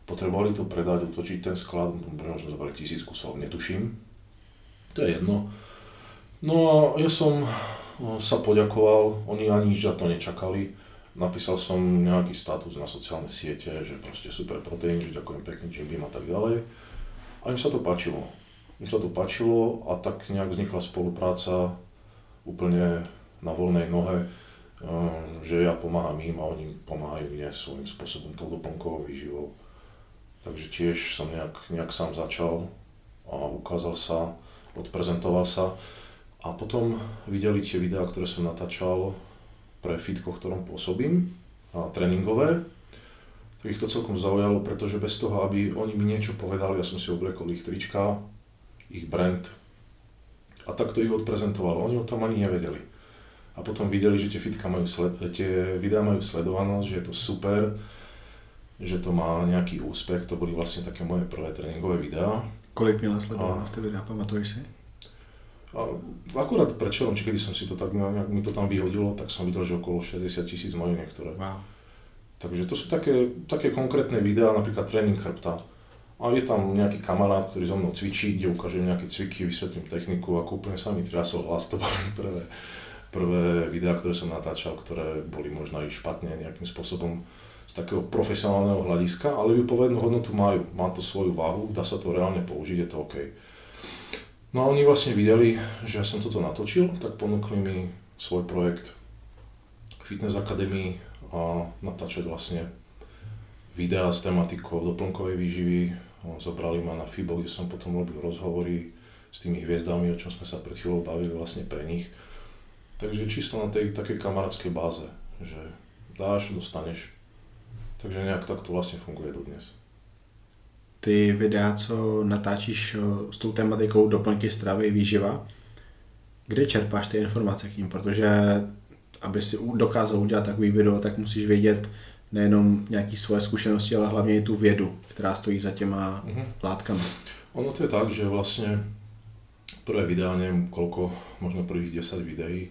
potrebovali to predať, utočiť ten sklad, možno zobrali 1000 kusov, netuším. To je jedno. No a ja som sa poďakoval, oni ani nič za to nečakali. Napísal som nejaký status na sociálne siete, že proste super proteín, že ďakujem pekne Jim Beam a tak ďalej. A im sa to páčilo. A tak nejak vznikla spolupráca úplne na voľnej nohe, že ja pomáham im a oni pomáhajú mne svojím spôsobom tou doplnkovou výživou. Takže tiež som nejak sám začal a ukázal sa, odprezentoval sa a potom videli tie videá, ktoré som natáčal pre fitko, v ktorom pôsobím, a tréningové. Tak ich to celkom zaujalo, pretože bez toho, aby oni mi niečo povedali, ja som si obliekol ich trička, ich brand a tak to ich odprezentovalo. Oni o tom ani nevedeli. A potom videli, že tie videá majú sledovanosť, že je to super, že to má nejaký úspech, to boli vlastne také moje prvé tréningové videá. Kolik měla sledovanost ty videa, pamatuješ si? A akurát predčerom, či kedy som si to tak, nejak mi to tam vyhodilo, tak som videl, že okolo 60 000 majú niektoré. Wow. Takže to sú také konkrétne videá, napríklad tréning chrbta. A je tam nejaký kamarát, ktorý so mnou cvičí, kde ukážem nejaké cviky, vysvetlím techniku, ako úplne sa mi triasol hlas, to boli prvé videá, ktoré som natáčal, ktoré boli možno aj špatne nejakým spôsobom z takého profesionálneho hľadiska, ale výpovednú hodnotu majú, má to svoju váhu, dá sa to reálne použiť, je to OK. No a oni vlastne videli, že ja som toto natočil, tak ponúkli mi svoj projekt Fitness Academy a natáčať vlastne videá s tematikou doplnkovej výživy. Zobrali ma na FIBO, kde som potom robil rozhovory s tými hviezdami, o čom sme sa pred chvíľou bavili vlastne pre nich. Takže čisto na tej takej kamarátskej báze, že dáš, dostaneš. Takže nejak tak to vlastne funguje dodnes. Ty videa, co natáčíš s tou tematikou doplňky stravy, výživa, kde čerpáš ty informace k ním? Protože aby si dokázal udělat takový video, tak musíš vědět nejenom nějaké svoje zkušenosti, ale hlavně i tu vědu, která stojí za těma látkami. Ono to je tak, že vlastne prvé videá, neviem koľko, možno prvých 10 videí,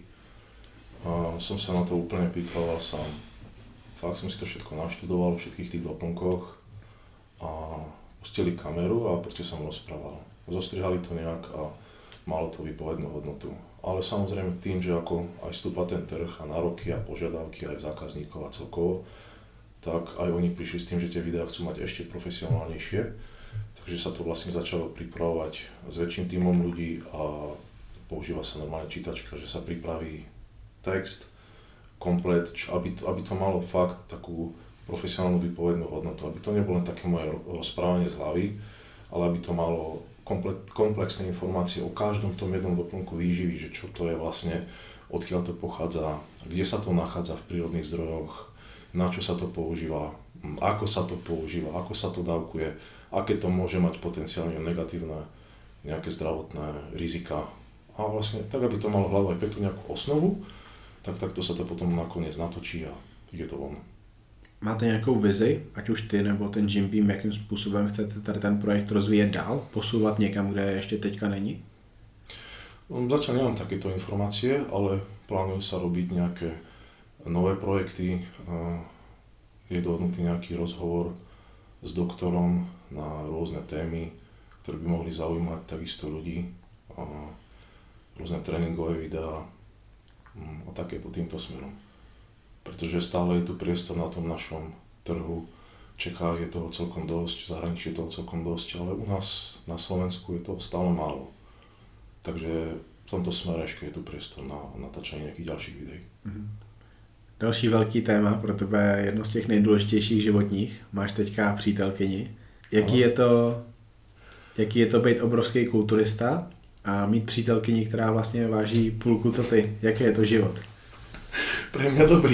a som sa na to úplne pripravoval sám. Fakt som si to všetko naštudoval, v všetkých tých doplnkoch a pustili kameru a proste som rozprával. Zostrihali to nejak a malo to výpovednú hodnotu. Ale samozrejme tým, že ako aj vstúpa ten trh a nároky a požiadavky aj zákazníkov a celkovo, tak aj oni prišli s tým, že tie videá chcú mať ešte profesionálnejšie. Takže sa to vlastne začalo pripravovať s väčším tímom ľudí a používa sa normálne čítačka, že sa pripraví text komplet, aby to malo fakt takú profesionálnu výpovednú hodnotu, aby to nebolo len také moje rozprávanie z hlavy, ale aby to malo komplexné informácie o každom tom jednom doplnku výživy, že čo to je vlastne, odkiaľ to pochádza, kde sa to nachádza v prírodných zdrojoch, na čo sa to používa, ako sa to používa, ako sa to dávkuje, aké to môže mať potenciálne negatívne nejaké zdravotné rizika. A vlastne tak, aby to malo hlavu aj peknú nejakú osnovu, tak takto sa to potom nakoniec natočí a je to von. Máte nějakou vizi, ať už ty nebo ten Jim Beam, jakým způsobem chcete tady ten projekt rozvíjet dál, posúvať niekam, kde ještě teďka není? Zatiaľ nemám takéto informácie, ale plánujú sa robiť nejaké nové projekty. Je dohodnutý nejaký rozhovor s doktorom na rôzne témy, ktoré by mohli zaujímať takisto ľudí. Rôzne tréningové videá a takéto týmto smerom. Pretože stále je tu priestor na tom našom trhu. V Čechách je toho celkom dosť, v zahraničí je toho celkom dosť, ale u nás na Slovensku je toho stále málo. Takže v tomto smere ešte je tu priestor na natáčanie nejakých ďalších videí. Další velký téma pro tebe, jedno z těch nejdůležitějších životních. Máš teďka přítelkyni. Jaký je to být obrovský kulturista a mít přítelkyni, která vlastně váží půlku co ty? Jaký je to život? Pre mňa dobrý.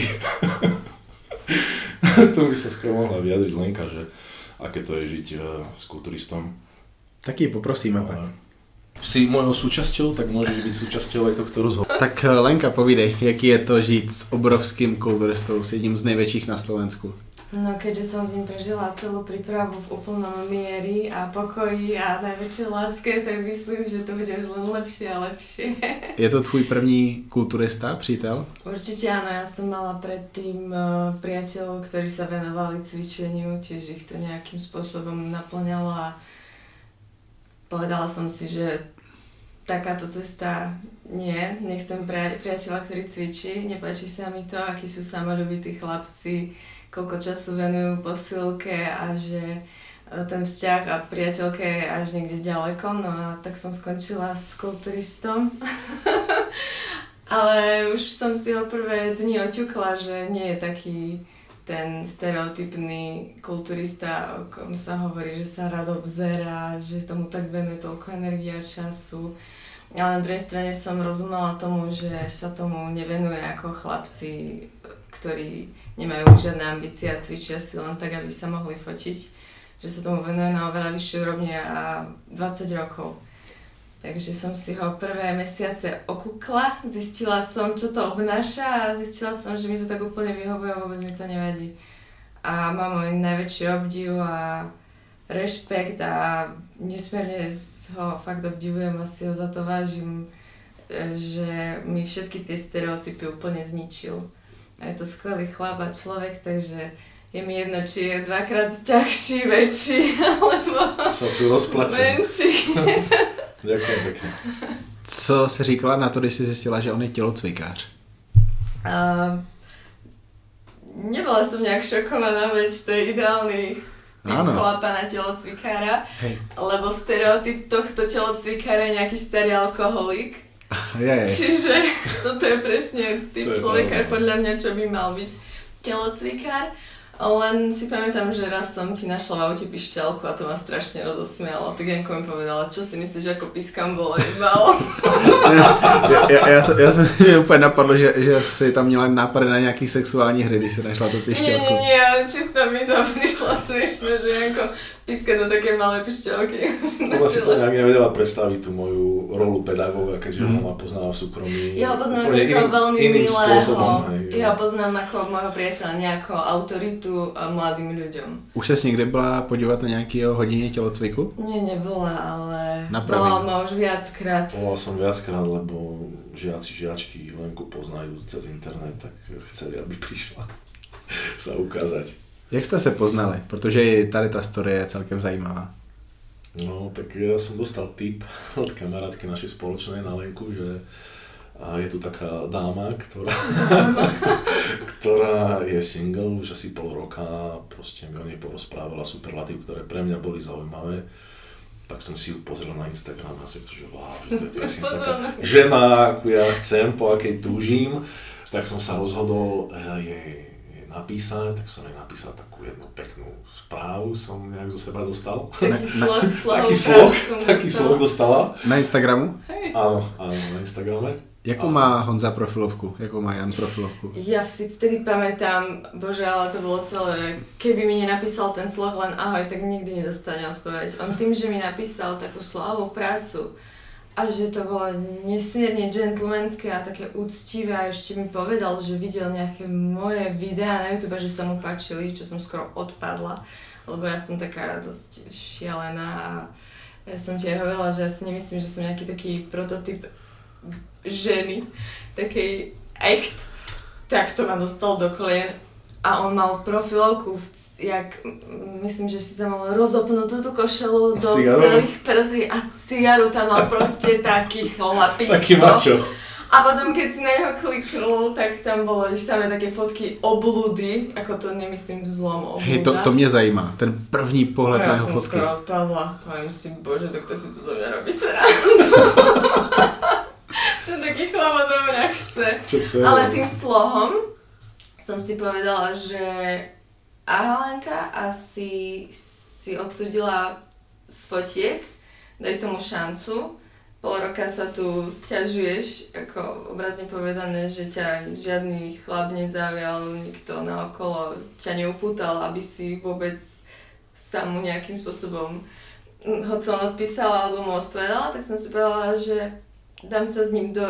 K tomu by sa skoro mohla vyjadriť Lenka, že aké to je žiť s kulturistom. Taky poprosíme pak. Si mojou súčasťou, tak môžeš byť súčasťou aj tohto rozhovoru. Tak Lenka, povídej, jaký je to žít s obrovským kulturistou, s jedním z největších na Slovensku? No keďže som s ním prežila celú prípravu v úplnom miery a pokoji a najväčšej láske, tak myslím, že to bude už len lepšie a lepšie. Je to tvůj první kulturista, přítel? Určite áno, ja som mala predtým priateľov, ktorí sa venovali cvičeniu, tiež ich to nejakým spôsobom naplňalo a povedala som si, že takáto cesta nechcem priateľa, ktorý cvičí, nepáči sa mi to, akí sú samoľubití chlapci, koľko času venujú posilke a že ten vzťah a priateľke je až niekde ďaleko, no a tak som skončila s kulturistom. Ale už som si ho prvé dni oťukla, že nie je taký ten stereotypný kulturista, o kom sa hovorí, že sa rád obzerá, že tomu tak venuje toľko energie a času. Ale na druhej strane som rozumela tomu, že sa tomu nevenuje ako chlapci, ktorí nemajú žiadne ambície a cvičia si len tak, aby sa mohli fotiť. Že sa tomu venuje na oveľa vyššej úrovni a 20 rokov. Takže som si ho prvé mesiace okúkla, zistila som, čo to obnáša a zistila som, že mi to tak úplne vyhovuje a vôbec mi to nevadí. A mám môj najväčší obdiv a rešpekt a nesmierne ho fakt obdivujem a si ho za to vážim, že mi všetky tie stereotypy úplne zničil. A je to skvelý chlap a človek, takže je mi jedno, či je dvakrát ťažší, väčší, alebo sa tu rozplačem. Menší. Ďakujem pekne. Co jsi říkala na to, když jsi zjistila, že on je tělocvikář? Nebola som nejak šokovaná, veď to je ideálny typ chlapa na telocvikára, lebo stereotyp tohto telocvikára je nejaký starý alkoholik. Čiže toto je presne typ človeka, podľa mňa, čo by mal byť telocvikár. Len si pamätám, že raz som ti našla v aute pišťalku a to ma strašne rozosmialo. Tak Janko mi povedala, čo si myslíš, ako pískam volejbal? Já jsem mě úplně napadlo, že jsi tam měla nápady na nějaký sexuální hry, když si našla tu pišťalku. Nie, ale čisto mi to prišlo smiešne, že Janko píska do také malé pišťalky. Ona si to nejak nevedela predstaviť tú moju rolu pedagóga, keďže ona ma poznala v súkromí. Ja ho poznám ako veľmi milého. Ja ho poznám ako môjho priateľa, nie ako autoritu mladým ľuďom. Už ses někdy byla podívat na nějakého hodině tělocviku? Nie, nebola, ale volala ma už viackrát. Volala som viackrát, lebo žiačky Lenku poznajú cez internet, tak chceli, aby prišla sa ukázať. Jak jste se poznali? Protože tady ta story je celkem zajímavá. No, tak ja som dostal tip od kamarátky našej spoločnej na Lenku, že je tu taká dáma, ktorá je single už asi pol roka, proste mi o nej porozprávala superlatív, ktoré pre mňa boli zaujímavé. Tak som si ju pozrel na Instagram a som to, že wow, že to je presne taká žena, akú ja chcem, po akej túžim. Tak som sa rozhodol jej napísať, tak som jej napísal takú jednu peknú správu, som nejak zo seba dostal. Taký slov dostala. Na Instagramu? Áno, na Instagrame. Jakou má Honza profilovku? Jakou má Jan profilovku? Ja si vtedy pamätám, bože, ale to bolo celé, keby mi nenapísal ten sloh len ahoj, tak nikdy nedostane odpoveď. On tým, že mi napísal takú slovú prácu a že to bolo nesmierne gentlemanské a také úctivé a ešte mi povedal, že videl nejaké moje videá na YouTube, že sa mu páčili, čo som skoro odpadla, lebo ja som taká dosť šialená a ja som ti aj hovorila, že ja si nemyslím, že som nejaký taký prototyp ženy, takej echt, tak to ma dostal do kolien a on mal profilovku, myslím, že si tam mal rozopnutú tú košelu do celých prsí a cigaru tam mal proste taký chlapisko. Taký mačo. A potom keď si na neho kliknul, tak tam bolo samé také fotky obludy, ako to nemyslím v zlom obluda. Hej, to mě zajímá, ten první pohled na jeho fotky. Ja som skoro odpadla a myslím, bože, to kto si tu zo mňa robí srandu. Čo taký chlap odo mňa chce. Ale tým slohom som si povedala, že Ahalenka asi si odsúdila z fotiek, daj tomu šancu. Pol roka sa tu sťažuješ, ako obrazne povedané, že ťa žiadny chlap nezaujal, nikto naokolo ťa neupútal, aby si vôbec sa mu nejakým spôsobom hoď som odpísala alebo mu odpovedala, tak som si povedala, že dám sa s ním do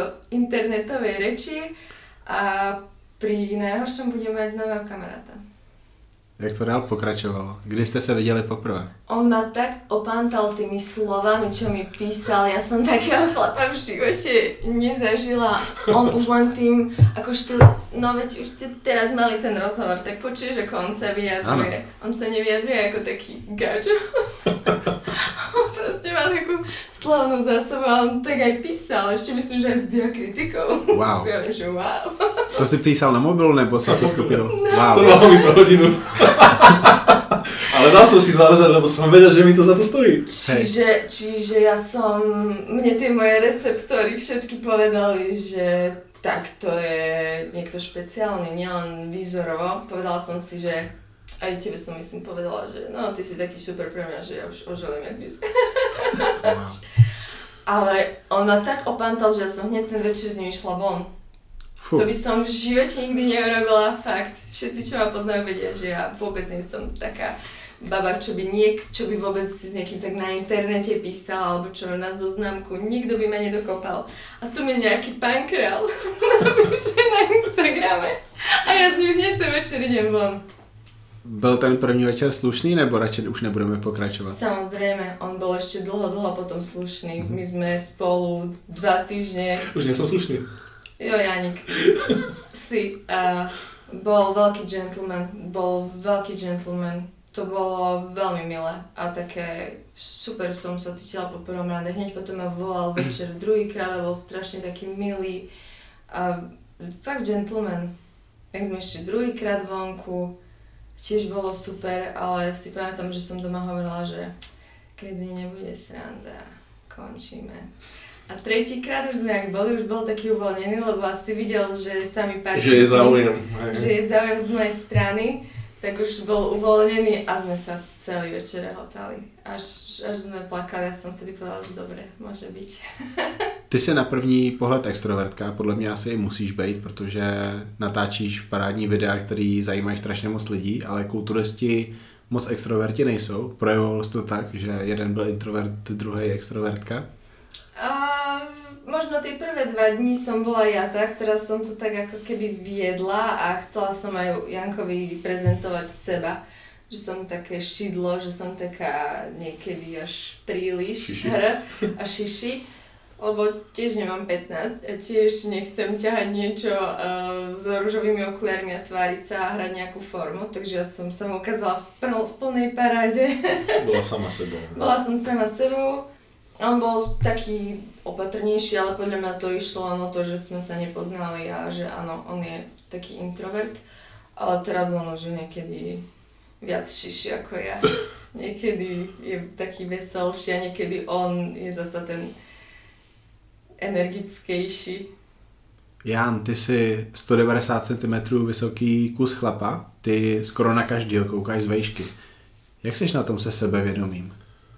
internetovej reči a pri najhoršom budem mať nového kamaráta. Jak to dál pokračovalo? Kdy ste sa videli poprvé? On ma tak opántal tými slovami, čo mi písal. Ja som takého chlapa v živote nezažila. On už len tým, akože no veď už ste teraz mali ten rozhovor, tak počuješ, ako on sa vyjadruje. On sa nevyjadruje ako taký gačo. On proste má takú slovnú zásobu a on tak aj písal. Ešte myslím, že aj s diakritikou. Wow. Že wow. To si písal na mobilu, nebo si to skupinu? No. Wow. Trvalo mi to hodinu. Ale dal som si záležať, lebo som vedel, že mi to za to stojí. Čiže ja som, mne tie moje receptory všetky povedali, že tak to je niekto špeciálny, nielen výzorovo. Povedala som si, že aj tebe som myslím povedala, že no ty si taký super pre mňa, že ja už oželím jak výzor. Wow. Ale on ma tak opántal, že ja som hneď ten večer s ním išla von. Fú. To by som v živote nikdy neurobila, fakt. Všetci, čo ma poznajú, vedia, že ja vôbec nie som taká baba, čo by vôbec si s niekým tak na internete písal, alebo čo na zoznamku. Nikto by ma nedokopal. A tu mi nejaký pán král napíše na Instagrame a ja s ním hneď ten večer idem von. Byl ten první večer slušný, nebo radši už nebudeme pokračovat? Samozrejme, on bol ešte dlho potom slušný. My sme spolu 2 týždne. Už nie som slušný. Jo, Janik, bol veľký gentleman, to bolo veľmi milé a také super som sa cítila po prvom rande, hneď potom ma volal večer druhýkrát a bol strašne taký milý a fakt gentleman. Tak sme ešte druhýkrát vonku, tiež bolo super, ale si pamätám, že som doma hovorila, že keď z ním nebude sranda, končíme. A tretíkrát už sme jak boli, už bol taký uvoľnený, lebo asi videl, že sa mi páči. Že je záujem. Že je záujem z mojej strany, tak už bol uvoľnený a sme sa celý večer rehotali. Až sme plakali, ja som vtedy povedala, že dobre, môže byť. Ty jsi na první pohled extrovertka, podle mě asi i musíš být, protože natáčíš parádní videa, který zajímají strašně moc lidí, ale kulturisti moc extroverti nejsou. Projevovalo se to tak, že jeden byl introvert, druhý extrovertka? Možno tie prvé 2 dní som bola ja tá, ktorá som to tak ako keby viedla a chcela som aj Jankovi prezentovať seba. Že som také šidlo, že som taká niekedy až príliš a šiši. Lebo tiež nemám 15 a tiež nechcem ťahať niečo s ružovými okuliarmi a tváriť sa a hrať nejakú formu. Takže ja som sa mu ukázala v plnej paráde. Bola sama sebou. Bola som sama sebou. On bol taký opatrnejší, ale podľa mňa to išlo len o to, že sme sa nepoznali a že áno, on je taký introvert, ale teraz on už je niekedy viac šiši ako ja. Niekedy je taký veselší a niekedy on je zasa ten energickejší. Jan, ty jsi 190 cm vysoký kus chlapa, ty skoro na každýho koukáš z vejšky. Jak jsi na tom se sebevědomím?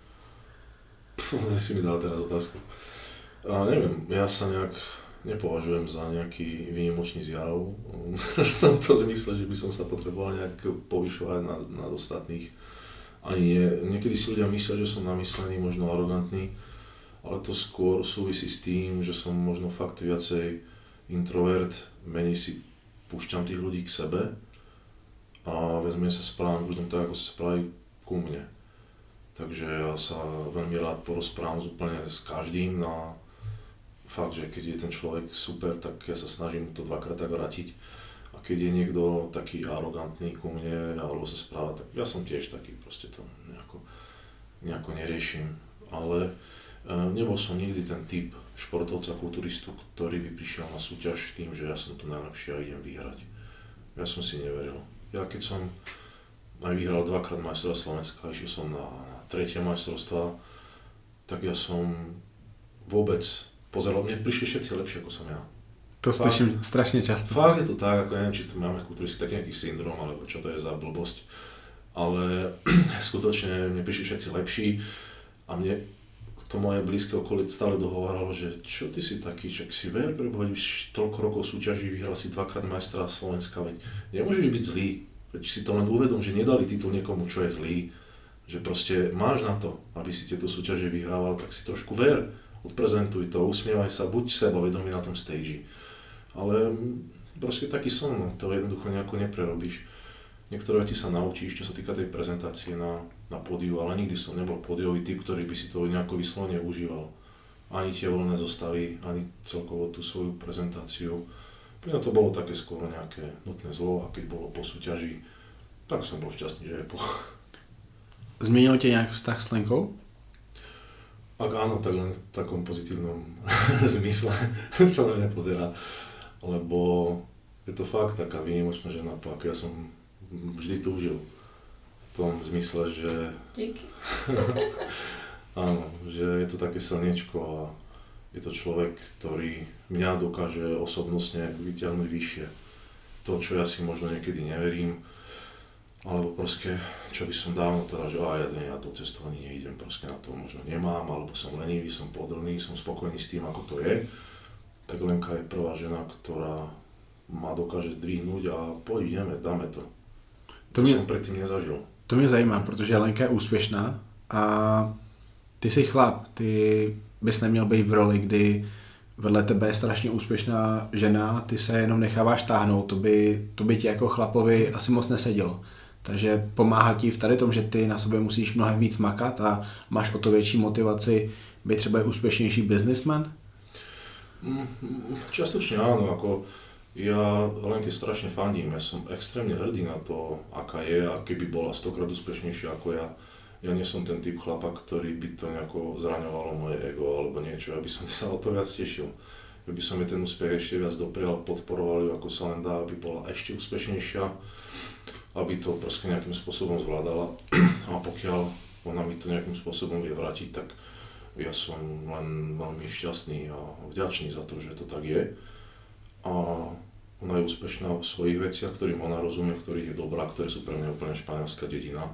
Si mi dal teraz otázku. Neviem, ja sa nejak nepovažujem za nejaký výnimočný zjav v tomto zmysle, že by som sa potreboval nejak povyšovať nad ostatných. Ani nie. Niekedy si ľudia myslia, že som namyslený, možno arogantný, ale to skôr súvisí s tým, že som možno fakt viacej introvert, menej si púšťam tých ľudí k sebe a vezmem sa správam k ľuďom tak, ako sa správajú ku mne. Takže ja sa veľmi rád porozprávam úplne s každým a fakt, že keď je ten človek super, tak ja sa snažím to 2-krát tak vrátiť. A keď je niekto taký arogantný ku mne alebo sa správa, tak ja som tiež taký, proste to nejako neriešim. Ale nebol som nikdy ten typ športovca, kulturistu, ktorý by prišiel na súťaž tým, že ja som tu najlepší a idem vyhrať. Ja som si neveril. Ja keď som aj vyhral 2-krát majstrovstvá Slovenska, išiel som na 3. majstrovstvá, tak ja som vôbec pozeral, mne prišli všetci lepšie ako som ja. To slyším strašne často. Fakt je to tak, ako neviem, či tu máme kulturisti taký nejaký syndrom, alebo čo to je za blbosť. Ale skutočne mne prišli všetci lepší a mne to moje blízke okolie stále dohováralo, že čo ty si taký, čak si ver, prebohať už toľko rokov súťaží, vyhral si 2-krát majstra Slovenska, veď nemôžeš byť zlý. Veď si to len uvedom, že nedali titul niekomu, čo je zlý. Že proste máš na to, aby si tieto súťaže vyhrával, tak si trošku ver, odprezentuj to, usmievaj sa, buď sebavedomý na tom stage. Ale proste taký som, no, to jednoducho nejako neprerobíš. niektoré veci sa naučíš, čo sa týka tej prezentácie na pódiu, ale nikdy som nebol pódiový typ, ktorý by si to nejako vyslovene užíval. Ani tie voľné zostavy, ani celkovo tú svoju prezentáciu. Pre mňa to bolo také skôr nejaké nutné zlo a keď bolo po súťaži, tak som bol šťastný, že je po. Změnil tě nějak vztah s Lenkou? Ak áno, tak len v takom pozitívnom zmysle sa na mňa pozerá, lebo je to fakt taká výnimočná žena, ako ja som vždy túžil. V tom zmysle, že... Díky. Áno, že je to také slniečko a je to človek, ktorý mňa dokáže osobnostne vyťahnuť vyššie. To, čo ja si možno niekedy neverím, alebo proste, čo by som dávno povedal, že ja to cestovanie neidem, proste na to možno nemám, alebo som lenivý, som pohodlný, som spokojný s tým, ako to je. Tak Lenka je prvá žena, ktorá ma dokáže zdvihnúť a poď, ideme, dáme to. To som predtým nezažil. To mě zajímá, protože Lenka je úspěšná a ty jsi chlap, ty bys neměl být v roli, kdy vedle tebe je strašně úspěšná žena, ty se jenom necháváš táhnout, to by ti jako chlapovi asi moc nesedělo. Takže pomáhá ti v tady tom, že ty na sobě musíš mnohem víc makat a máš o to větší motivaci být třeba úspěšnější businessman? Častočne áno, ako ja Lenke strašne fandím, ja som extrémne hrdý na to, aká je a keby bola 100-krát úspešnejšia ako ja. Ja nie som ten typ chlapa, ktorý by to nejako zraňovalo moje ego alebo niečo, ja by som sa o to viac tešil. Ja by som jej ten úspech ešte viac doprial, podporoval ju ako sa len dá, aby bola ešte úspešnejšia, aby to proste nejakým spôsobom zvládala a pokiaľ ona mi to nejakým spôsobom vie vrátiť, tak ja som len veľmi šťastný a vďačný za to, že to tak je. A ona je úspešná v svojich veciach, ktorým ona rozumie, ktorých je dobrá, ktoré sú pre mňa úplne španielská dedina.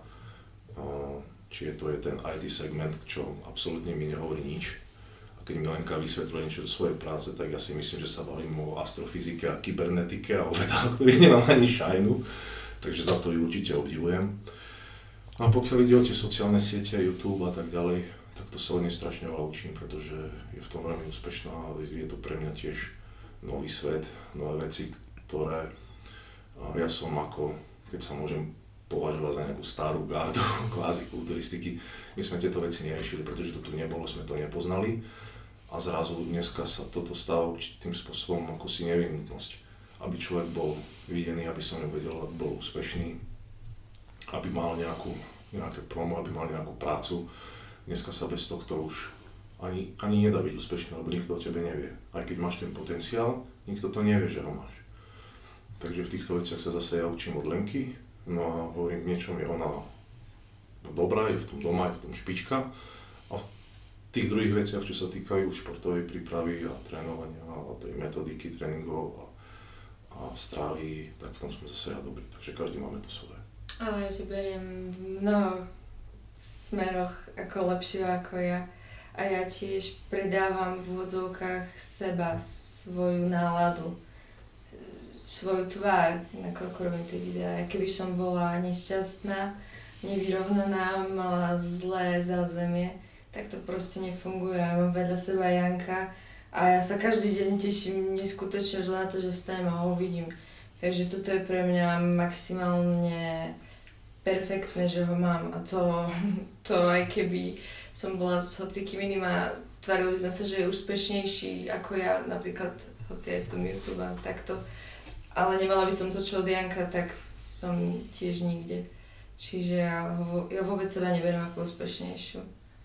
Čiže to je ten IT segment, čo absolútne mi nehovorí nič. A keď mi Lenka vysvetľuje niečo do svojej práce, tak ja si myslím, že sa bavím o astrofyzike a kybernetike a o vedách, ktorých nemám ani šajnu. Takže za to ju určite obdivujem. A pokiaľ ide o tie sociálne siete, YouTube a tak ďalej, tak to sa od nej strašne veľa učím, pretože je v tom veľmi úspešná a je to pre mňa tiež nový svet, nové veci, ktoré ja som ako, keď sa môžem považovať za nejakú starú gardu kvázi kulturistiky, my sme tieto veci neriešili, pretože to tu nebolo, sme to nepoznali a zrazu dneska sa toto stáva tým spôsobom ako si nevyhnutnosť, aby človek bol videný, aby som nevedel, aby bol úspešný, aby mal nejaké promo, aby mal nejakú prácu. Dneska sa bez tohto už ani nedá byť úspešný, lebo nikto o tebe nevie. Aj keď máš ten potenciál, nikto to nevie, že ho máš. Takže v týchto veciach sa zase ja učím od Lenky, no a hovorím, v niečom je ona dobrá, je v tom doma, je v tom špička. A v tých druhých veciach, čo sa týkajú športovej prípravy a trénovania a tej metodiky tréningov a strávy, tak v tom sme zase ja dobrý. Takže každý máme to svoje. Ale ja ti beriem v mnoho smeroch ako lepšieho ako ja. A ja tiež predávam v úvodzovkách seba, svoju náladu, svoju tvár, nakoľko robím tie videá. Ja keby som bola nešťastná, nevyrovnaná, mala zlé zázemie, tak to proste nefunguje. Ja mám vedľa seba Janka a ja sa každý deň teším neskutočne už na to, že vstanem a ho vidím. Takže toto je pre mňa maximálne perfektné, že ho mám a to aj keby som bola s hocikým iným a tvárili by sme sa, že je úspešnejší ako ja, napríklad hoci aj v tom YouTube a takto. Ale nemala by som to, čo od Janka, tak som tiež nikde. Čiže ja vôbec seba neberiem ako úspešnejšiu.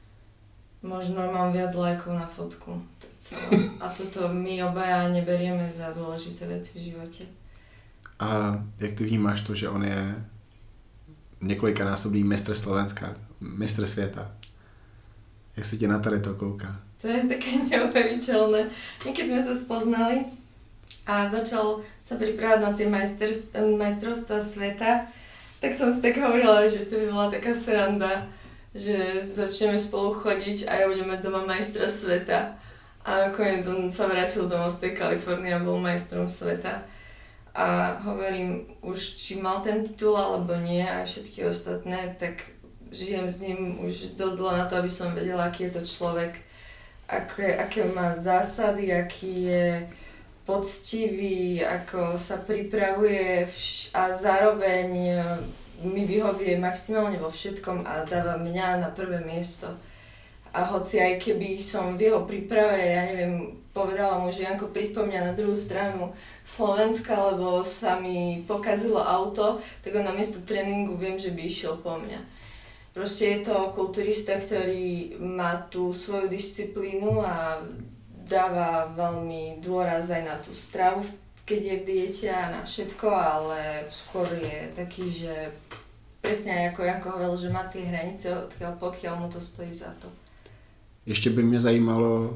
Možno mám viac lajkov na fotku, to je celé. A toto my obaja neberieme za dôležité veci v živote. A jak ty vnímáš to, že on je několikanásobný mistr Slovenska, mistr světa? Jak se tě na tady to kouká? To je také neuveriteľné. My keď sme sa spoznali a začal sa pripravať na tie majstrovstvá sveta, tak som si tak hovorila, že to by bola taká sranda, že začneme spolu chodiť a ja budem mať doma majstra sveta. A nakoniec on sa vrátil domov z tej Kalifornie a bol majstrom sveta. A hovorím, už či mal ten titul alebo nie, aj všetky ostatné, tak žijem s ním už dosť dlho na to, aby som vedela, aký je to človek, aké má zásady, aký je poctivý, ako sa pripravuje a zároveň mi vyhovuje maximálne vo všetkom a dáva mňa na prvé miesto. A hoci aj keby som v jeho príprave, ja neviem, povedala mu, že Janko, príď po mňa na druhú stranu Slovenska, lebo sa mi pokazilo auto, tak on namiesto tréningu viem, že by išiel po mňa. Proste je to kulturista, ktorý má tú svoju disciplínu a dáva veľmi dôraz aj na tú stravu, keď je v diete a na všetko, ale skôr je taký, že presne ako Janko hovoril, že má tie hranice, pokiaľ mu to stojí za to. Ještě by mě zajímalo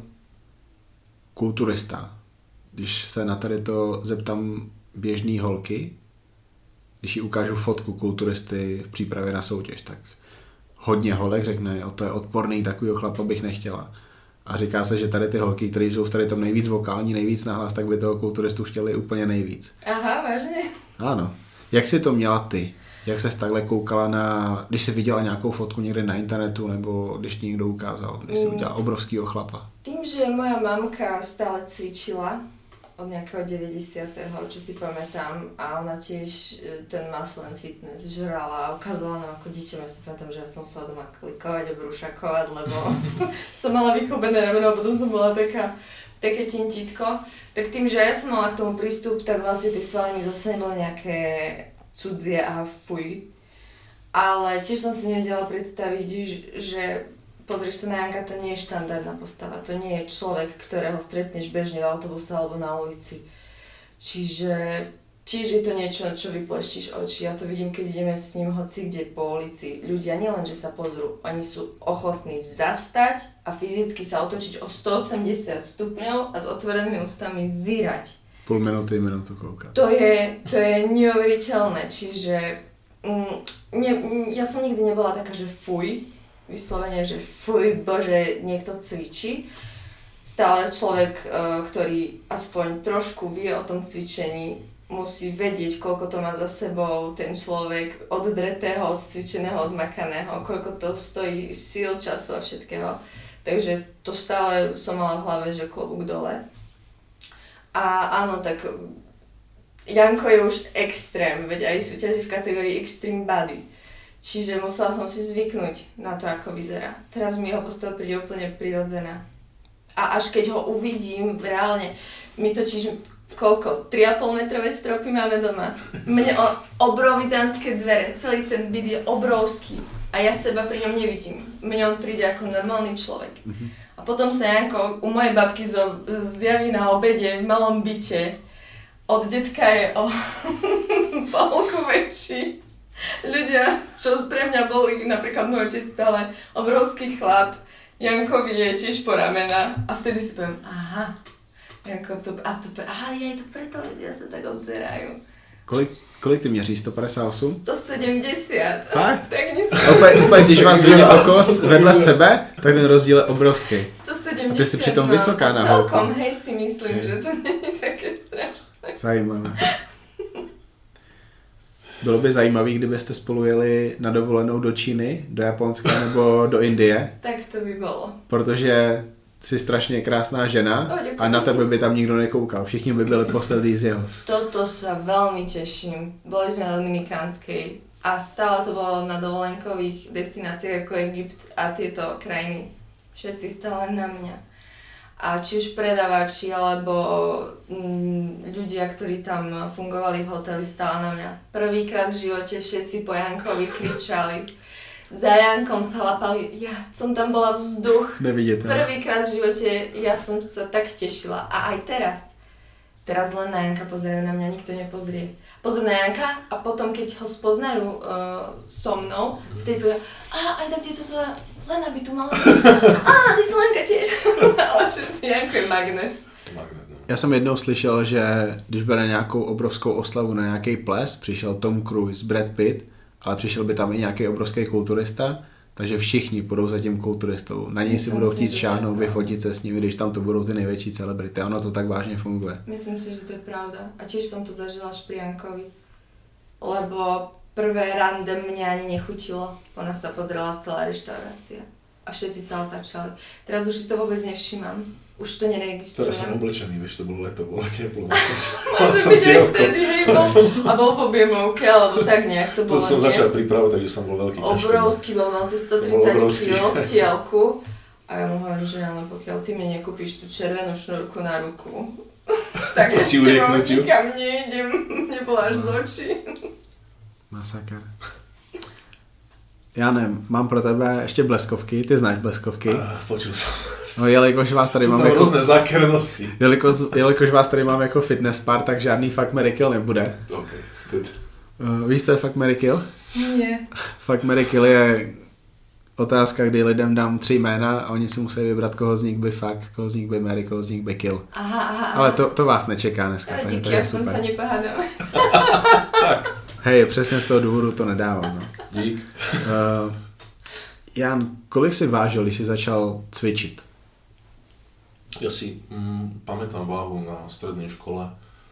kulturista. Když se na tady to zeptám běžný holky, když jí ukážu fotku kulturisty v přípravě na soutěž, tak hodně holek řekne, jo, to je odporný, takovýho chlapa bych nechtěla. A říká se, že tady ty holky, které jsou v tady tom nejvíc vokální, nejvíc nahlas, tak by toho kulturistu chtěli úplně nejvíc. Aha, vážně? Ano. Jak jsi to měla ty? Jak ses takhle koukala na, když jsi viděla nějakou fotku někde na internetu, nebo když ti někdo ukázal, když jsi udělala obrovskýho chlapa? Tým, že moja mamka stále cvičila od nejakého 90., čo si pamätám, a ona tiež ten muscle and fitness žrala a ukazovala nám ako dieťa. Ja si pamätám, že ja som sa doma klikovať a brúšakovať, lebo som mala vyklbené rameno a potom som bola také tintítko. Tak tým, že ja som mala k tomu prístup, tak vlastne tie svaly mi zase neboli nejaké cudzie a fuj. Ale tiež som si nevedela predstaviť, že pozrieš sa na Janka, to nie je štandardná postava. To nie je človek, ktorého stretneš bežne v autobuse alebo na ulici. Čiže tiež je to niečo, čo vypleštíš oči. Ja to vidím, keď ideme s ním hoci kde po ulici. Ľudia nielen, že sa pozrú, oni sú ochotní zastať a fyzicky sa otočiť o 180 stupňov a s otvorenými ústami zírať. Půl minutu koukat. To je neuveriteľné, čiže ja som nikdy nebola taká, že fuj, vyslovene, že fuj, bože, niekto cvičí. Stále človek, ktorý aspoň trošku vie o tom cvičení, musí vedieť, koľko to má za sebou ten človek oddretého, odcvičeného, odmakaného, koľko to stojí síl, času a všetkého. Takže to stále som mala v hlave, že klobúk dole. A áno, tak Janko je už extrém, veď aj súťaží v kategórii Extreme Body. Čiže musela som si zvyknúť na to, ako vyzerá. Teraz mi jeho postava príde úplne prirodzená. A až keď ho uvidím, reálne, my totiž koľko? 3,5 metrové stropy máme doma. Mne obrovitánske dvere, celý ten byt je obrovský. A ja seba pri ňom nevidím. Mne on príde ako normálny človek. A potom sa Janko u mojej babky zjaví na obede v malom byte. Od detka je o polku väčší. Ľudia, čo pre mňa boli, napríklad môj otec stále obrovský chlap, Jankovi je tiež po ramena a vtedy si poviem, aha, Janko, je to preto ľudia sa tak obzerajú. Kolik ty měříš? 158? 170. Fakt? Tak Úplně, když vás vidím okolo vedle sebe, tak ten rozdíl je obrovský. 170. A ty jsi přitom vysoká na holku. Celkom, hej, si myslím, že to není také strašné. Zajímavé. Bylo by zajímavé, kdybyste spolu jeli na dovolenou do Číny, do Japonska nebo do Indie. Tak to by bolo. Protože jsi strašně krásná žena a na tebe by tam nikdo nekoukal. Všichni by byli poslední z jeho. Toto sa veľmi teším. Boli sme na Dominikánskej a stále to bolo na dovolenkových destináciách ako Egypt a tieto krajiny. Všetci stále na mňa. A či už predávači alebo ľudia, ktorí tam fungovali v hoteli, stále na mňa. Prvýkrát v živote všetci po Jankovi kričali. Za Jankom sa lapali, ja som tam bola vzduch. Nevidíte. Prvýkrát v živote ja som sa tak tešila. A aj teraz. Teraz len na Janka pozerajú, na mňa nikto nepozrie. Pozor na Janka a potom keď ho spoznajú so mnou, vtedy povedia, aj tak kde toto Lena by tu mala byť. Ty si Lenka tiež. Ale Janko je magnet. Já jsem jednou slyšel, že když bude nějakou obrovskou oslavu na nějaký ples, přišel Tom Cruise, Brad Pitt, ale přišel by tam i nějaký obrovský kulturista, takže všichni půjdou za tím kulturistou. Na něj si budou chtít šáhnout, vyfotit se s nimi, když tam to budou ty největší celebrity. Ono to tak vážně funguje. Myslím si, že to je pravda. A tiež som to zažila až pri Jankovi. Lebo prvé rande mňa ani nechutilo. Ona sa pozrela celá reštaurácia. A všetci sa otáčali. Teraz už si to vôbec nevšímam. už to neregistrujem. Teraz som oblečený, vieš, to bolo leto, bolo teplo. Môže byť aj vtedy, hej, a bol v objemovke, alebo tak nejak to bolo, to som začal pripravovať, takže som bol veľký ťažký. Obrovský, bol mal cez 130 kg v tielku. A ja mu hovorím, že ale pokiaľ ty mi nekúpiš tú červenú šnúrku na ruku, tak ja s tebou nikam nejdem, nebola až z očí. Masaker. Jane, mám pro tebe ještě bleskovky, ty znáš bleskovky? Počul jsem. No, jelikož vás tady mám jako... různé zákernosti. Jelikož vás tady mám jako fitness pár, tak žádný Fuck, Marry, Kill nebude. OK, good. Víš, co je Fuck, Marry, Kill? Nie. Fuck, Marry, Kill je otázka, kdy lidem dám 3 jména a oni si musí vybrat, koho z nich by fuck, koho z nich by marry, koho z nich by kill. Aha. Ale to vás nečeká dneska. Díky, aspoň sa nepohádáme. Tak. Hej, přesně z toho důvodu to nedávám. No. Dík. Jan, kolik si vážil, když jsi začal cvičit? Ja si pamätám váhu na strednej škole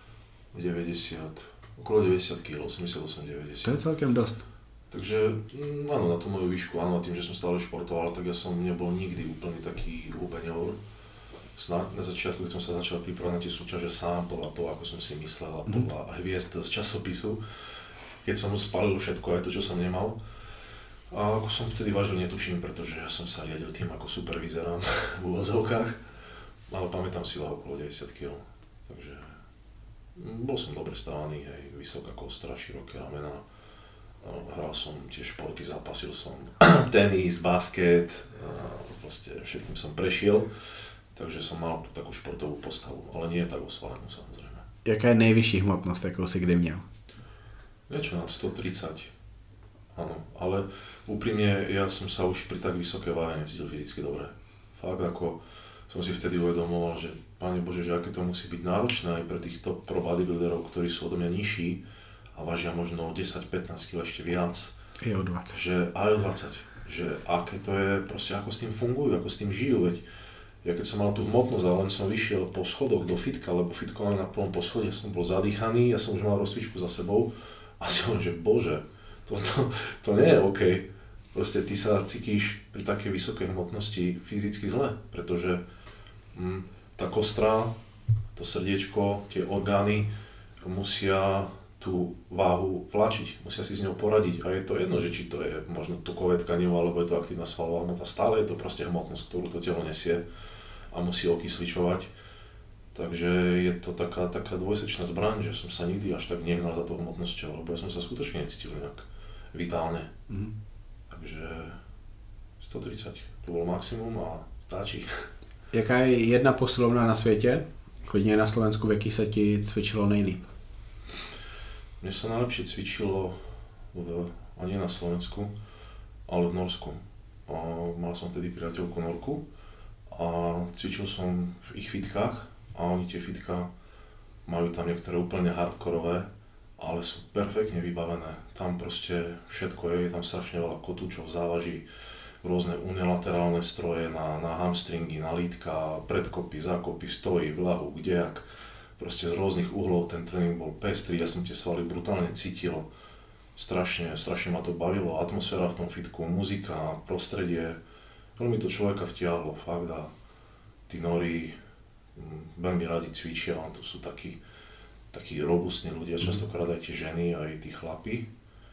90, okolo 90 kg, 88-90. To je celkem dost. Takže áno, na tú moju výšku, áno, a tým, že som stále športoval, tak ja som nebol nikdy úplný taký hubeňor. Na začiatku, keď som sa začal pripravať na tie súťaže sám, podľa toho, ako som si myslel, a podľa hviezd z časopisu, keď som spálil všetko, aj to, čo som nemal. A ako som vtedy vážil, netuším, pretože ja som sa riadil tým, ako super vyzerám v úvozovkách, ale pamätám si váhu okolo 90 kg, takže bol som dobre stávaný, hej, vysoká kostra, široké ramena. Hral som tie športy, zápasil som tenis, basket, proste všetkým som prešiel, takže som mal tú takú športovú postavu, ale nie tak osvalenú samozrejme. Jaká je nejvyšší hmotnost, jakou si kdy měl? Niečo nad 130, áno, ale úprimne ja som sa už pri tak vysoké váhe necítil fyzicky dobre. Fakt ako som si vtedy uvedomoval, že Pane Bože, že aké to musí byť náročné aj pre týchto pro bodybuilderov, ktorí sú odo mňa nižší a vážia možno 10-15 kg ešte viac. I o 20. Že aj o 20. Že aké to je, proste ako s tým fungujú, ako s tým žijú, veď ja keď som mal tú hmotnosť a len som vyšiel po schodoch do fitka, lebo fitko máme na plnom poschodí, ja som bol zadýchaný, ja som už mal rozcvičku za sebou a si hovorím, že Bože, to nie je OK. Proste ty sa cítiš pri takej vysokej hmotnosti fyzicky zle, pretože tá kostra, to srdiečko, tie orgány musia tú váhu vláčiť, musia si s ňou poradiť a je to jedno, že či to je možno tukové tkanivo alebo je to aktívna svalová hmota, stále je to proste hmotnosť, ktorú to telo nesie a musí okysličovať. Takže je to taká dvojsečná zbraň, že som sa nikdy až tak nehnal za tou hmotnosťou, lebo ja som sa skutočne necítil nejak vitálne. Takže 130, to bolo maximum a stačí. Jaká je jedna posilovna na světě, klidně na Slovensku, v jaký se ti cvičilo nejlíp? Mne sa najlepšie cvičilo nie na Slovensku, ale v Norsku. Mal som vtedy priateľku Norku a cvičil som v ich fitkách a oni tie fitka majú tam niektoré úplne hardkorové, ale sú perfektne vybavené. Tam proste všetko je tam strašne veľa kotúčov, závaží, rôzne unilaterálne stroje na hamstringy, na lítka, predkopy, zákopy, stojí, vľahu, kdejak. Proste z rôznych uhlov ten tréning bol pestrý, ja som tie svaly brutálne cítil. Strašne ma to bavilo, atmosféra v tom fitku, muzika, prostredie. Veľmi to človeka vtiahlo, fakt, a tí Nóri veľmi radi cvičia, to sú takí robustní ľudia, častokrát aj tie ženy, aj tí chlapi.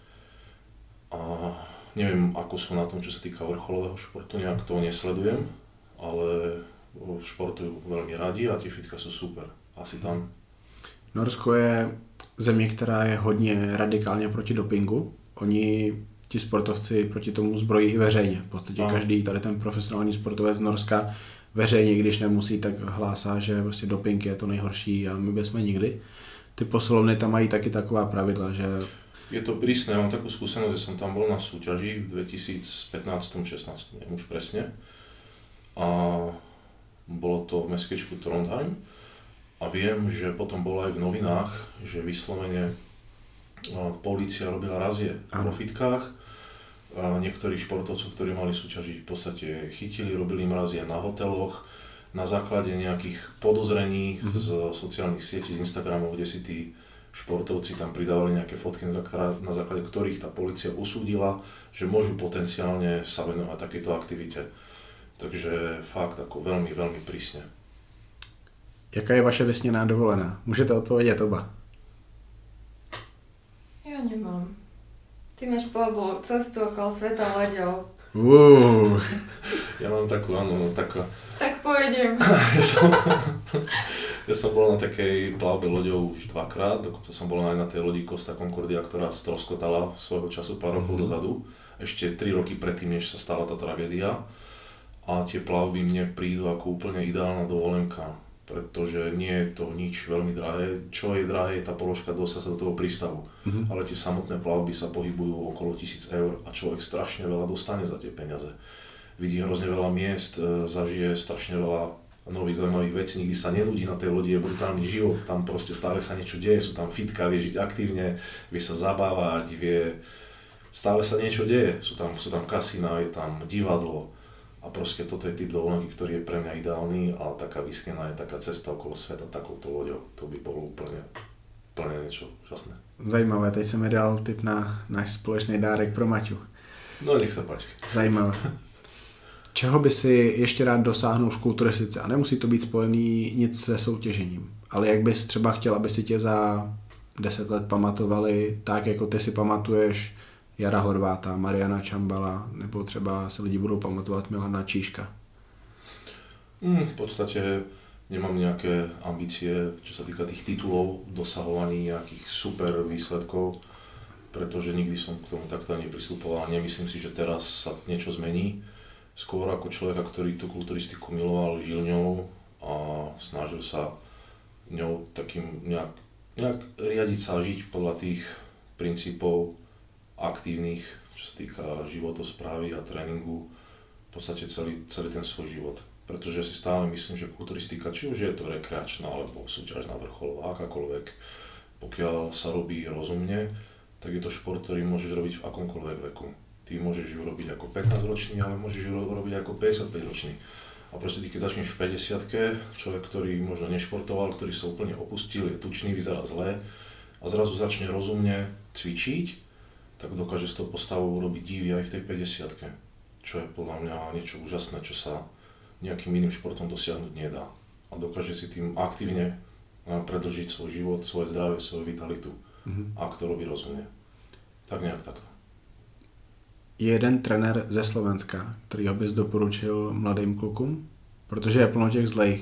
A neviem, ako sú na tom, čo sa týka vrcholového športu, nejak to nesledujem, ale športujú veľmi radi a tie fitka sú super. Asi tam. Norsko je země, která je hodně radikálně proti dopingu. Oni, ti sportovci, proti tomu zbrojí i veřejně. V podstatě každý tady ten profesionální sportovec z Norska veřejně, když nemusí, tak hlásá, že prostě doping je to nejhorší a my bychom nikdy. Ty posilovny tam mají taky taková pravidla, že... Je to prísne, ja mám takú skúsenosť, že som tam bol na súťaži v 2015-16, neviem už presne. A bolo to v mestečku Trondheim. A viem, že potom bolo aj v novinách, že vyslovene polícia robila razie vo fitkách. A niektorí športovcov, ktorí mali súťažiť, v podstate chytili, robili im razie na hoteloch, na základe nejakých podozrení z sociálnych sietí, z Instagramov, kde si tí športovci tam pridávali nejaké fotky, na základe ktorých tá polícia usúdila, že môžu potenciálne sa venovať takejto aktivite. Takže fakt ako veľmi, veľmi prísne. Jaká je vaše vysněná dovolená? Můžete odpovědět oba. Ja nemám. Ty máš plavbu cestu okolo sveta loďou. Ja mám takú, áno, taká... Tak pôjdem. Ja som bol na takej plavbe loďou už 2-krát, dokonca som bol aj na tej lodi Costa Concordia, ktorá stroskotala svojho času pár rokov dozadu. Ešte 3 roky predtým, než sa stala tá tragédia. A tie plavby mne prídu ako úplne ideálna dovolenka, pretože nie je to nič veľmi drahé. Čo je drahé, je tá položka dostať sa do toho prístavu. Ale tie samotné plavby sa pohybujú okolo 1000 eur a človek strašne veľa dostane za tie peniaze. Vidí hrozne veľa miest, zažije strašne veľa nových zaujímavých vecí, nikdy sa nenudí na tej lodi, je brutálny život, tam proste stále sa niečo deje, sú tam fitka, vie žiť aktívne, vie sa zabávať, stále sa niečo deje, sú tam kasína, je tam divadlo a proste toto je typ dovolenky, ktorý je pre mňa ideálny, ale taká vysnená je taká cesta okolo sveta takouto loďou, to by bolo úplne niečo úžasné. Zajímavé, teď jsem mi dal tip na náš společný dárek pro Maťu. No nech sa páči. Zajímavé. Čeho by si ještě rád dosáhnul v kulturistice? A nemusí to být spojený nic se soutěžením. Ale jak bys třeba chtěl, aby si tě za 10 let pamatovali tak, jako ty si pamatuješ Jara Horváta, Mariana Čambala, nebo třeba se lidi budou pamatovat Milana Číška? V podstate nemám nejaké ambície, čo sa týka tých titulov, dosahovaní nejakých super výsledkov, pretože nikdy som k tomu takto ani pristupoval a nemyslím si, že teraz sa niečo zmení. Skôr ako človeka, ktorý tú kulturistiku miloval, žil ňou a snažil sa ňou takým nejak riadiť sa a žiť podľa tých princípov aktívnych, čo sa týka životosprávy a tréningu, v podstate celý ten svoj život. Pretože si stále myslím, že kulturistika, či už je to rekreačná alebo súťažná vrcholová, akákoľvek, pokiaľ sa robí rozumne, tak je to šport, ktorý môžeš robiť v akomkoľvek veku. Ty môžeš ju robiť ako 15-ročný, ale môžeš ju robiť ako 55-ročný. A proste ty keď začneš v 50-ke, človek, ktorý možno nešportoval, ktorý sa úplne opustil, je tučný, vyzerá zle a zrazu začne rozumne cvičiť, tak dokáže s tou postavou robiť divy aj v tej 50-ke. Čo je podľa mňa niečo úžasné, čo sa nejakým iným športom dosiahnuť nedá. A dokáže si tým aktívne predĺžiť svoj život, svoje zdravie, svoju vitalitu. Ak to robí rozumne. Tak nejak takto. Je jeden trenér ze Slovenska, kterýho bys doporučil mladým klukům? Protože je plno těch zlejch.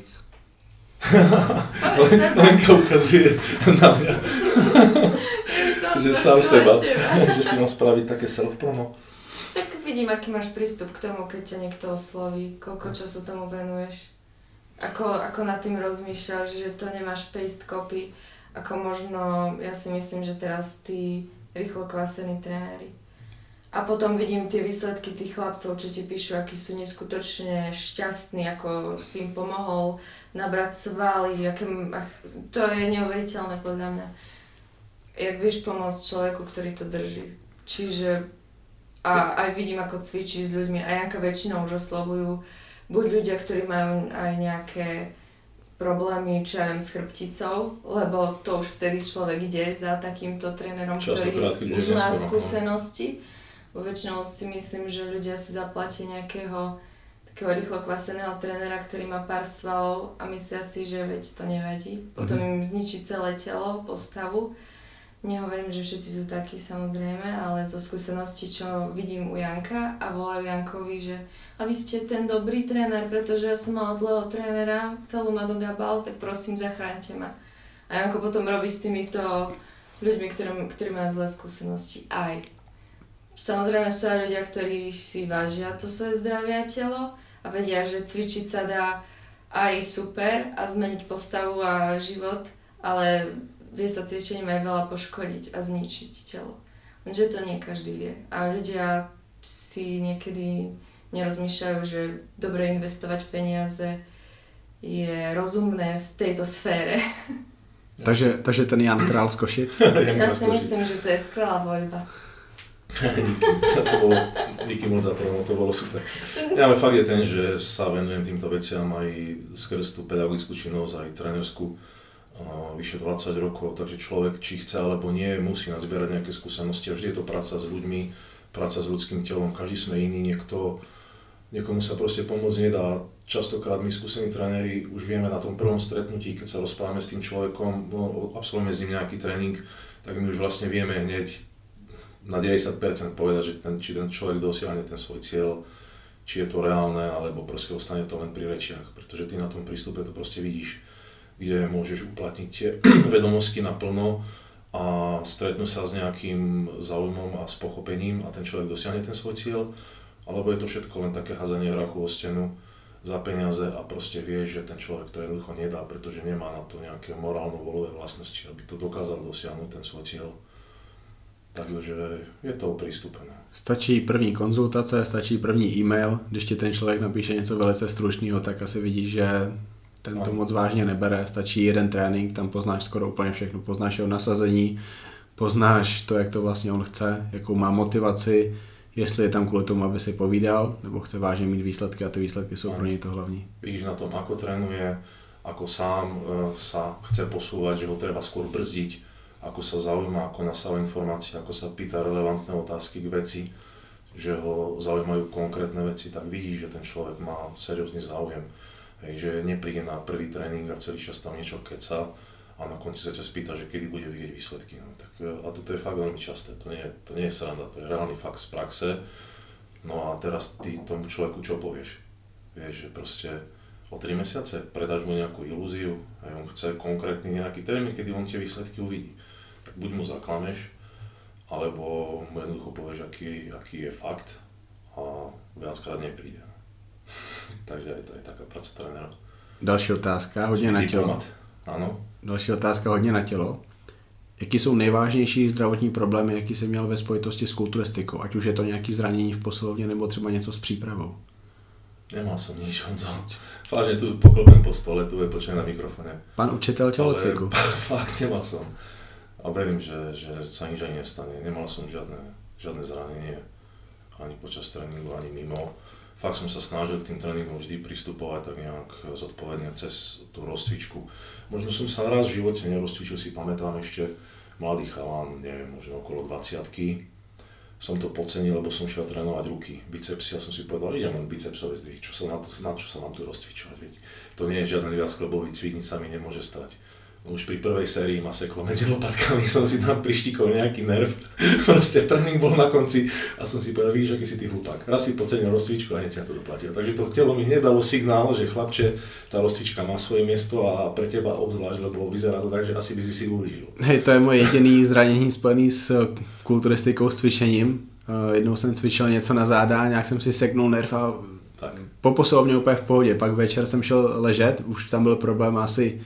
Lenka ukazuje na mňa, že sám seba, že si mám spraviť také self-promo. Tak vidím, aký máš prístup k tomu, keď ťa niekto osloví, koľko času tomu venuješ. Ako nad tým rozmýšľaš, že to nemáš paste copy, ako možno, ja si myslím, že teraz tí rýchlo kvásení trenéri. A potom vidím tie výsledky tých chlapcov, čo ti píšu, akí sú neskutočne šťastní, ako si im pomohol nabrať svaly, to je neuveriteľné podľa mňa. Jak vieš pomôcť človeku, ktorý to drží. Čiže a aj vidím, ako cvičí s ľuďmi a Janka väčšinou už oslovujú buď ľudia, ktorí majú aj nejaké problémy, čo ja viem, s chrbticou, lebo to už vtedy človek ide za takýmto trénerom, ktorý už má skúsenosti. Väčšinou si myslím, že ľudia si zaplatia nejakého takého rýchlo kvaseného trénera, ktorý má pár svalov a myslia si, že veď to nevadí. Potom im zničí celé telo, postavu. Nehovorím, že všetci sú takí samozrejme, ale zo skúseností, čo vidím u Janka a volajú Jankovi, že a vy ste ten dobrý tréner, pretože ja som mala zlého trénera, celú ma dogabal, tak prosím, zachráňte ma. A Janko potom robí s týmito ľuďmi, ktorí majú zlé skúsenosti aj. Samozrejme sú aj ľudia, ktorí si vážia to svoje zdravie a telo a vedia, že cvičiť sa dá aj super a zmeniť postavu a život, ale vie sa cvičením aj veľa poškodiť a zničiť telo. Lenže to nie každý vie. A ľudia si niekedy nerozmýšľajú, že dobre investovať peniaze je rozumné v tejto sfére. Takže ten Jan Král z Košic? Ja si myslím, že to je skvelá voľba. Díky moc za promo, to bolo super. Ja, ale fakt je ten, že sa venujem týmto veciam aj skrz tú pedagogickú činnosť, aj trénerskú vyše 20 rokov, takže človek, či chce alebo nie, musí nazbierať nejaké skúsenosti a vždy je to práca s ľuďmi, práca s ľudským telom, každý sme iný, niekto Niekomu sa proste pomôcť nedá. Častokrát my skúsení tréneri už vieme na tom prvom stretnutí, keď sa rozprávame s tým človekom, absolvujeme s ním nejaký tréning, tak my už vlastne vieme hneď na 90% povedať, že či ten človek dosiahne ten svoj cieľ, či je to reálne, alebo proste ostane to len pri rečiach, pretože ty na tom prístupe to proste vidíš, kde môžeš uplatniť tie vedomosti naplno a stretnú sa s nejakým záujmom a s pochopením a ten človek dosiahne ten svoj cieľ, alebo je to všetko len také hádzanie hrachu o stenu za peniaze a proste vieš, že ten človek to jednoducho nedá, pretože nemá na to nejaké morálno-volové vlastnosti, aby to dokázal dosiahnuť ten svoj cieľ. Takže je to o prístupe. No. Stačí první konzultace, stačí první e-mail, když ti ten člověk napíše něco velice stručného, tak asi vidíš, že ten to moc vážně nebere. Stačí jeden trénink, tam poznáš skoro úplně všechno. Poznáš jeho nasazení, poznáš to, jak to vlastně on chce, jakou má motivaci, jestli je tam kvůli tomu, aby si povídal, nebo chce vážně mít výsledky a ty výsledky jsou pro něj to hlavní. Vidíš na tom, ako trénuje, ako sám sa chce posúvať, že ho treba skôr brzdiť, ako sa zaujíma, ako nasáva informácie, ako sa pýta relevantné otázky k veci, že ho zaujímajú konkrétne veci, tak vidíš, že ten človek má seriózny záujem. Hej, že nepríde na prvý tréning a celý čas tam niečo keca a na konci sa ťa spýta, že kedy bude vidieť výsledky. No, tak, a toto je fakt veľmi časté, to nie je sranda, to je reálny fakt z praxe. No a teraz ty tomu človeku čo povieš? Vieš, že proste o 3 mesiace predáš mu nejakú ilúziu a on chce konkrétny nejaký termín, kedy on tie výsledky uvidí. Tak buď mu zaklameš, alebo mu jednoducho povieš, aký je fakt a viackrát nepríde. Takže aj to je taká práca trénera. Další otázka, hodně na tělo. Ano. Další otázka, hodně na tělo. Jaký jsou nejvážnější zdravotní problémy, jaký jsi měl ve spojitosti s kulturistikou? Ať už je to nějaké zranění v posilovně, nebo třeba něco s přípravou? Nemal som nič, Honzo. Vážne tu poklopem po stole, tu je počujem na mikrofóne. Pán učitel tělocviku. Fakt nemal som. A verím, že sa nič ani nestane. Nemal som žiadne zranenie. Ani počas tréningu, ani mimo. Fakt som sa snažil k tým tréningom vždy pristupovať tak nejak zodpovedne cez tú rozcvičku. Možno som sa raz v živote nerozcvičil, si pamätám ešte mladý chalán, neviem, možno okolo 20-ky. Som to podcenil, lebo som šiel trénovať ruky, bicepsy a som si povedal, idem len bicepsové zdvihy, na čo sa mám tu rozcvičovať, viete. To nie je žiaden viacklebový cvik, nič sa mi nemôže stať. Už pri prvej sérii ma seklo medzi lopatkami, som si tam prištikol nejaký nerv, proste tréning bol na konci a som si povedal, vidíš, aký si ty hlupák. Raz si podcenil rozcvičku a hneď si na to doplatil. Takže to telo mi hneď dalo signál, že chlapče, tá rozcvička má svoje miesto a pre teba obzvlášť, lebo vyzerá to tak, že asi by si ublížil. Hej, to je moje jediný zranění spojený s kulturistikou, s cvičením. Jednou jsem cvičil něco na záda, nějak jsem si seknul nerv a tak. Po posilovně úplně v pohodě. Pak večer jsem šel ležet, už tam byl problém asi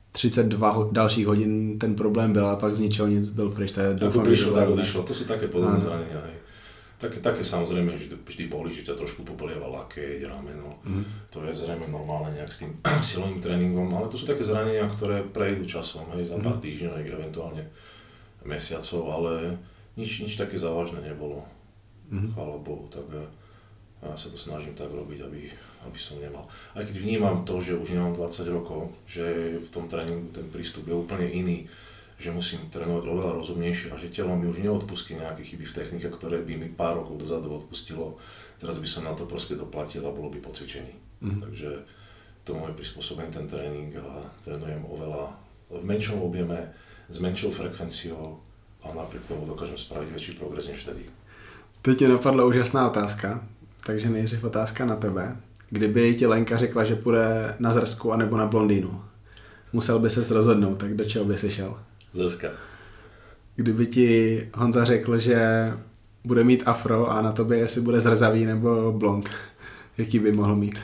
32 dalších hodin ten problém byl a pak z ničeho nic byl pryč. Ako prišlo, tak odišlo. To sú také podobné zranenia. Také samozrejme vždy boli, že ťa trošku popolieva lakeť, rameno. To je zrejme normálne nejak s tým silovým tréningom, ale to sú také zranenia, ktoré prejdú časom, hej, za pár týždňov, eventuálne mesiacov, ale nič také závažné nebolo. Chvála Bohu, tak ja sa to snažím tak robiť, aby som nemal. Aj keď vnímam to, že už nemám 20 rokov, že v tom tréningu ten prístup je úplne iný, že musím trénovať oveľa rozumnejšie a že telo mi už neodpustí nejaké chyby v technike, ktoré by mi pár rokov dozadu odpustilo. Teraz by som na to proste doplatil a bolo by po cvičení. Takže tomu je prispôsobený ten tréning a trénujem oveľa v menšom objeme, s menšou frekvenciou a napriek tomu dokážem spraviť väčší progres než vtedy. Teď mě napadla úžasná otázka, takže nejdřív otázka na tebe. Kdyby ti Lenka řekla, že půjde na zrsku anebo na blondýnu, musel by ses rozhodnout, tak do čeho by si šel? Zrska. Kdyby ti Honza řekl, že bude mít afro a na tobě jestli bude zrzavý nebo blond, jaký by mohl mít?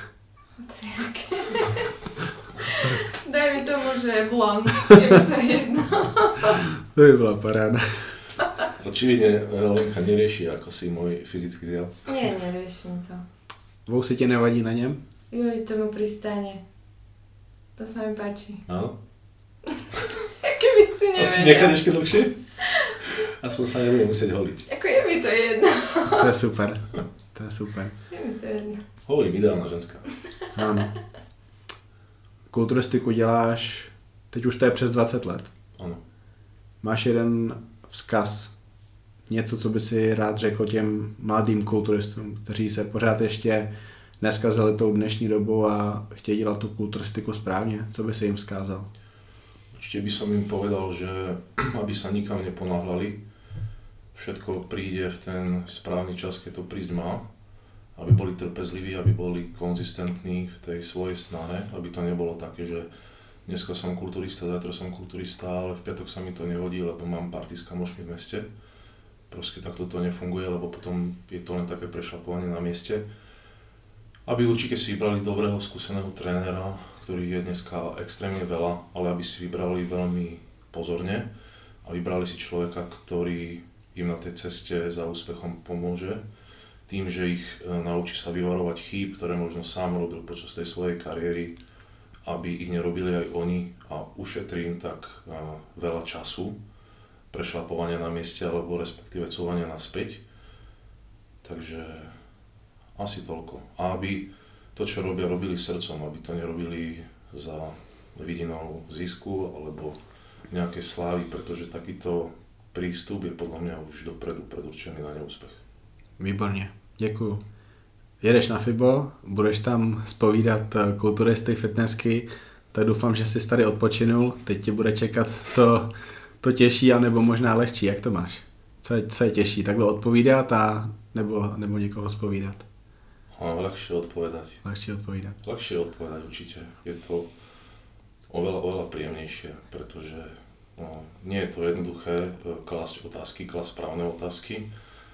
Daj mi tomu, že je blond, je mi to jedno. To by byla paráda. Očividne Lenka nerieši ako si môj fyzický zjav. Nie, neriešim to. Vousy ti nevadí na něm? Joj, to mu pristane. To sa mi páči. Áno? Keby si nevedel. Asi nechať ešte dlhšie? Aspoň sa nebudem musieť holiť. Ako je mi to jedno. To je super. To je super. Je mi to jedno. Hovorím, ideálna ženská. Ano. Kulturistiku děláš, teď už to je přes 20 let. Ano. Máš jeden vzkaz, něco, co by si rád řekl těm mladým kulturistům, kteří se pořád ještě neskazili tou dnešní dobou a chtějí dělat tu kulturistiku správně? Co by si jim vzkázal? Určite by som im povedal, že aby sa nikam neponáhľali, všetko príde v ten správny čas, keď to prísť má, aby boli trpezliví, aby boli konzistentní v tej svojej snahe, aby to nebolo také, že dneska som kulturista, zajtra som kulturista, ale v piatok sa mi to nehodí, lebo mám party s kamošmi v meste. Proste takto to nefunguje, lebo potom je to len také prešlapovanie na mieste. Aby určite si vybrali dobrého, skúseného trénera, ktorých je dneska extrémne veľa, ale aby si vybrali veľmi pozorne a vybrali si človeka, ktorý im na tej ceste za úspechom pomôže tým, že ich naučí sa vyvarovať chýb, ktoré možno sám robil počas tej svojej kariéry, aby ich nerobili aj oni a ušetrí im tak veľa času prešlapovania na mieste alebo respektíve cúvania naspäť. Takže asi toľko. A aby to, čo robia, robili srdcom, aby to nerobili za vidinou zisku alebo nejaké slávy, pretože takýto prístup je podľa mňa už dopredu predurčený na neúspech. Výborně, děkuju. Jedeš na FIBO, budeš tam zpovídat kulturisty, fitnessky, tak doufám, že jsi tady odpočinul. Teď tě bude čekat to těžší, anebo možná lehčí. Jak to máš? Co je těžší? Takhle odpovídat nebo někoho zpovídat? Ľahšie odpovedať. Ľahšie odpovedať určite. Je to oveľa príjemnejšie, pretože nie je to jednoduché klásť správne otázky,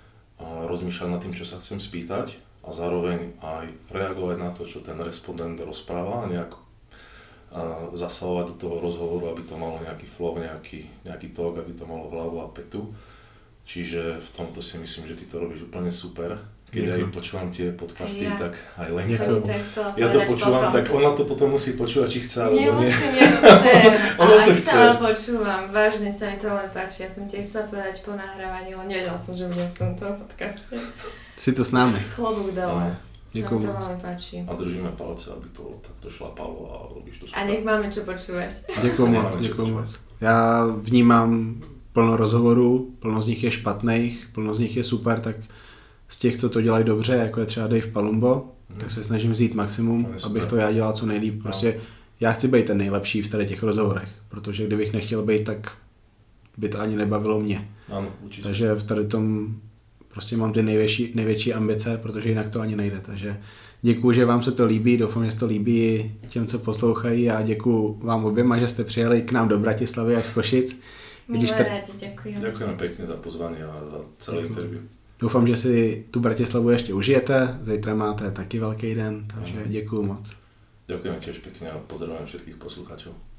a rozmýšľať nad tým, čo sa chcem spýtať a zároveň aj reagovať na to, čo ten respondent rozpráva a nejak zasahovať do toho rozhovoru, aby to malo nejaký flow, nejaký tok, aby to malo hlavu a petu. Čiže v tomto si myslím, že ty to robíš úplne super. Keď ja počúvam tie podcasty, tak aj Lenka. Ja to počúvam, tak ona to potom musí počúvať, či chce alebo nie. Nemusím, ja chcem. Ale ak stále počúvam, vážne sa mi to len páči. Ja som ti chcela povedať po nahrávaní, ale nevedela som, že budem v tomto podcaste. Si tu s námi. Klobúk dole. Sa mi to veľmi páči. A držíme palce, aby to takto šlapalo a robíš to super. A nech máme čo počúvať. Děkuju moc. Já vnímám plno rozhovorů, plno z nich je špatných, plno z nich je super, tak z těch, co to dělají dobře, jako je třeba Dave Palumbo, tak se snažím vzít maximum, abych to já dělal co nejlíp. Prostě já chci být ten nejlepší v tady těch rozhovorech, protože kdybych nechtěl být, tak by to ani nebavilo mě. Ano, určitě. Takže v tady tom prostě mám ty největší ambice, protože jinak to ani nejde. Takže děkuju, že vám se to líbí, doufám, že se to líbí těm, co poslouchají a děkuju vám oběma, že jste přijeli k nám do Bratislavy až z Košic. Rádi, ďakujem. Ďakujem pekne za pozvanie a za celé interview. Doufám, že si tu Bratislavu ještě užijete, zítra máte taky velký den, takže děkuju moc. Ďakujem tiež pekne a pozdravujem všetkých poslucháčov.